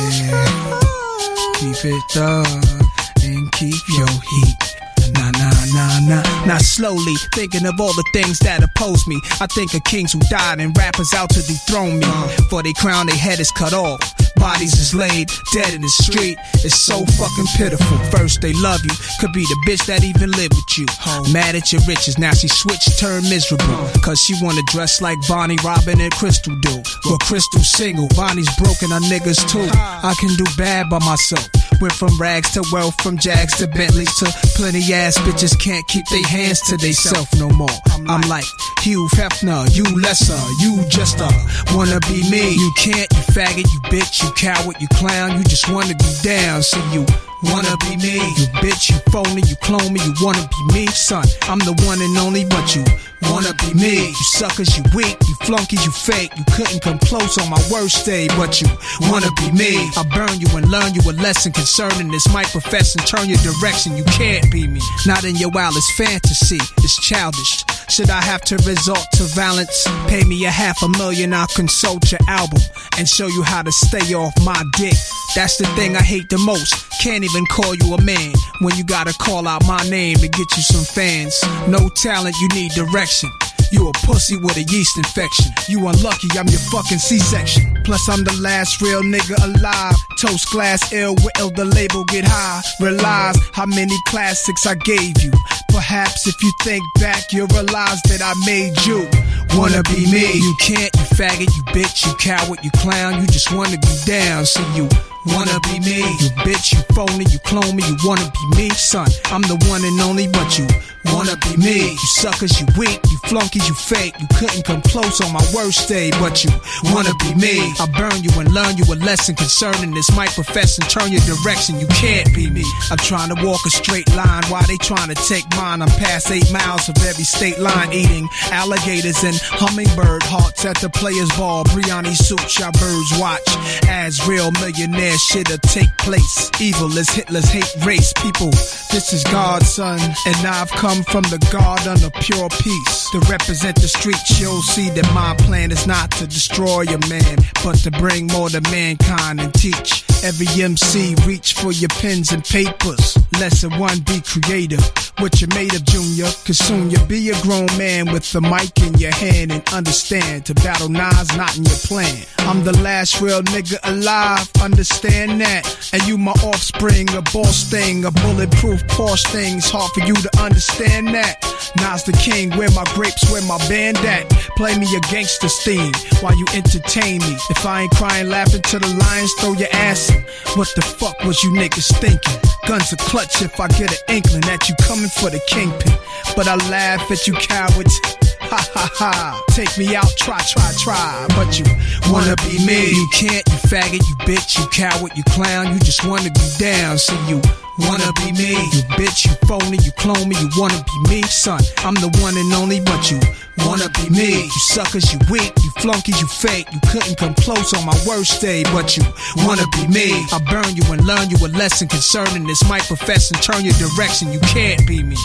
keep it up and keep your heat. Nah, nah, nah, nah. Now slowly thinking of all the things that oppose me. I think of kings who died and rappers out to dethrone me. For they crown, their head is cut off. Bodies is laid dead in the street. It's so fucking pitiful. First they love you, could be the bitch that even lived with you. Mad at your riches, now she switched, turned miserable. Cause she wanna dress like Bonnie, Robin, and Crystal do. Well, Crystal's single, Bonnie's broken, her niggas too. I can do bad by myself. Went from rags to wealth, from Jags to Bentleys to plenty ass bitches can't keep their hands to theyself no more. I'm like Hugh Hefner, you lesser, you just a wanna be me. You can't, you faggot, you bitch, you coward, you clown, you just wanna be down. So you wanna be me, you bitch, you phony, you clone me, you wanna be me, son. I'm the one and only, but you wanna be me. You suckers, you weak, you flunkies, you fake. You couldn't come close on my worst day, but you wanna be me. I burn you and learn you a lesson concerning this. Might profess and turn your direction. You can't be me. Not in your wildest fantasy. It's childish. Should I have to resort to violence? Pay me a half a million, I'll consult your album and show you how to stay off my dick. That's the thing I hate the most. Can't even call you a man when you gotta call out my name to get you some fans. No talent, you need direction. You a pussy with a yeast infection. You unlucky, I'm your fucking C-section. Plus I'm the last real nigga alive. Toast glass ill with ill, the label get high. Realize how many classics I gave you. Perhaps if you think back, you'll realize that I made you wanna be me. You can't, you faggot, you bitch, you coward, you clown. You just wanna be down, so you wanna be me. You bitch, you phony, you clone me, you wanna be me, son. I'm the one and only, but you wanna be me. You suckers, you weak, you flunkies, you fake. You couldn't come close on my worst day, but you wanna be me. I burn you and learn you a lesson concerning this. Might profess and turn your direction. You can't be me. I'm trying to walk a straight line while they trying to take mine. I'm past eight miles of every state line, eating alligators and hummingbird hearts at the players' ball. Briani suits, y'all birds watch as real millionaires shit'll take place. Evil as Hitler's hate race. People, this is God's son, and I've come from the garden of pure peace to represent the streets. You'll see that my plan is not to destroy a man, but to bring more to mankind and teach every M C reach for your pens and papers. Lesson one, be creative. What you made of, Junior, cause soon you'll be a grown man with the mic in your hand and understand to battle nines not in your plan. I'm the last real nigga alive, understand that. And you my offspring, a boss thing, a bulletproof Porsche thing's hard for you to understand that. Nas the king, where my grapes, where my band at? Play me a gangster's theme while you entertain me. If I ain't crying, laughing to the lions, throw your ass in. What the fuck was you niggas thinking? Guns are clutch if I get an inkling that you coming for the kingpin. But I laugh at you cowards. Ha ha ha. Take me out, try, try, try. But you wanna be me. You can't, you faggot, you bitch, you coward, you clown. You just wanna be down, so you wanna be me. You bitch, you phony, you clone me, you wanna be me, son. I'm the one and only, but you wanna be me. You suckers, you weak, you flunkies, you fake. You couldn't come close on my worst day, but you wanna be me. I burn you and learn you a lesson concerning this. Might profess and turn your direction. You can't be me.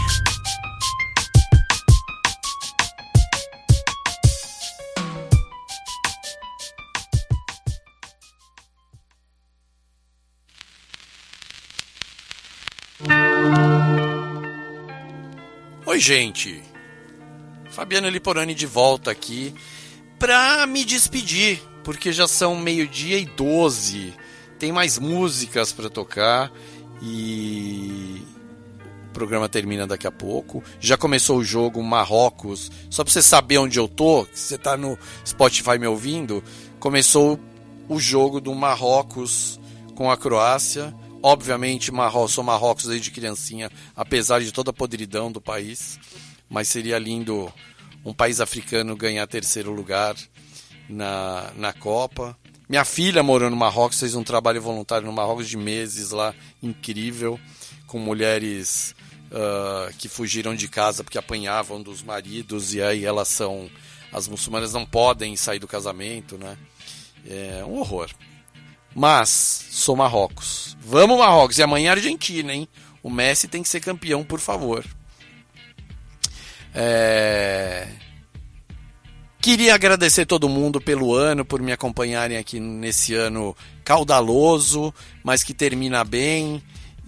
Oi, gente. Fabiano Liporani de volta aqui pra me despedir, porque já são meio-dia e doze. Tem mais músicas pra tocar e o programa termina daqui a pouco. Já começou o jogo Marrocos. Só pra você saber onde eu tô, que você tá no Spotify me ouvindo, começou o jogo do Marrocos com a Croácia. Obviamente, Marrocos, sou Marrocos desde criancinha, apesar de toda a podridão do país. Mas seria lindo um país africano ganhar terceiro lugar na, na Copa. Minha filha morou no Marrocos, fez um trabalho voluntário no Marrocos de meses lá, incrível, com mulheres uh, que fugiram de casa porque apanhavam dos maridos, e aí elas são... As muçulmanas não podem sair do casamento, né? É um horror. Mas sou Marrocos. Vamos, Marrocos. E amanhã é Argentina, hein? O Messi tem que ser campeão, por favor. É... Queria agradecer todo mundo pelo ano, por me acompanharem aqui nesse ano caudaloso, mas que termina bem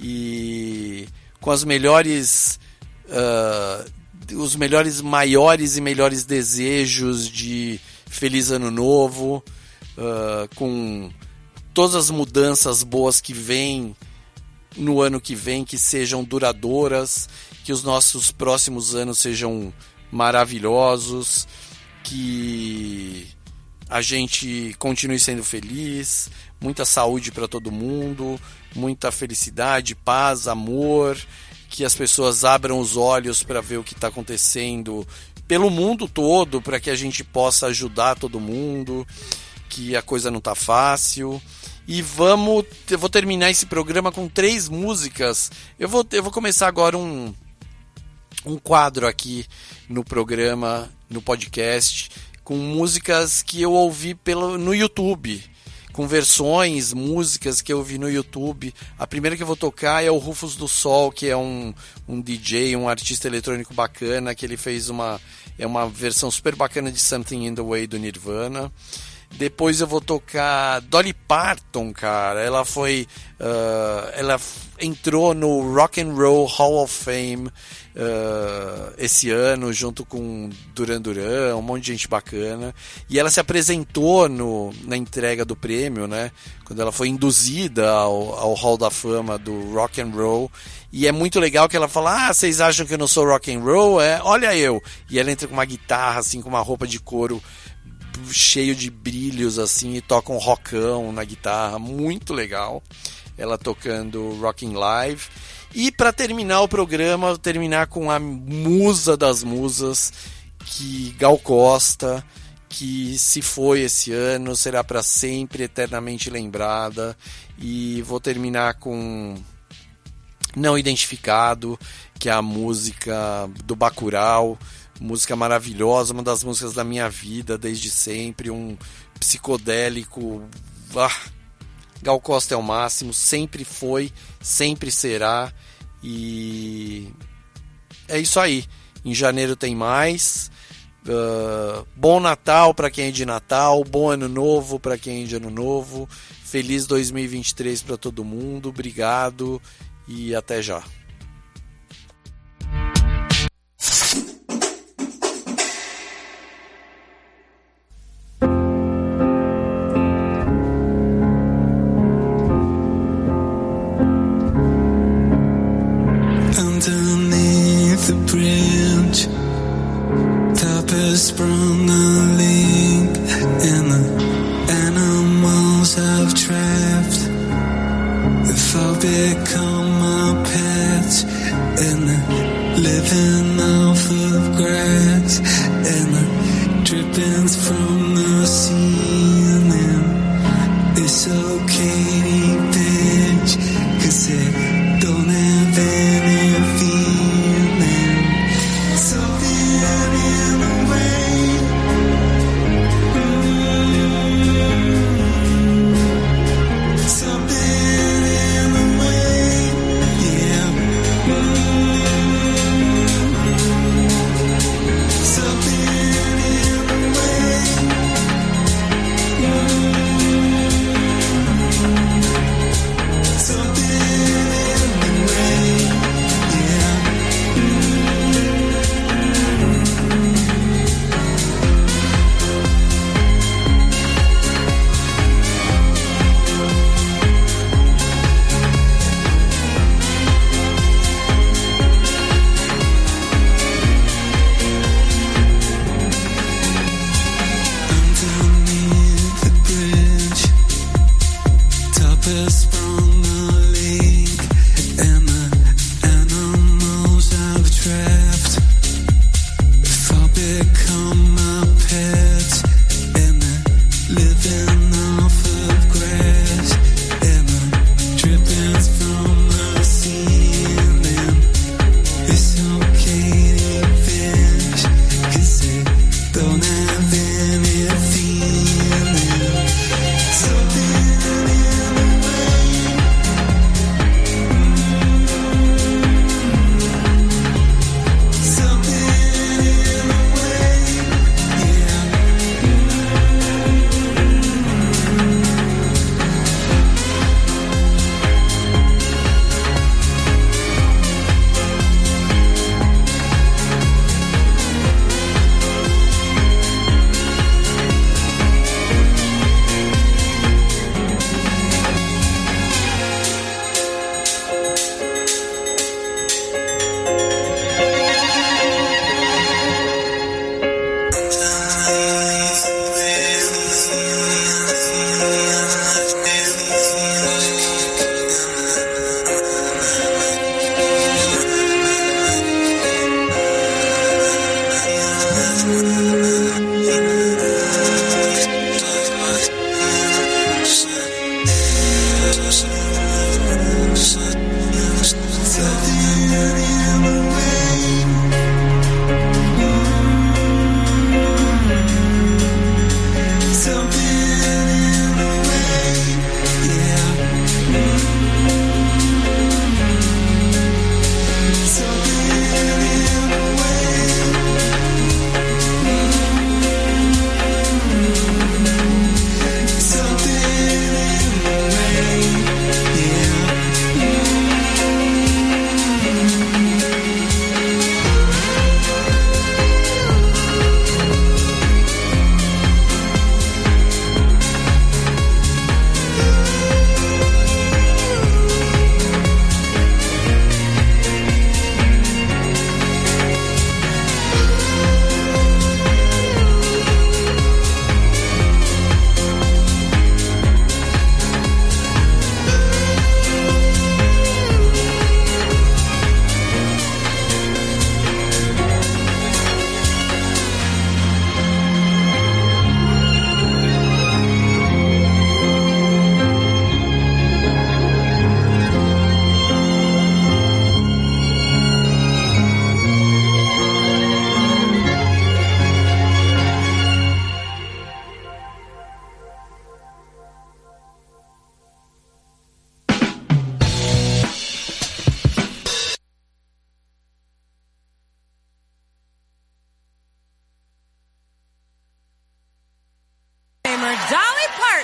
e com as melhores, uh, os melhores, maiores e melhores desejos de feliz ano novo, uh, com todas as mudanças boas que vêm no ano que vem, que sejam duradouras, que os nossos próximos anos sejam maravilhosos, que a gente continue sendo feliz, muita saúde para todo mundo, muita felicidade, paz, amor, que as pessoas abram os olhos para ver o que está acontecendo pelo mundo todo, para que a gente possa ajudar todo mundo, que a coisa não está fácil. E vamos, eu vou terminar esse programa com três músicas. Eu vou, eu vou começar agora um, um quadro aqui no programa, no podcast, com músicas que eu ouvi pelo, no YouTube, com versões, músicas que eu ouvi no YouTube. A primeira que eu vou tocar é o Rufus do Sol, que é um, um D J, um artista eletrônico bacana, que ele fez uma, é uma versão super bacana de Something in the Way do Nirvana. Depois eu vou tocar Dolly Parton, cara. Ela foi, uh, ela entrou no Rock and Roll Hall of Fame uh, esse ano, junto com Duran Duran, um monte de gente bacana. E ela se apresentou no, na entrega do prêmio, né? Quando ela foi induzida ao, ao Hall da Fama do Rock and Roll. E é muito legal que ela fala: ah, vocês acham que eu não sou rock and roll? É, olha eu. E ela entra com uma guitarra, assim, com uma roupa de couro cheio de brilhos assim, e toca um rockão na guitarra, muito legal, ela tocando Rockin' Live. E para terminar o programa, eu vou terminar com a musa das musas, que Gal Costa, que se foi esse ano, será para sempre eternamente lembrada. E vou terminar com Não Identificado, que é a música do Bacurau, música maravilhosa, uma das músicas da minha vida desde sempre, um psicodélico. Ah, Gal Costa é o máximo, sempre foi, sempre será. E é isso aí. Em janeiro tem mais. Uh, bom Natal para quem é de Natal, bom Ano Novo para quem é de Ano Novo. Feliz dois mil e vinte e três para todo mundo. Obrigado e até já. Underneath the bridge, top has sprung a leak, and the animals I've trapped have all become my pets, and they're living off of grass, and the drippings from the ceiling. It's okay, bitch, 'cause they don't have any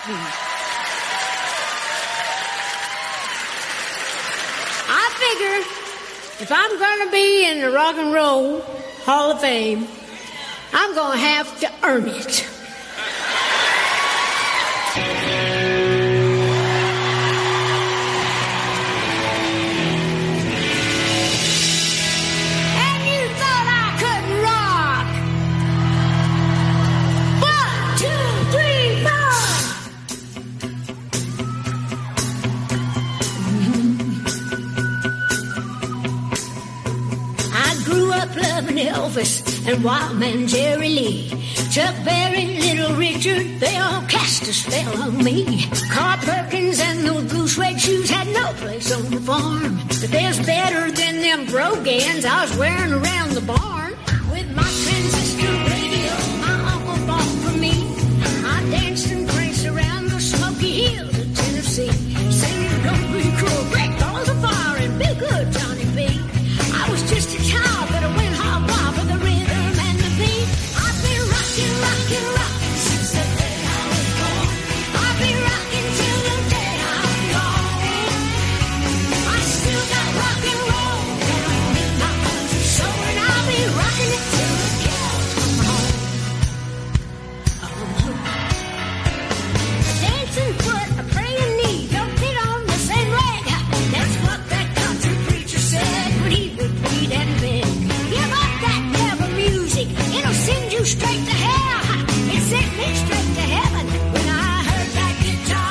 I figure if I'm going to be in the Rock and Roll Hall of Fame, I'm going to have to earn it. And you thought I couldn't rock. One, two, three, four. I grew up loving Elvis and Wildman Jerry Lee, Chuck Berry, Little Richard, they all cast a spell on me. Carl Perkins and those blue suede shoes had no place on the farm. But there's better than them brogans I was wearing around the barn. With my transistor radio, my uncle bought for me. I danced and pranced around the Smoky Hills of Tennessee, singing "Don't Be Cruel, Break Balls of Fire" and "Be Good, Johnny B." I was just a child, but I went hog wild for the rhythm and the beat. I've been rocking, rocking, rocking since the day I was born. I'll be rocking till the day I'm gone. I still got rock and roll down in my country soul, and I'll be rocking it till the cows come home. A dancing foot, a praying knee, don't fit on the same leg. That's what that country preacher said when he would plead and beg. Give up that devil music, it'll send you straight to hell. It sent me straight to heaven when I heard that guitar.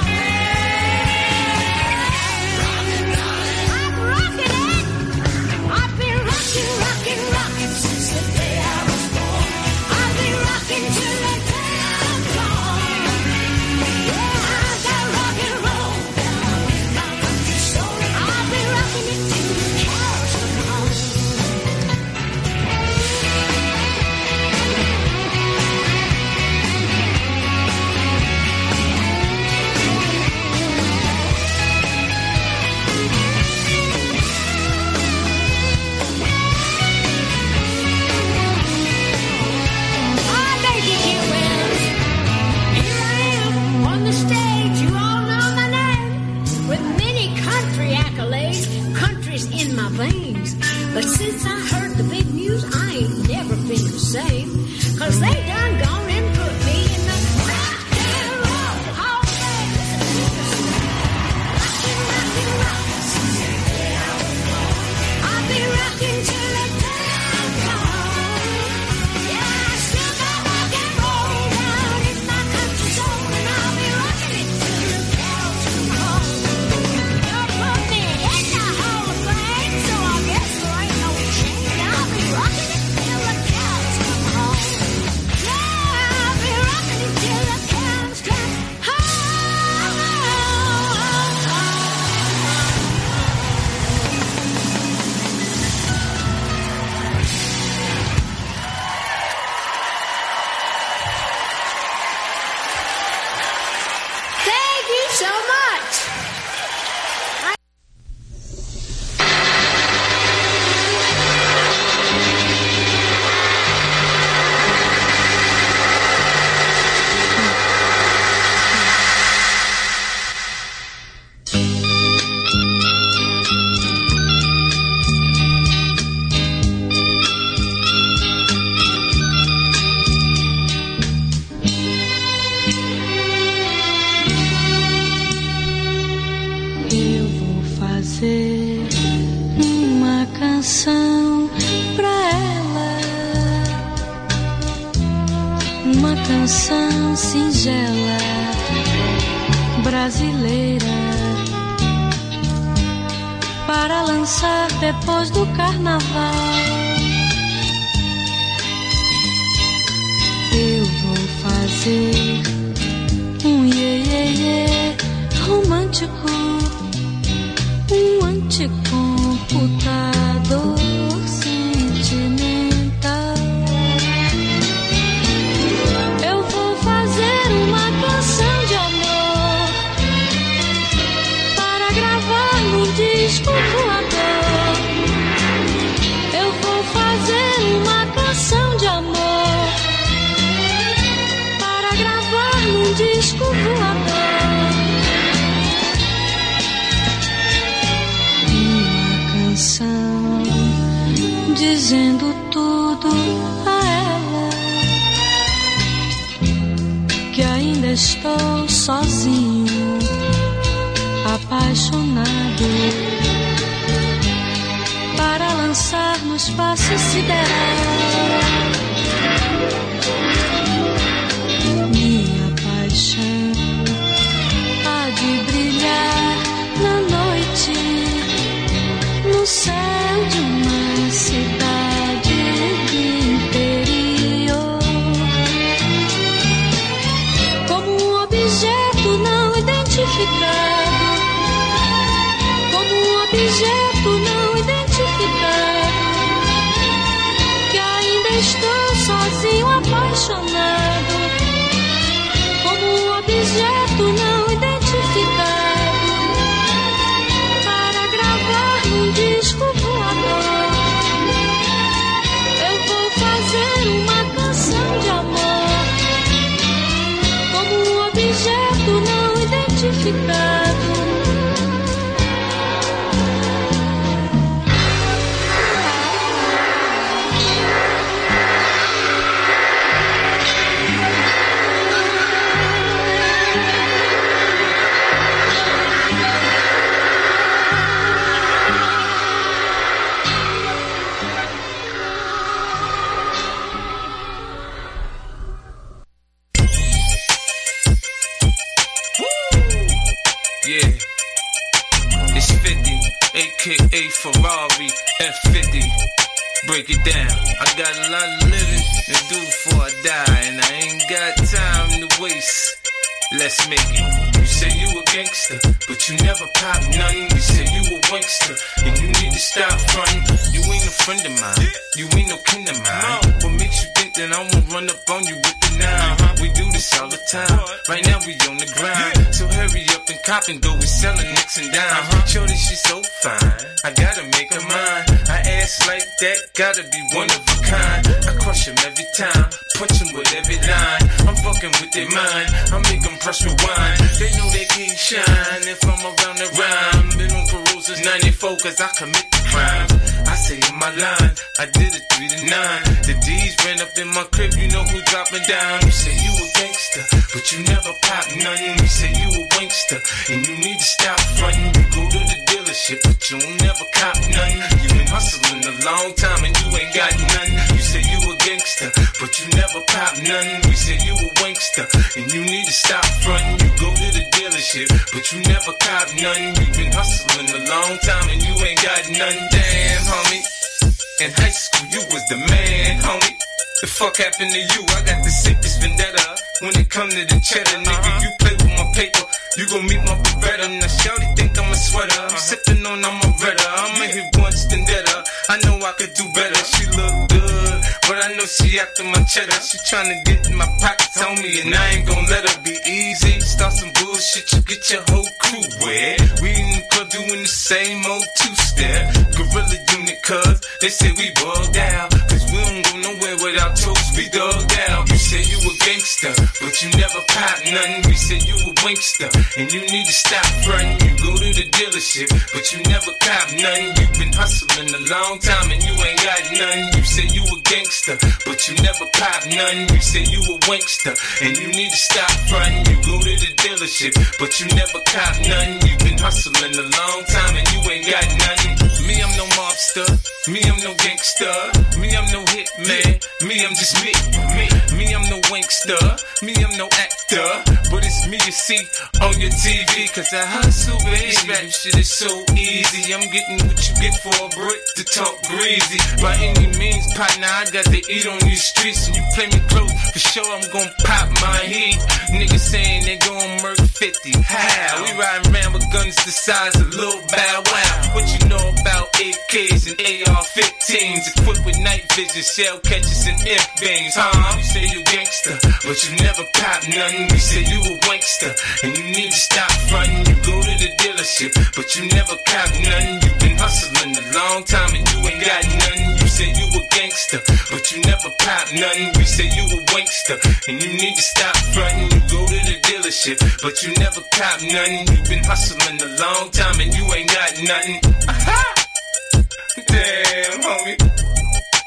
I'm rocking it. I've been rocking, rocking, rocking since the day I was born. I'll be rocking till the day I'm gone. Yeah, I got rock and roll down in my country soul, and I'll be rocking it till the cows come home. I make it here, Wells. Here I am on the stage. You all know my name. With many country accolades, country's in my veins. But since I heard the big news, I ain't never been the same. Cause they done gone and put me in the rock and roll hall of fame. Rockin', rockin', rockin' since the day I was born. I'll be rockin' till the day I'm gone. Yeah, I still got rock and roll down in my country soul, and I'll be rocking it till the cows come home. You're put me in the hall of fame, so I guess there ain't no change. I'll be rocking it till the cows come home. Yeah, I'll be rocking it till the cows come home. Thank you so much. Eu vou fazer uma canção pra ela, uma canção singela, brasileira, para lançar depois do carnaval. Eu vou fazer um iê, iê, iê romântico, um anticomputador sentimental. Eu vou fazer uma canção de amor para gravar num disco voador. Eu vou fazer uma canção de amor para gravar num disco voador. dizendo tudo a ela, que ainda estou sozinho, apaixonado, para lançar no espaço sideral minha paixão há de brilhar na noite, no céu de uma cidade do interior, como um objeto não identificado, como um objeto não identificado, que ainda estou sozinho apaixonado, como um objeto não identificado, para gravar num disco voador. Eu vou fazer uma canção de amor, como um objeto não identificado. Yeah, it's fifty, aka Ferrari F fifty. Break it down. I got a lot of living to do before I die, and I ain't got time to waste. Let's make it. You say you a gangster, but you never pop nothing. You say you a wankster, and you need to stop frontin'. You ain't a friend of mine, you ain't no kin of mine. What makes you think that I won't run up on you with the nine? We do this all the time. Right now we on the grind, so hurry up and cop and go. We sellin' nicks and dimes. Shorty, she so fine, I gotta make her mine. I ass like that, gotta be one of a kind. I crush him every time, punch him with every line. I'm fucking with their mind, I make them press rewind. They know they can't shine if I'm around the rhyme. Been on parole since ninety-four cause I commit the crimes. I say in my line, I did it three to nine. The D's ran up in my crib, you know who dropping down. You say you a gangster, but you never pop nothing. You say you a wankster, and you need to stop frontin'. You go to the dealership, but you don't never cop nothing. You been hustling a long time and you ain't got none. You say you a gangster, but you never pop nothing. We say you a wankster, and you need to stop frontin'. You go to the dealership, but you never cop nothing. You been hustling a long time and you ain't got none. Damn, homie, in high school you was the man, homie. The fuck happened to you? I got the sickest vendetta. When it come to the cheddar, nigga, you play with my paper, you gon' meet my Beretta. Now shawty think I'm a sweater, I'm sippin' on I'm a redder. I'ma hit once then better, I know I could do better. She look good, but I know she after my cheddar. She tryna get in my pockets on me, and I ain't gon' let her be easy. Start some bullshit, you get your whole crew wet. We in the club doing the same old two-step. Gorilla unit, cuz they say we bugged out, cause we don't go nowhere without toes, we dug out. You say you a gangster, but you never pop nothing. We say you a wankster, and you need to stop frontin'. You go to the dealership, but you never cop nothing. You been hustling a long time and you ain't got nothing. You say you a gangster, but you never pop nothing. You say you a wankster, and you need to stop frontin'. You go to the dealership, but you never cop nothing. You been hustling a long time and you ain't got nothing. Me, I'm no mobster. Me, I'm no gangster. Me, I'm no hitman. Me, I'm just me. Me, me, I'm no wankster. Me, I'm no actor. But it's me you see on your T V, cause I hustle, baby. This rap shit is so easy. I'm getting what you get for a brick to talk greasy. By any means, partner, I got to eat on these streets. And you play me close, for sure I'm gon' pop my heat. Niggas saying they gon' murk fifty. How? We riding around with guns the size of Lil Bow Wow. What you know about A Ks and A R fifteens? Equipped with night vision, shell catchers and imp beams, huh? You say you gangster, but you never pop nothing. We say you a wankster, and you need to stop frontin'. You go to the dealership, but you never cop nothing. You been hustling a long time and you ain't got nothing. You say you a gangster, but you never pop nothing. We say you a wankster, and you need to stop frontin'. You go to the dealership, but you never cop nothing. You been hustling a long time and you ain't got nothing. Aha! Damn, homie.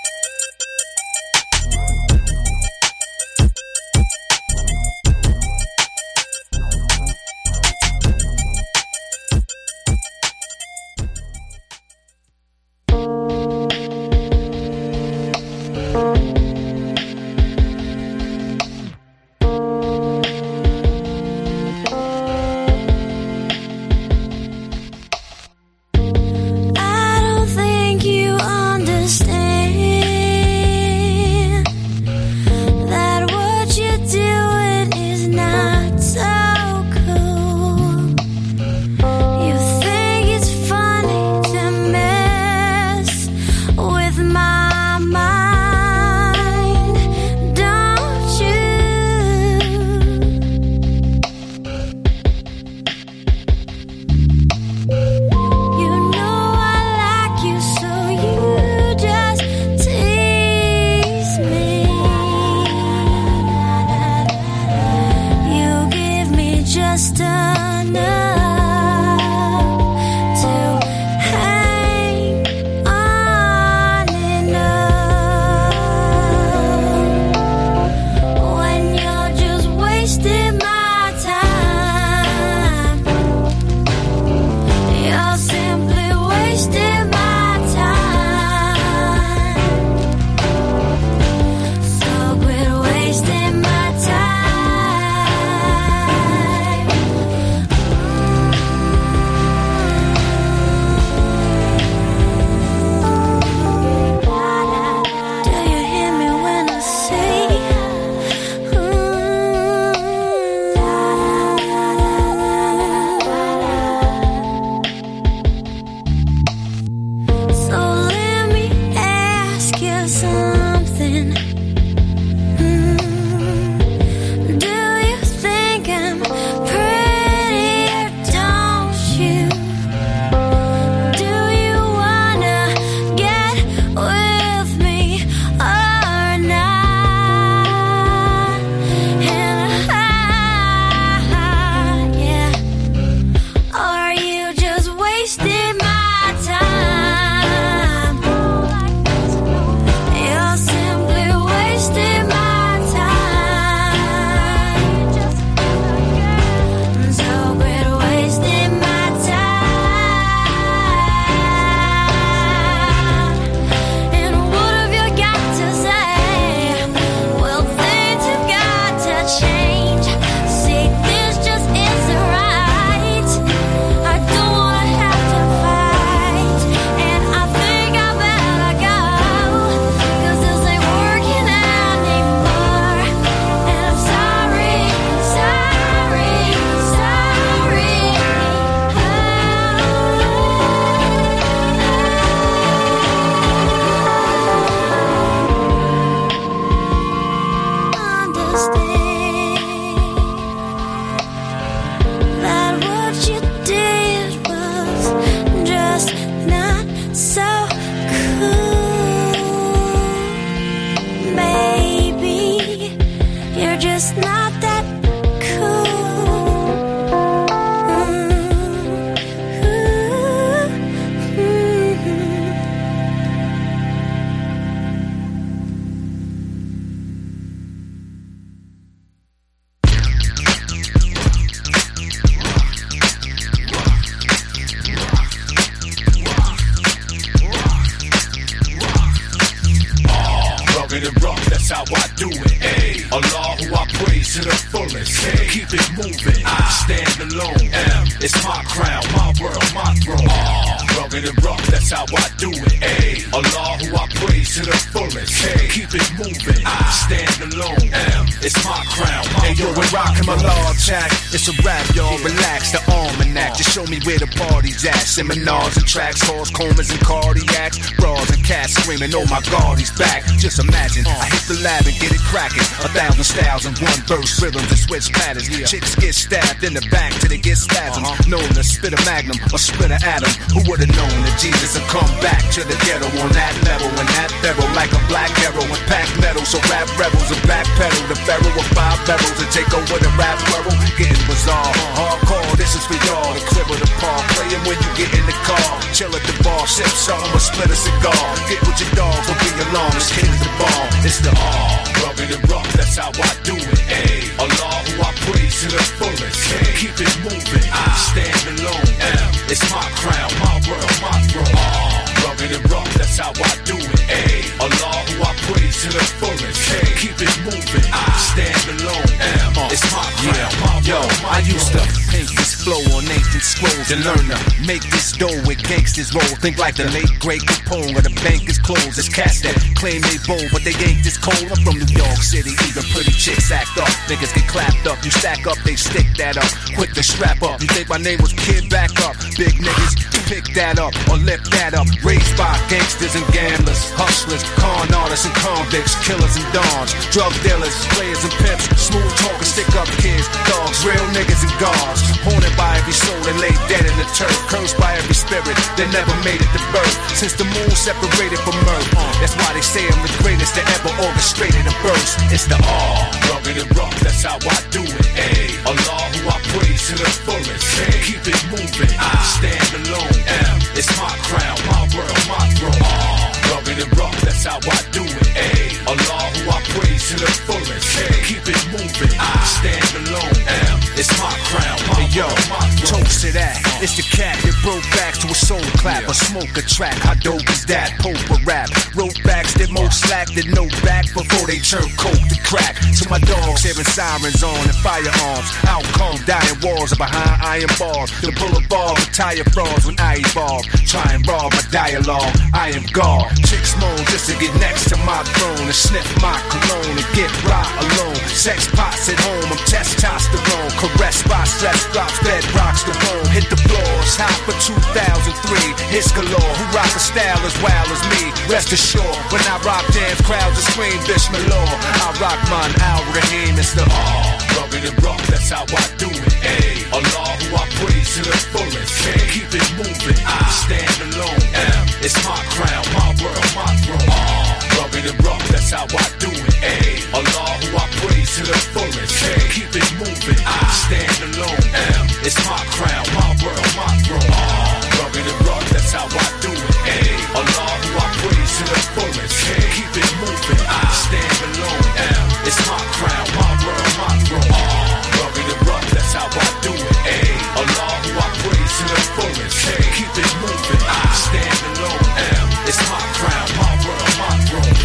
M, it's my crown, my world, my throne. R, rugged and rough, that's how I do it. A, Allah who I praise to the fullest. K, keep it moving, I stand alone. M, it's my crown, my hey, yo, we're rocking my law track. It's a rap, y'all, relax, the almanac. Just show me where the party's at. Seminars and tracks, halls, comas and cardiacs. Bras and cats screaming, oh my God, he's back. Just imagine, I hit the lab and get it cracking. A thousand styles in one verse, rhythms and switch patterns. Chicks get stabbed in the back till they get spasms. Known to spit a magnum or split an atom. Who would've known that Jesus would come back to the ghetto on that level? And that barrel like a black arrow and pack metal. So rap rebels and backpedal the pharaoh with five barrels and take over the rap world. Getting bizarre, hardcore, this is for y'all. The crib of the park, playing when you get in the car. Chill at the bar, sip something or split a cigar. Get with your dogs, don't be alarmed, this kid is the bomb. It's the R, rugged and rough, that's how I do it. A, Allah who I praise to the fullest. K, keep it moving, I stand alone. M, it's my crown, my world, my throne. R, rugged and rough, that's how I do it. A, Allah who I praise to the fullest. K, keep it moving, I stand alone. M, it's my crown, yeah. my Yo, world, my I used to paint this flow on ancient scrolls and learn to make this dough with gangsters roll. Think like the late great Capone or the bank is closed. It's cats that claim they bold, but they ain't this cold. I'm from New York City, even pretty chicks act up. Niggas get clapped up, you stack up, they stick that up. Quick to strap up, you think my name was Kid, back up. Big niggas, pick that up or lift that up. Raised by gangsters and gamblers, hustlers, con artists and convicts, killers and dons, drug dealers, players and pimps, smooth talkers, stick up kids, dogs, real niggas and guards. Haunted by every soul and laid dead in the turf. Cursed by every spirit that never made it to birth. Since the moon separated from earth, that's why they say I'm the greatest that ever orchestrated a verse. It's the R, rugged and rough, that's how I do it. A, Allah who I praise to the fullest. K, keep it moving, I stand alone. M, it's my crown, my world, my throne. R, rugged and rough, that's how I do it. A, Allah who I praise to the fullest. K, keep it moving, I stand alone. M, it's my crown, my hey, yo, world, my throne. Toast to that. It's the cat that broke backs to a soul clap, a smoke a track. How dope is that? Pope a rap. Wrote backs that most slack that no back before they turn coke to crack. To my dogs hearing sirens on and firearms. Outcome dying walls are behind iron bars. The boulevard retire frauds when I evolve. Try and rob my dialogue. I am God. Chicks moan just to get next to my throne and sniff my cologne and get right alone. Sex pots at home. I'm testosterone. Caressed by stress drops that rocks the bone. Hit the floors, hot for two thousand three. Hits galore, who rock a style as wild as me. Rest assured, when I rock dance, crowds will scream Bismillah. I rock mine, Al Rahim, it's the R, rugged and rough, that's how I do it. A, Allah who I praise to the fullest. K, keep it moving, I stand alone. M, it's my crown, my world, my throne. R, rugged and rough, that's how I do it. A, Allah who I praise to the fullest. K, keep it moving, I stand alone. M, it's my crown, my world, my throne. R, rugged and rough, that's how I do it. A, Allah who I praise to the fullest. K, keep it moving, I stand alone. M, it's my crown, my world, my throne. R, rugged and rough, that's how I do it. A, Allah who I praise to the fullest. K, keep it moving, I stand alone. M, it's my crown, my world, my throne.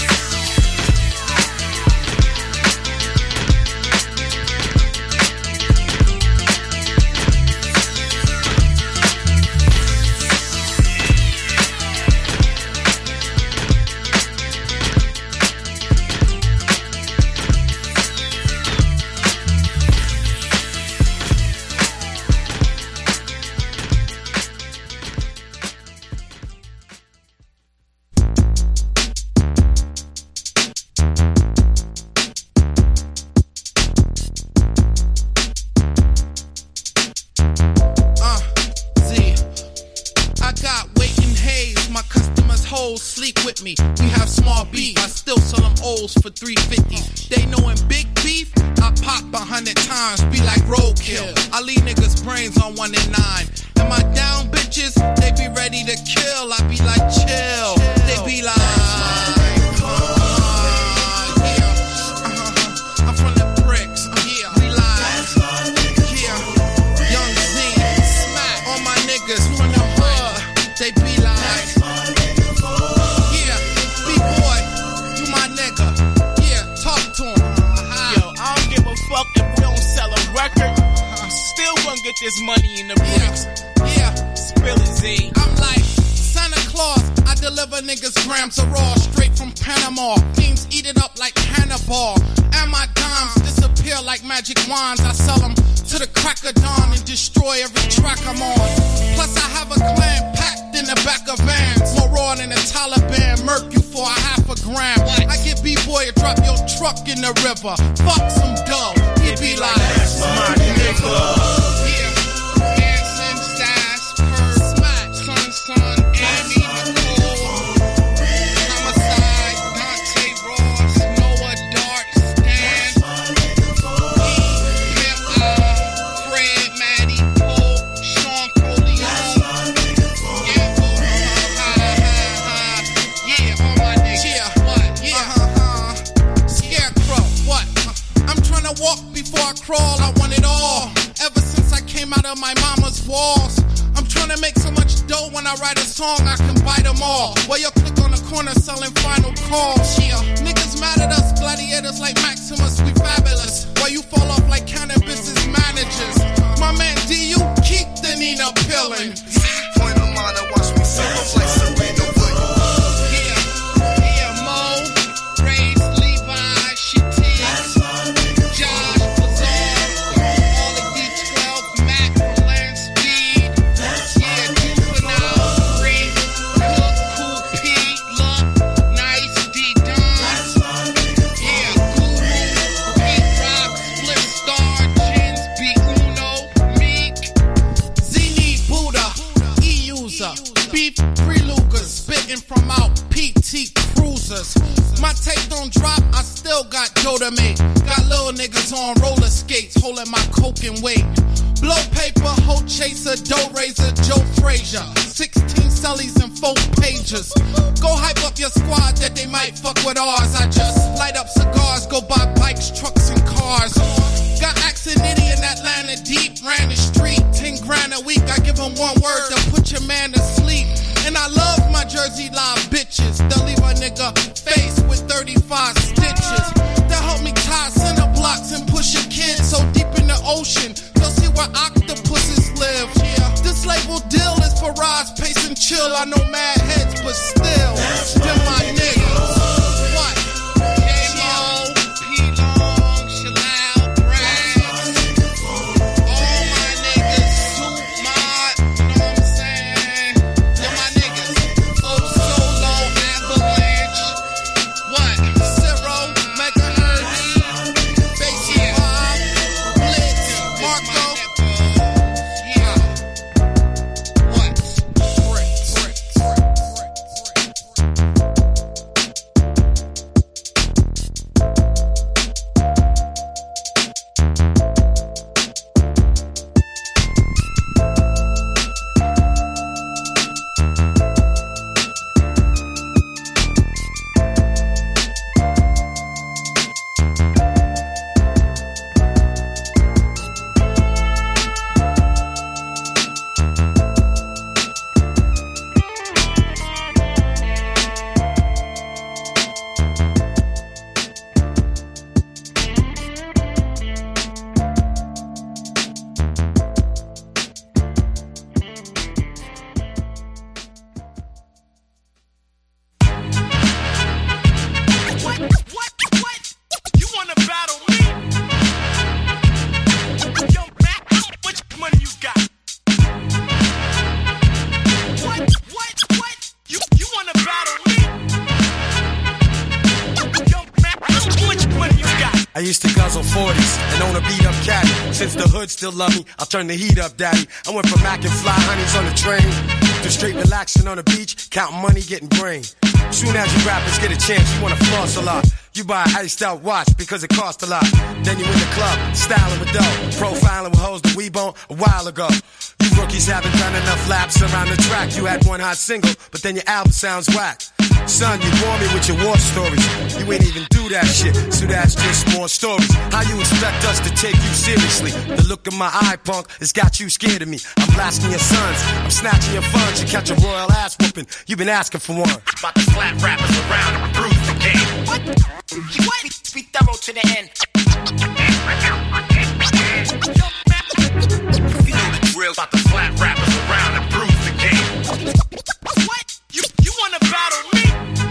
Me. We have small beef, I still sell them O's for three fifty. They knowin' big beef, I pop a hundred times, be like roadkill. I leave niggas brains on one and nine. Am I down, bitches? They be ready to kill. I be like chill. They be like, uh, yeah, uh-huh. I'm from the bricks. Uh, yeah, we live. Yeah, Young Z, smack all my niggas from the hood. They be like. Fuck if we don't sell a record, still gonna get there's money in the bricks. Yeah, yeah. Spill it, Z. I'm like Santa Claus. I deliver niggas grams of raw straight from Panama. Fiends eat it up like Hannibal. And my dimes disappear like magic wands. I sell them to the crack of dawn and destroy every track I'm on. Plus I have a clan packed in the back of vans. More raw than the Taliban, murk you for a half a gram. I get B-boy to drop your truck in the river. Fuck some dough. He be like, that's my nigga. Yeah, dancing, stash, per smack, son, son, Amy, Nicole, Homicide, Dante Ross, Noah Dart, Stan, E, Hip Hop, Fred, Maddie, Cole, Sean Coleon, yeah, oh, ha, ha, ha, yeah, all my niggas, yeah, what, yeah, uh-huh, Scarecrow, what, I'm tryna walk before I crawl, I want it all, ever since I came out of my mama's walls. I'm tryna make so much dough when I write a song, I can buy them all. While you click on the corner selling final calls. Yeah, niggas mad at us, gladiators like Maximus, we fabulous. While you fall off like cannabis managers. My man D, you keep the Nina pillin'. Point of mine and watch me sing up like Serena Williams. Yeah, yeah, Mo, Grace, Levi, Shitty, Josh, Bazaar, all the D twelve, Mac, Land Speed, yeah, Juvenile, Free, Cook, Cool P, Luck, Nice, D Don, yeah, Guru, Pete Rock, Split Star, Jins, B Uno, Meek, Zini, Buddha, E-User, Beef, Freelugas, spitting from out P T Cruisers. My tape don't drop, I still got dough to make. Got little niggas on roller skates, holding my coke and weight. Blow paper, hoe chaser, dough raiser, Joe Frazier. sixteen cellies and four pages. Go hype up your squad that they might fuck with ours. I just light up cigars, go buy bikes, trucks, and cars. Got accent idiot in Atlanta deep, ran the street. Ten grand a week, I give them one word to put your man to sleep. And I love my Jersey Live bitches. They'll leave a nigga face with thirty-five stitches. They'll help me tie center blocks and push a kid so deep in the ocean. They'll see where octopuses live. Yeah, this label deal is for rise, pace, and chill. I know mad heads, but still, they're my niggas. What? J-Mo, P-Long, Shalal, Brass. All my niggas, Soup Mod, you know what I'm saying? They're my niggas. Oh, Solo, Avalanche. What? Zero, Megahertz, Basie Bob, Blitz, Marco. Yeah. What? Bricks. I used to guzzle forties and own a beat up caddy. Since the hood still love me, I'll turn the heat up, daddy. I went from Mac and fly honeys on the train to straight relaxing on the beach, counting money, getting brain. Soon as you rappers get a chance, you wanna floss a lot. You buy an iced out watch because it costs a lot. Then you in the club, styling with dough, profiling with hoes that we bone a while ago. You rookies haven't done enough laps around the track. You had one hot single, but then your album sounds whack. Son, you bore me with your war stories. You ain't even do that shit, so that's just more stories. How you expect us to take you seriously? The look of my eye, punk, has got you scared of me. I'm blasting your sons, I'm snatching your funds. You catch a royal ass whooping, you been asking for one. About to slap rappers around and bruise the game. What? What? Be thorough to the end. You know the drill. About to slap rappers around and bruise the game. What? You you wanna battle me?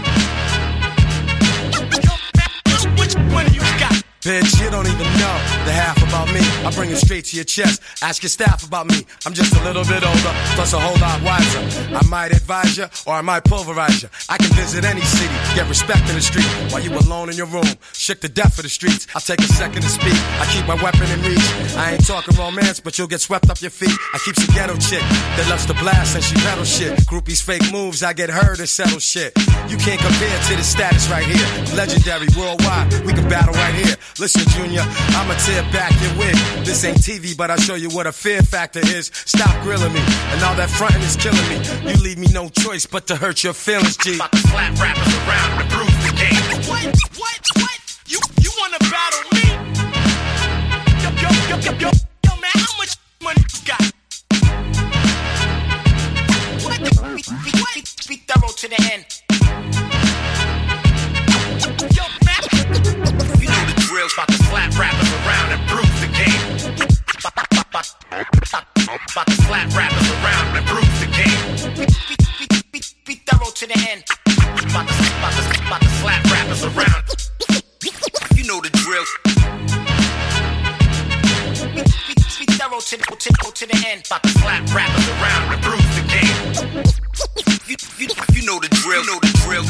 Which one you got? Bitch, you don't even know the half about me. I bring it straight to your chest. Ask your staff about me. I'm just a little bit older, plus a whole lot wiser. I might advise you, or I might pulverize you. I can visit any city, get respect in the street. While you alone in your room, shook to death for the streets. I'll take a second to speak. I keep my weapon in reach. I ain't talking romance, but you'll get swept off your feet. I keep some ghetto chick that loves to blast and she pedal shit. Groupies fake moves, I get her to settle shit. You can't compare to the status right here. Legendary worldwide, we can battle right here. Listen, Junior, I'ma tear back your wig. This ain't T V, but I'll show you what a fear factor is. Stop grilling me, and all that frontin' is killing me. You leave me no choice but to hurt your feelings, G. About to slap rappers around and bruise the game. What? What? What? You you wanna battle me? Yo, yo, yo, yo, yo, yo, man, how much money you got? What? Be, be, be, be thorough to the end. Yo, man. You know the drill. About to slap rappers around and bruise the game. About to slap rappers around and bruise the game. Be, be, be, be, be thorough to the end. About to, about to, about to slap rappers around. You know the drill. Be, be, be thorough to the, to, to the end. About to slap rappers around and bruise the game. You, you, you know the drill. You know the drill.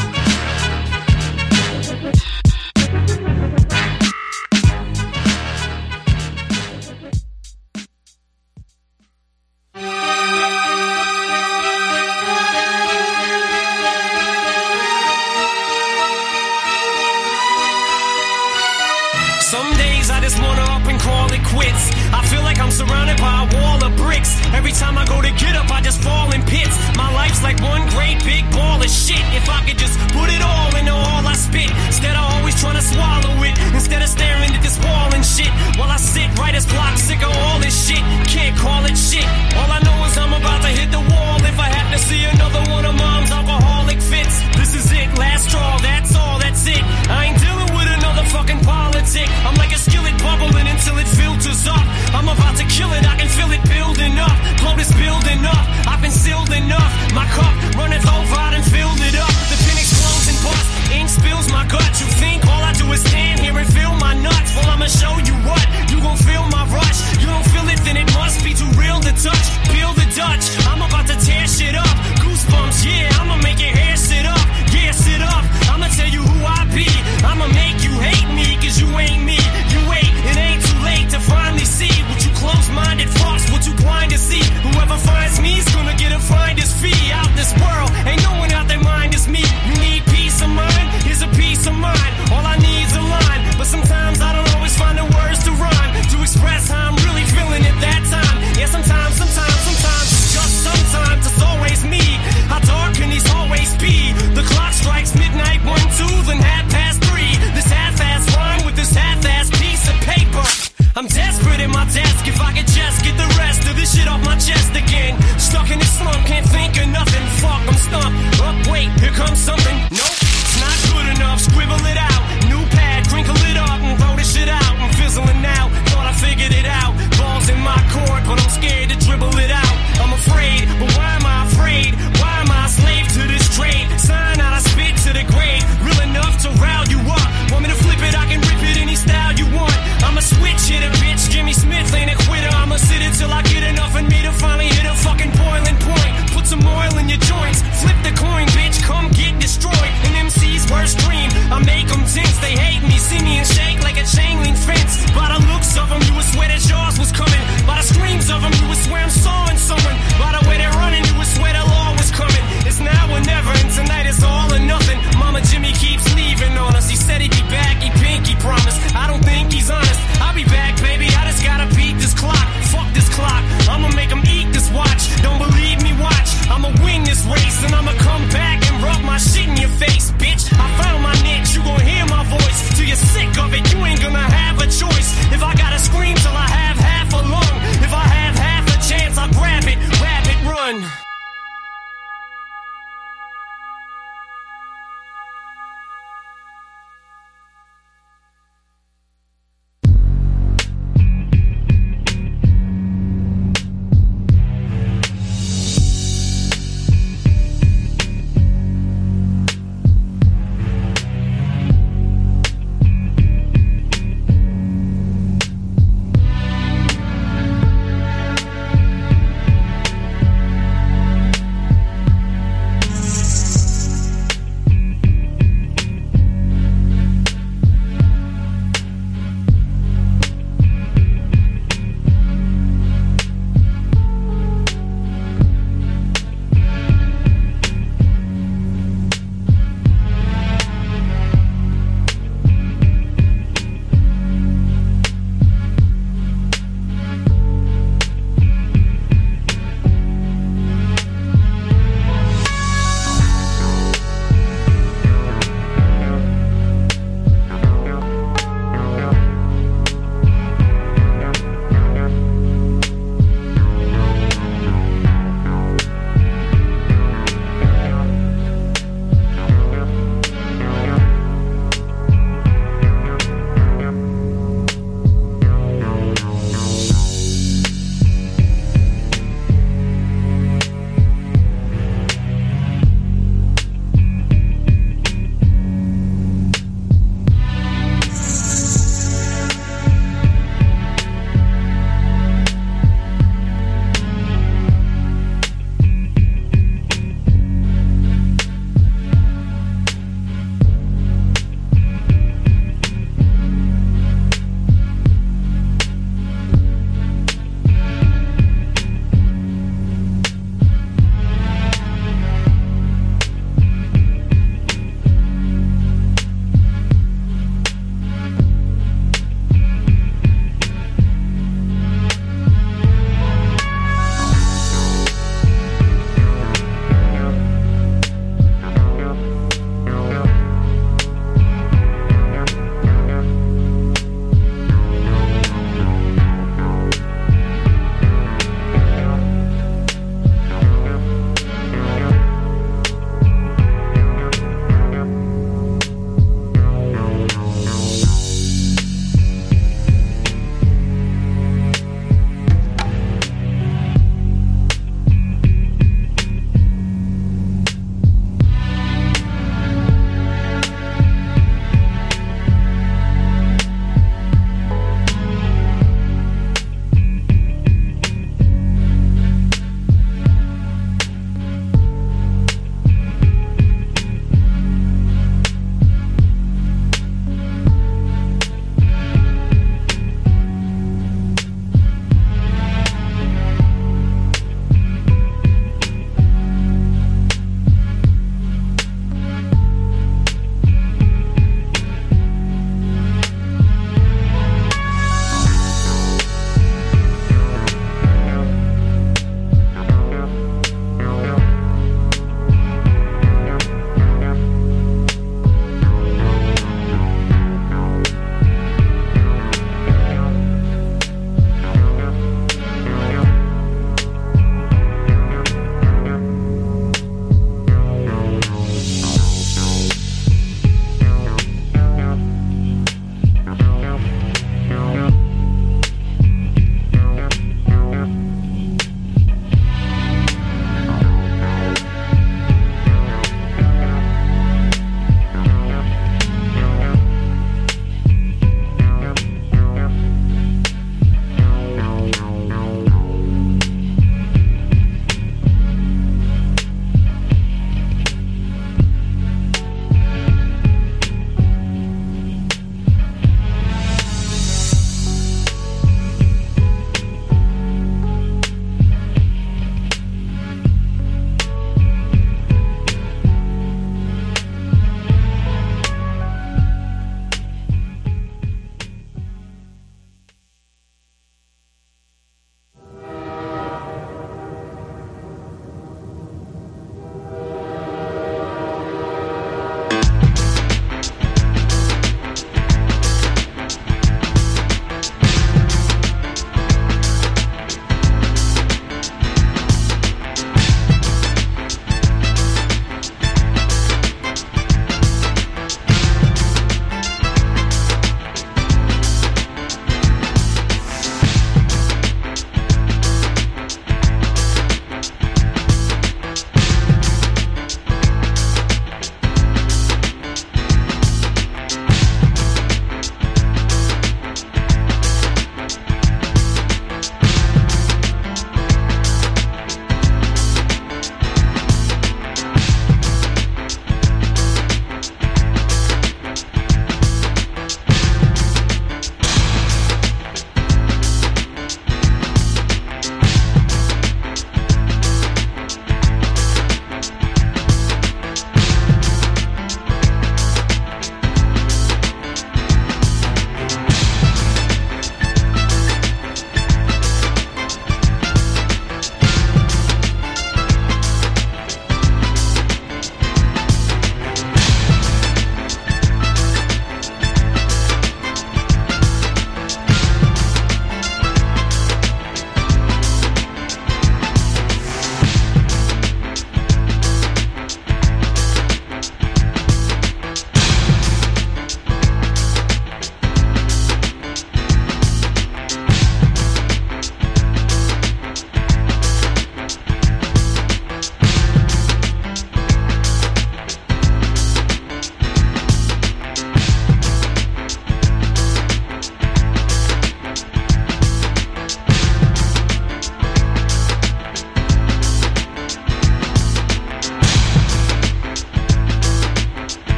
Surrounded by a wall of bricks. Every time I go to get up, I just fall in pits. My life's like one great big ball of shit. If I could just put it all into all I spit, instead of always trying to swallow it, instead of staring at this wall and shit, while I sit writer's block, sick of all this shit. Can't call it shit. All I know is I'm about to hit the wall. If I have to see another one of mom's alcoholic fits, this is it, last straw. That's all. That's it. I ain't dealing with another fucking politic. I'm like a skillet bubbling until it filters up. I'm about to kill it, I can feel it building up. Blow this building up, I've been sealed enough. My cup runneth over, I done filled it up. The pen explodes and busts, ink spills my gut. You think all I do is stand here and feel my nuts? Well, I'ma show you what, you gon' feel my rush. You don't feel it, then it must be too real to touch. Feel the Dutch, I'm about to tear shit up. Goosebumps, yeah, I'ma make your hair sit up. Yeah, sit up, I'ma tell you who I be. I'ma make you hate me, cause you ain't me. You wait, it ain't too late to finally see what you close-minded fucks, what you blind to see. Whoever finds me's gonna get a finder's fee. Out this world, ain't no one out their mind is me. You need peace of mind, here's a peace of mind. All I need's a line, but sometimes I don't always find the words to rhyme, to express how I'm really feeling at that time. Yeah, sometimes, sometimes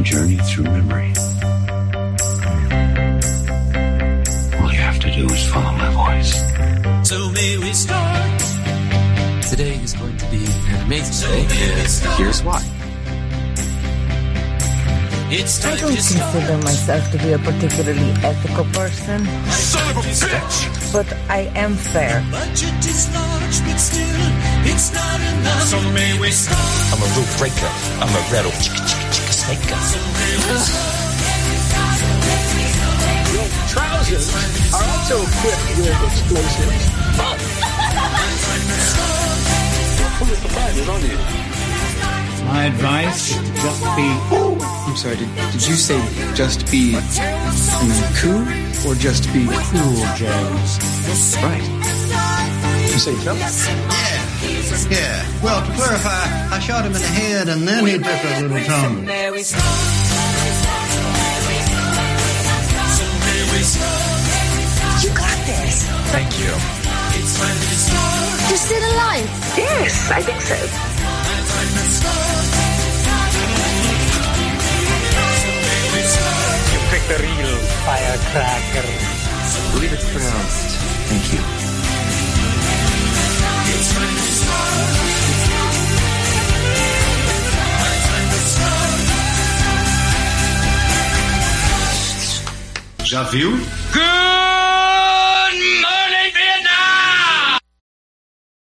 A journey through memory. All you have to do is follow my voice. So may we start? Today is going to be an amazing day, and here's why. I don't consider myself to be a particularly ethical person. Son of a bitch! But I am fair. Budget is large, but still, it's not enough. So may we start? I'm a rule breaker. I'm a rattle chicka chicka chicka snaker. So may we start? Your trousers are also equipped with explosives. Full of surprises, aren't you? My advice is to just be... I'm sorry, did, did you say just be and then cool? Or just be cool, James? Right. You say Phil? Yeah. Yeah. Well, to clarify, I shot him in the head and then he took a little tumble. You got this. Thank you. You still alive? Yes, I think so. You picked the real firecracker. I believe it's pronounced thank you. Já viu? Good!